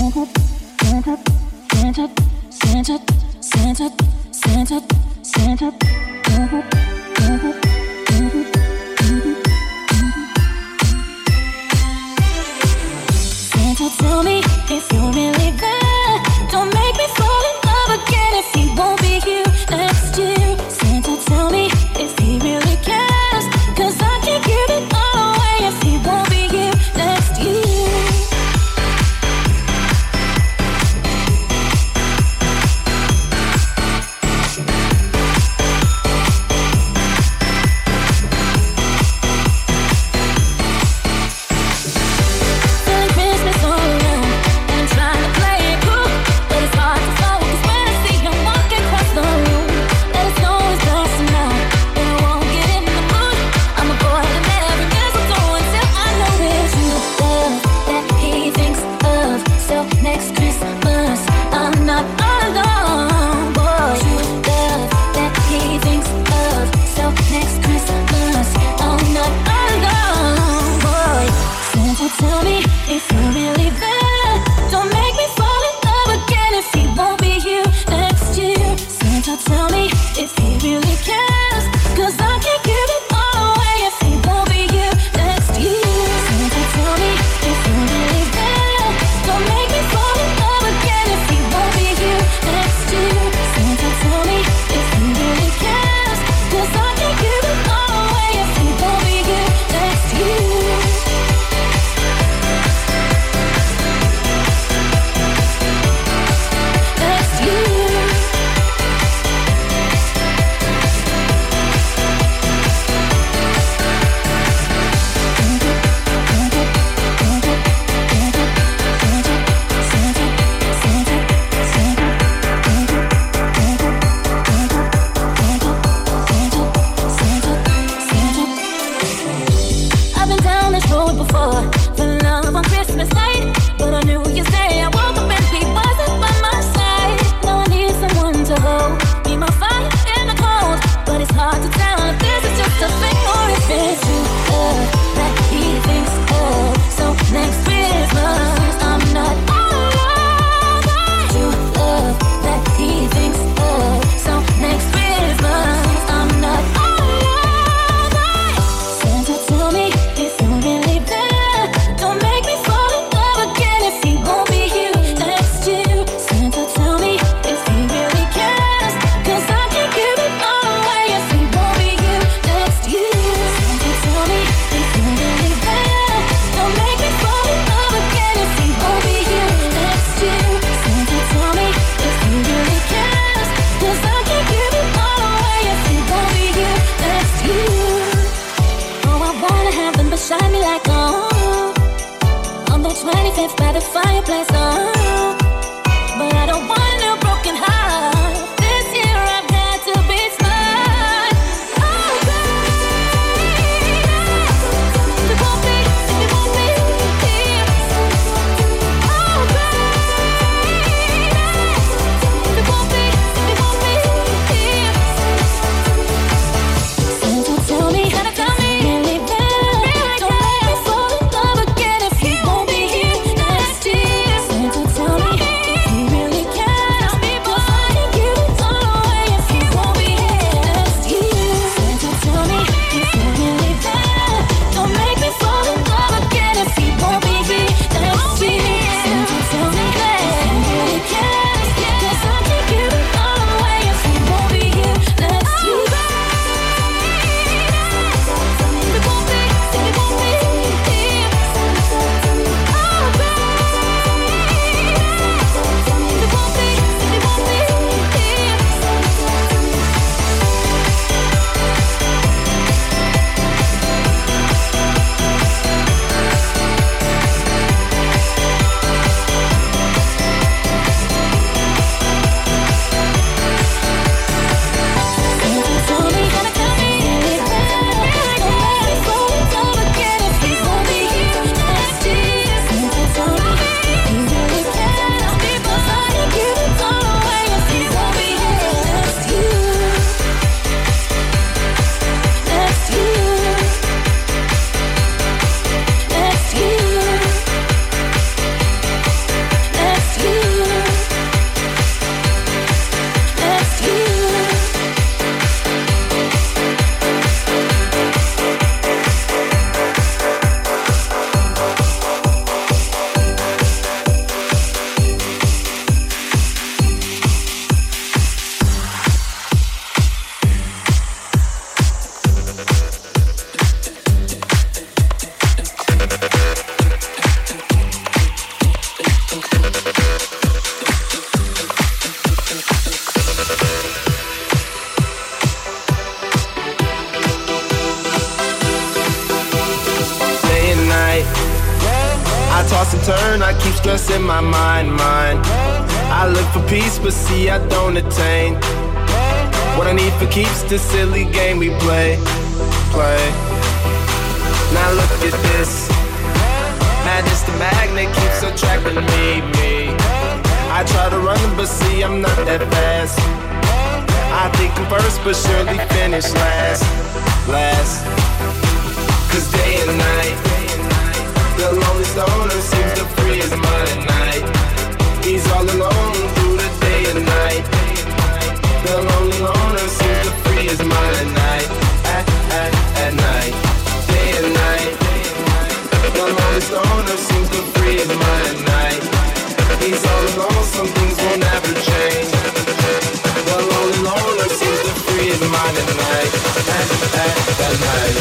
Tell me if you're really there. Don't make me fall in love again if he won't be here next year. Santa, tell me if he really cares, 'cause I can't give it all away if he won't be here next year. Tell me if you're really there. Don't make me fall in love again if he won't be here next year. Santa, tell me if he really cares, 'cause I can't give it all away if he won't be here next year. Santa, tell me if you're really there. Don't make me fall in love again if he won't be here next year. Santa, tell me if he really cares, 'cause I can't give it all away if he won't be here next year. I've been down this road before, for love on Christmas night, but on New Year's Day I woke up and he wasn't by my side. Now I need someone to hold, be my fire in the cold, but it's hard to tell if this is just a thing or if it's true love that he thinks of. So next Christmas I'm not alone. True love that he thinks of. So next Christmas I'm not alone. Santa, tell me if you're really there. Don't make me fall in love again if he won't be here next year. Santa, tell me if he really cares, 'cause I can't give it all away if he won't be here next year. Santa, tell me if you're really there. Don't make me fall in love again if he won't be here next year. Santa, tell me if he really cares, 'cause I can't give it all away if he won't be here next year. Oh, I wanna have them beside me like oh, on the twenty-fifth by the fireplace, oh, but I don't want a broken heart. This year I've got to be smart. Oh, baby, it won't be, it won't be here. Oh, baby, it won't be, it won't be here. Santa, tell me, Santa, tell me, really there. Don't make me fall in love again if he won't be here next year. stress in my mind, mind. I look for peace, but see I don't attain. What I need for keeps the silly game we play, play. Now look at this. Madness the magnet keeps attracting me, me. I try to run, but see I'm not that fast. I think I'm first, but surely finish last, last. Cause day and night, the lonely stoner seems to free his mind at night. He's all alone through the day and night. The lonely loner seems to free his mind at night, at, at, at night. Day and night, the lonely stoner seems to free his mind at night. He's all alone, some things will never change. The lonely loner seems to free his mind at night, at, at, at night,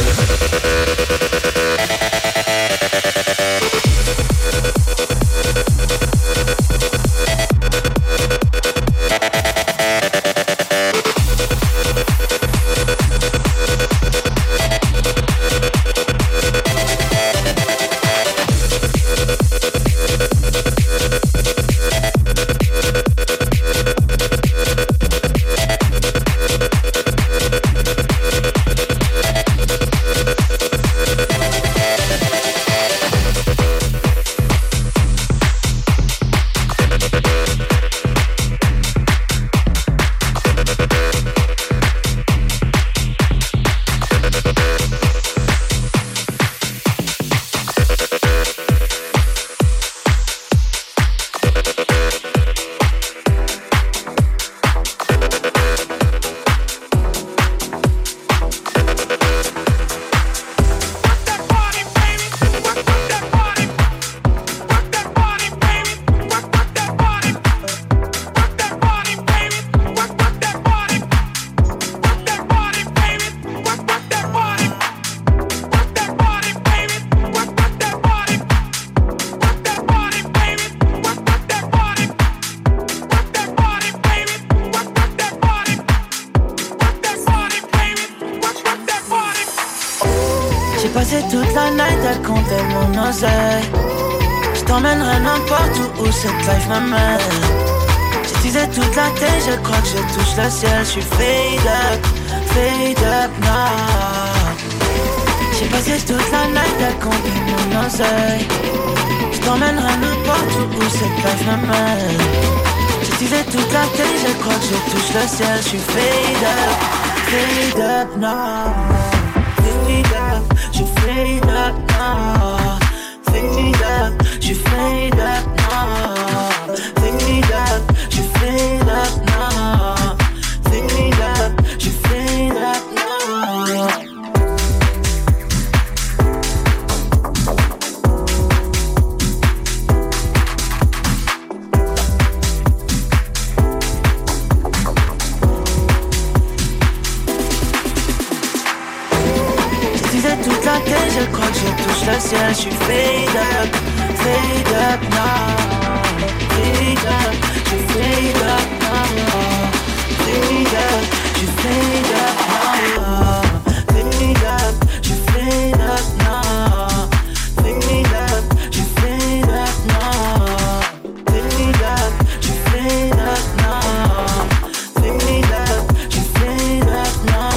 passé toute la night à compter mon oseille. Je t'emmènerai n'importe où, où cette life m'amène. J'utilisais toute la tête, je crois que je touche le ciel. Je suis fade up, fade up now. J'ai passé toute la night à compter mon oseille. Je t'emmènerai n'importe où, où cette life m'amène. J'utilisais toute la tête, je crois que je touche le ciel. Je suis fade up, fade up now. Fade up, je fade up now. Fade up, je fade up now. Fade up, je fade up now. Fade up, je fade up now. Toute la tête, je crois que je touche le ciel. Je suis fade up, fade up now. Fade up, je fade up now. Fade up, je fade up now. Fade up, je fade up now. Fade up, je fade up now. Fade up, je fade up now. Fade up, je fade up now.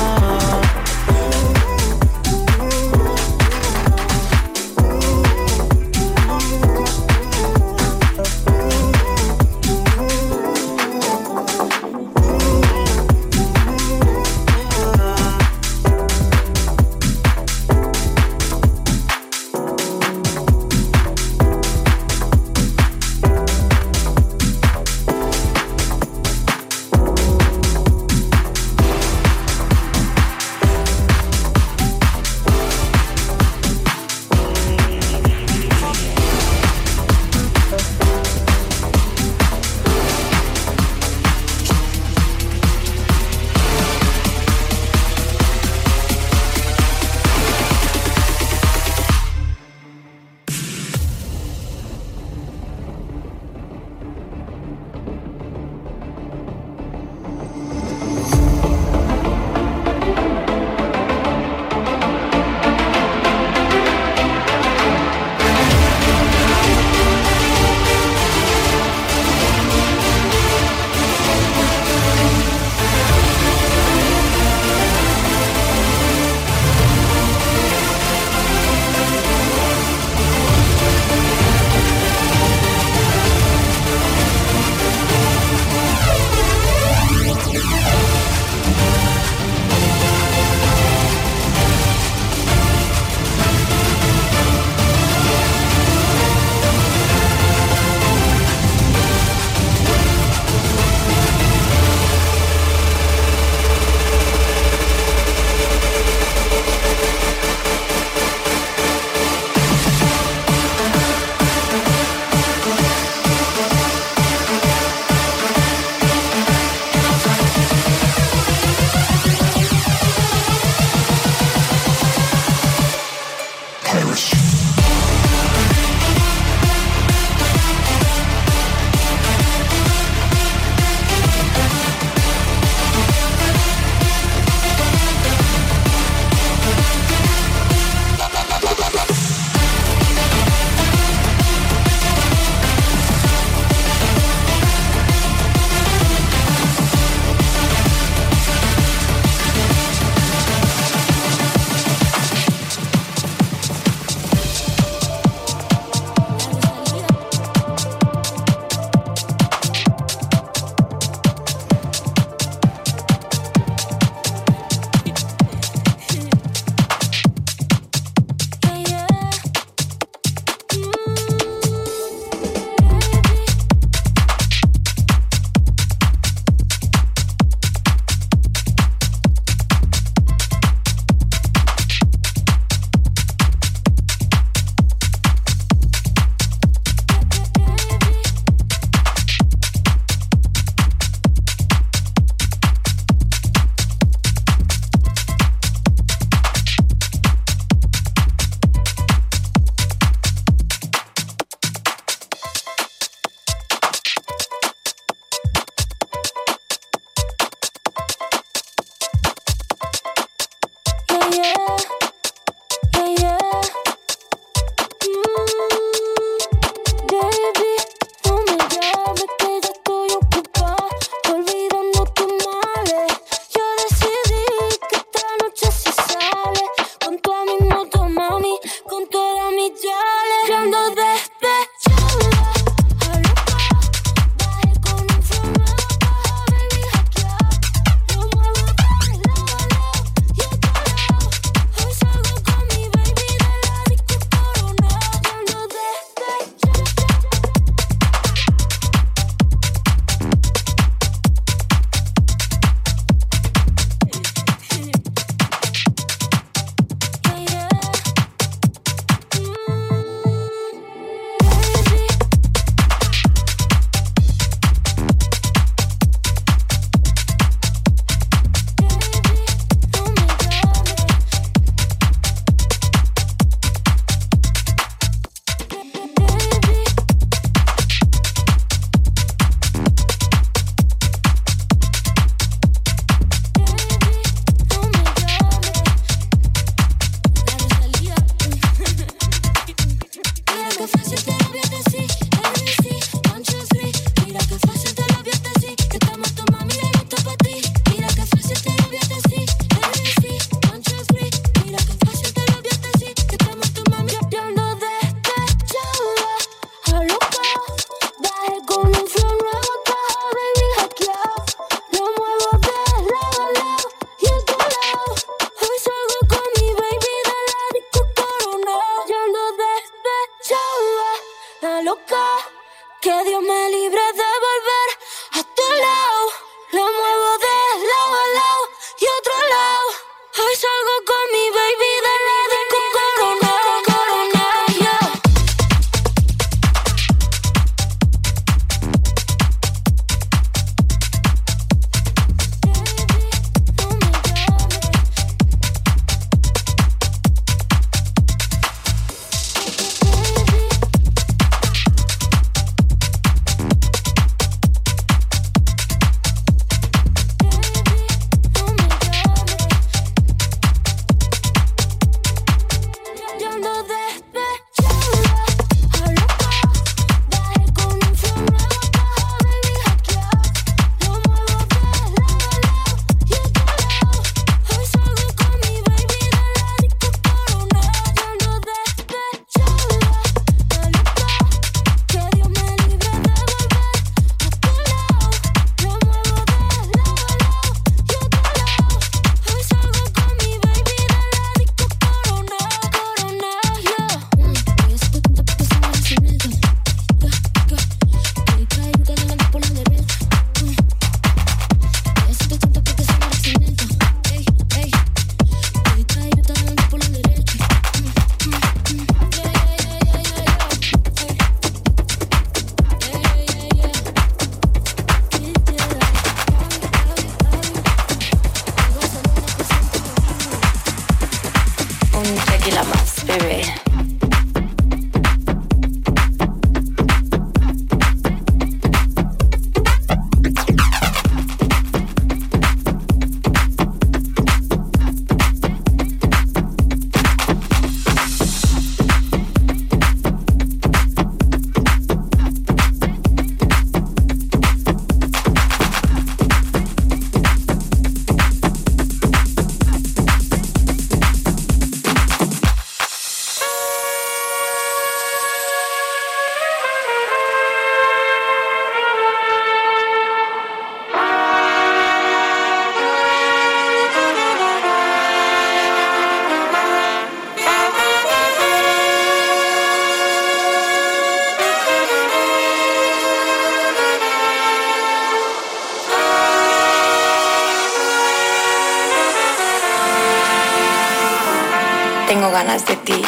me libre de volver a tu lado. Lo muevo de lado a lado y otro lado. Hoy salgo con mi baby de la disco Corona, Corona, yeah. Tengo ganas de ti.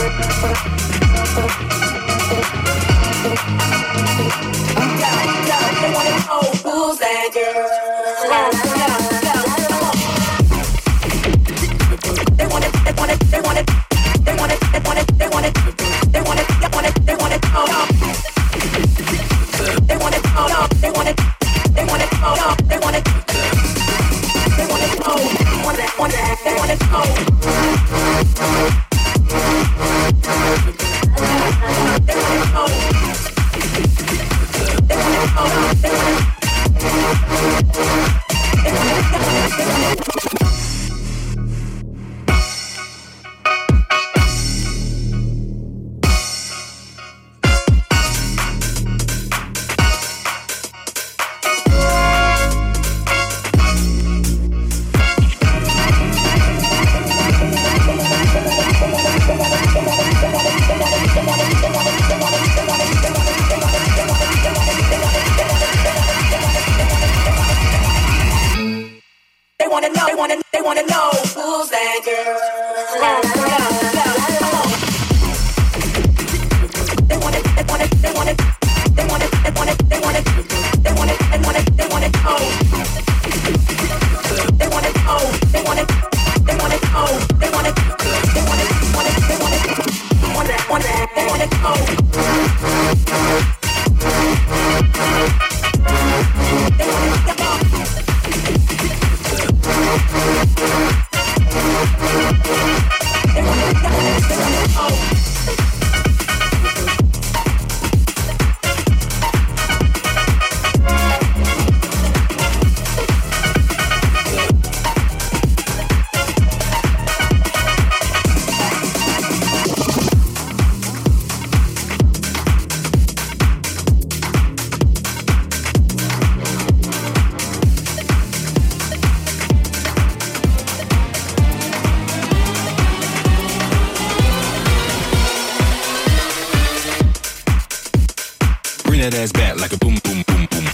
that ass back like a boom, boom, boom, boom.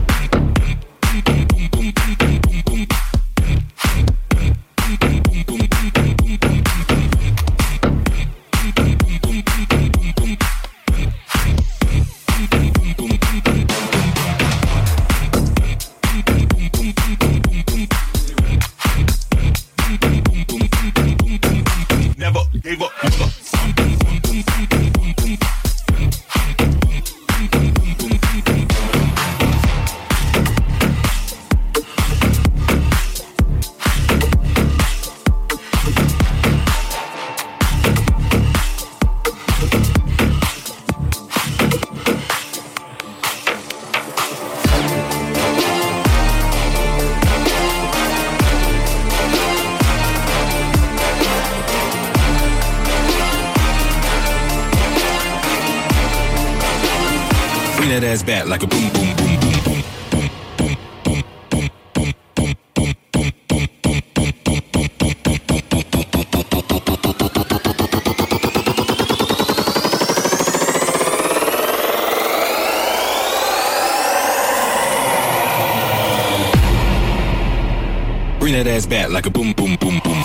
Never gave up. Bring that ass back like a boom, boom, boom, boom, boom. Bring that ass back like a boom, boom, boom, boom.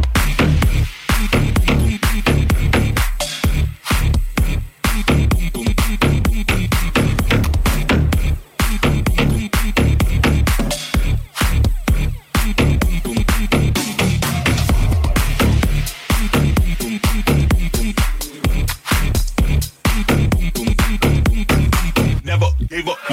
Never gave up.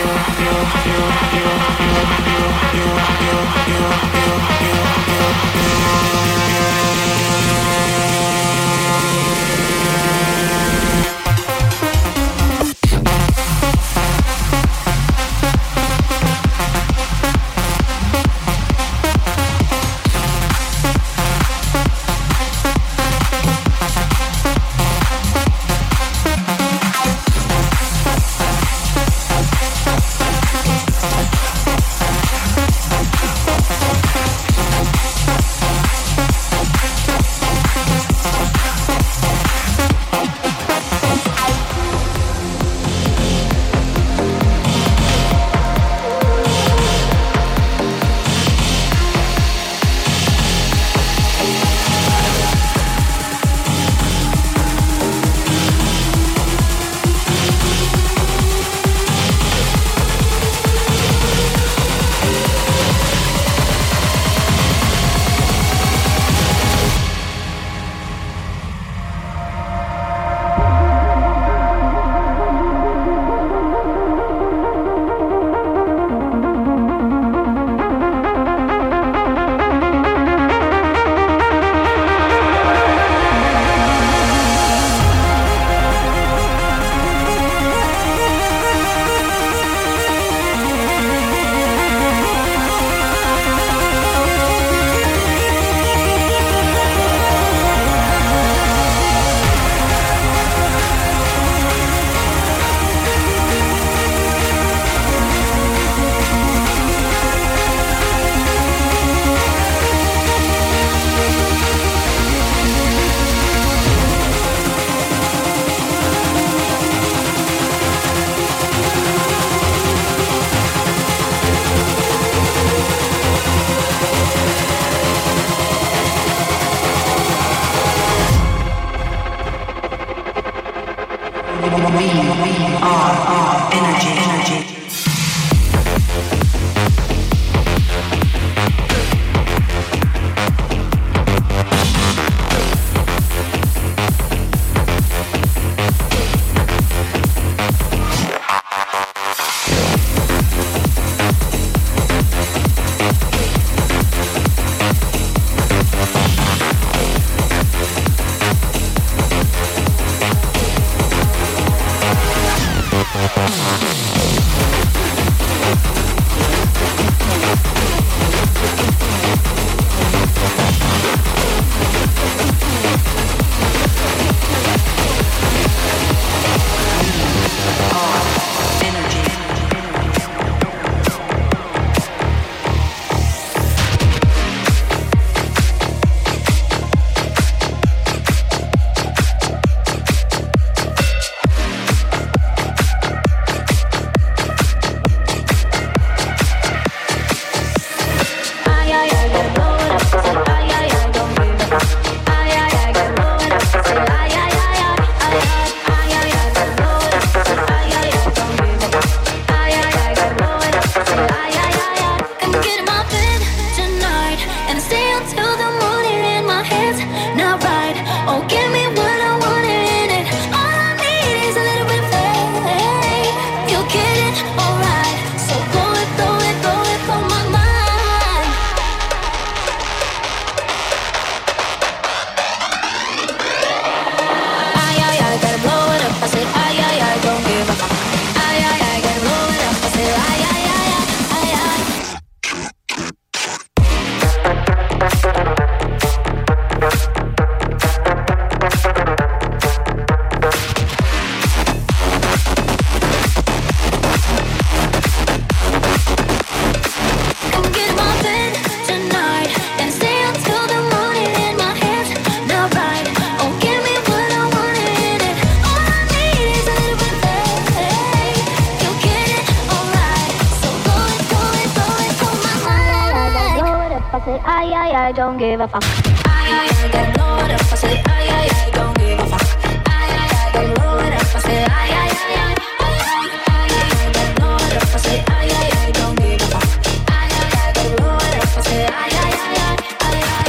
I don't give a fuck. Ay, ay, ay, get blow it up. I say, ay, ay, ay, don't give a fuck. Ay, ay, ay, get blow it up. I say, ay, ay, ay, ay, ay, ay, ay, get blow it up. I say, ay, ay, ay, don't give a fuck. Ay, ay, ay, get blow it up. I say, ay, ay, ay, ay, ay, ay.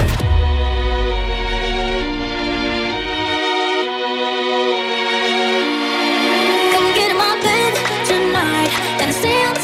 Come get in my bed tonight and stay up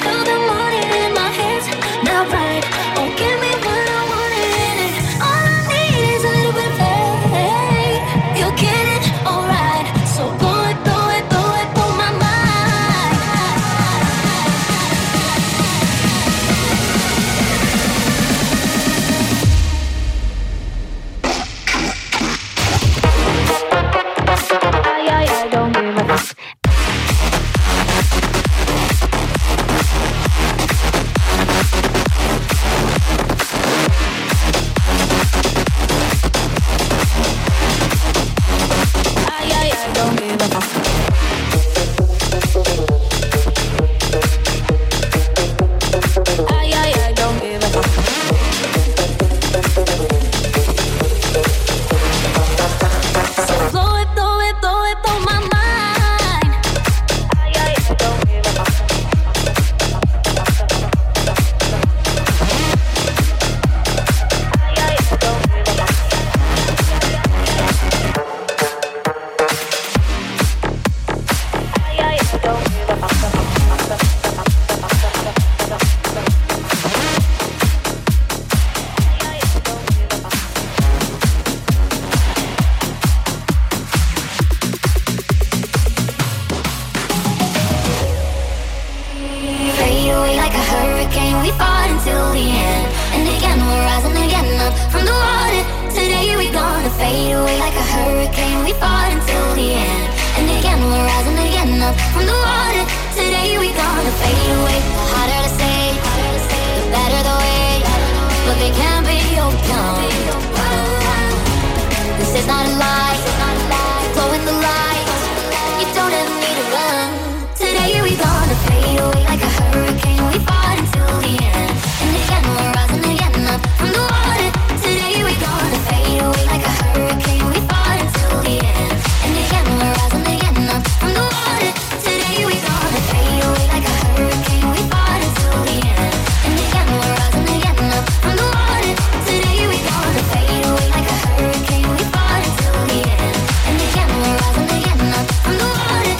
hurricane, we fought until the end. And again, we're rising again up from the water. Today we gonna fade away like a hurricane, we fought until the end. And again, we're rising again up from the water. Today we gonna fade away. The harder to say, the better the way. But they can't be overcome. This is not a lie, flow in the light. You don't ever need to run. Today we gonna fade away like a hurricane, we fought until the end. And again, we're rising again up from the water. Today we gonna fade away like a hurricane, we fought until the end. And again, we're rising again up from the water. Today we gonna fade away like a hurricane, we fought until the end. And again, we're rising again up from the water. Today we gonna fade away like a hurricane, we fought until the end. And again, we're rising again up from the water.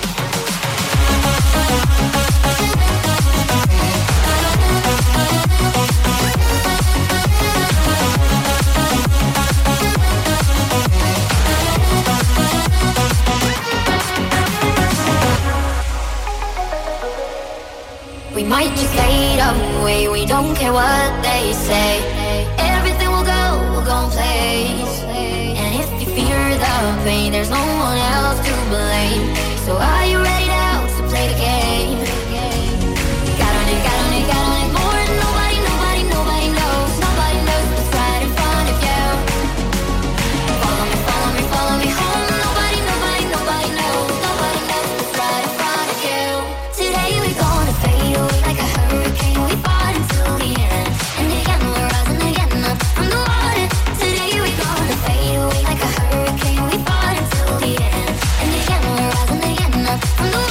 We might just fade away, we don't care what they say. Everything will go, will go in place. And if you fear the pain, there's no one else to blame. So are you ready now to play the game? Got on it, got on it, got on it more than nobody, nobody, nobody knows. Nobody knows what's right in front of you. Follow me, follow me, follow me home. Nobody, nobody, nobody knows. Nobody knows what's right in front of you. Today we gonna fade away like a hurricane, we fought until the end. And again, we're rising again up from the water. Today we gonna fade away like a hurricane, we fought until the end. And again, we're rising again up from the water.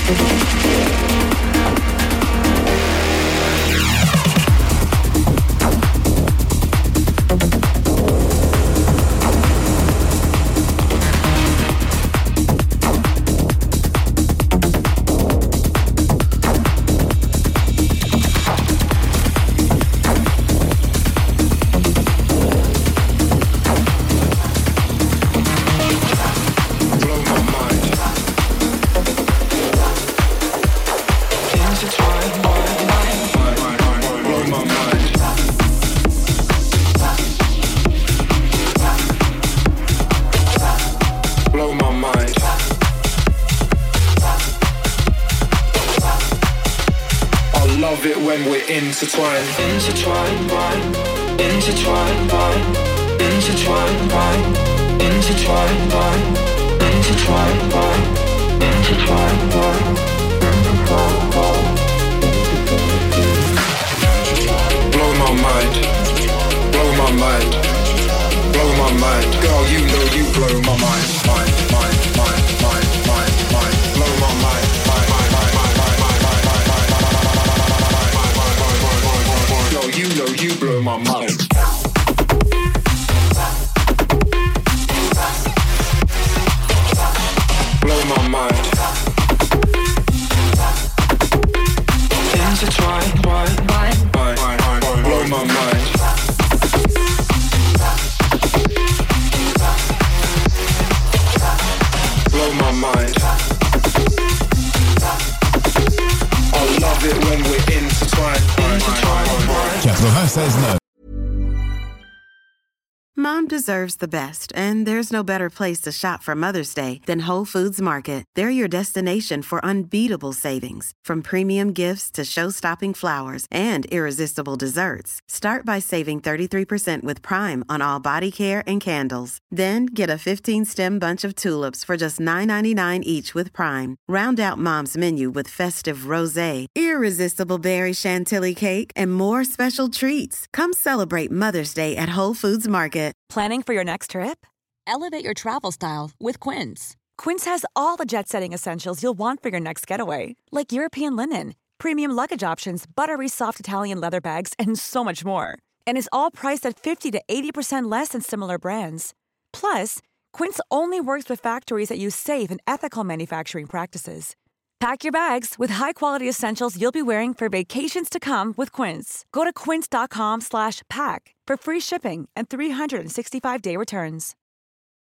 Intertwine, intertwine, wine, intertwine, wine, intertwine, wine, intertwine, wine, intertwine, wine, intertwine, wine, intertwine, wine. Blow my mind, blow my mind, blow my mind. Girl, you know you blow my mind, mind, mind, mind, mind, mind, mind. Blow my mind, mind, mind, mind, mind, mind, mind, mind, mind. You know you blow my mind. Blow my mind. Intertwine, wine, wine, wine, wine, wine. Blow my mind. Blow my mind. I love it when we're intertwined. Intertwined, wine. ninety-six neuf. Mom deserves the best, and there's no better place to shop for Mother's Day than Whole Foods Market. They're your destination for unbeatable savings, from premium gifts to show-stopping flowers and irresistible desserts. Start by saving thirty-three percent with Prime on all body care and candles. Then get a fifteen-stem bunch of tulips for just nine ninety-nine each with Prime. Round out Mom's menu with festive rosé, irresistible berry chantilly cake, and more special treats. Come celebrate Mother's Day at Whole Foods Market. Planning for your next trip? Elevate your travel style with Quince. Quince has all the jet-setting essentials you'll want for your next getaway, like European linen, premium luggage options, buttery soft Italian leather bags, and so much more. And is all priced at fifty to eighty percent less than similar brands. Plus, Quince only works with factories that use safe and ethical manufacturing practices. Pack your bags with high-quality essentials you'll be wearing for vacations to come with Quince. Go to quince.com slash pack for free shipping and three sixty-five day returns.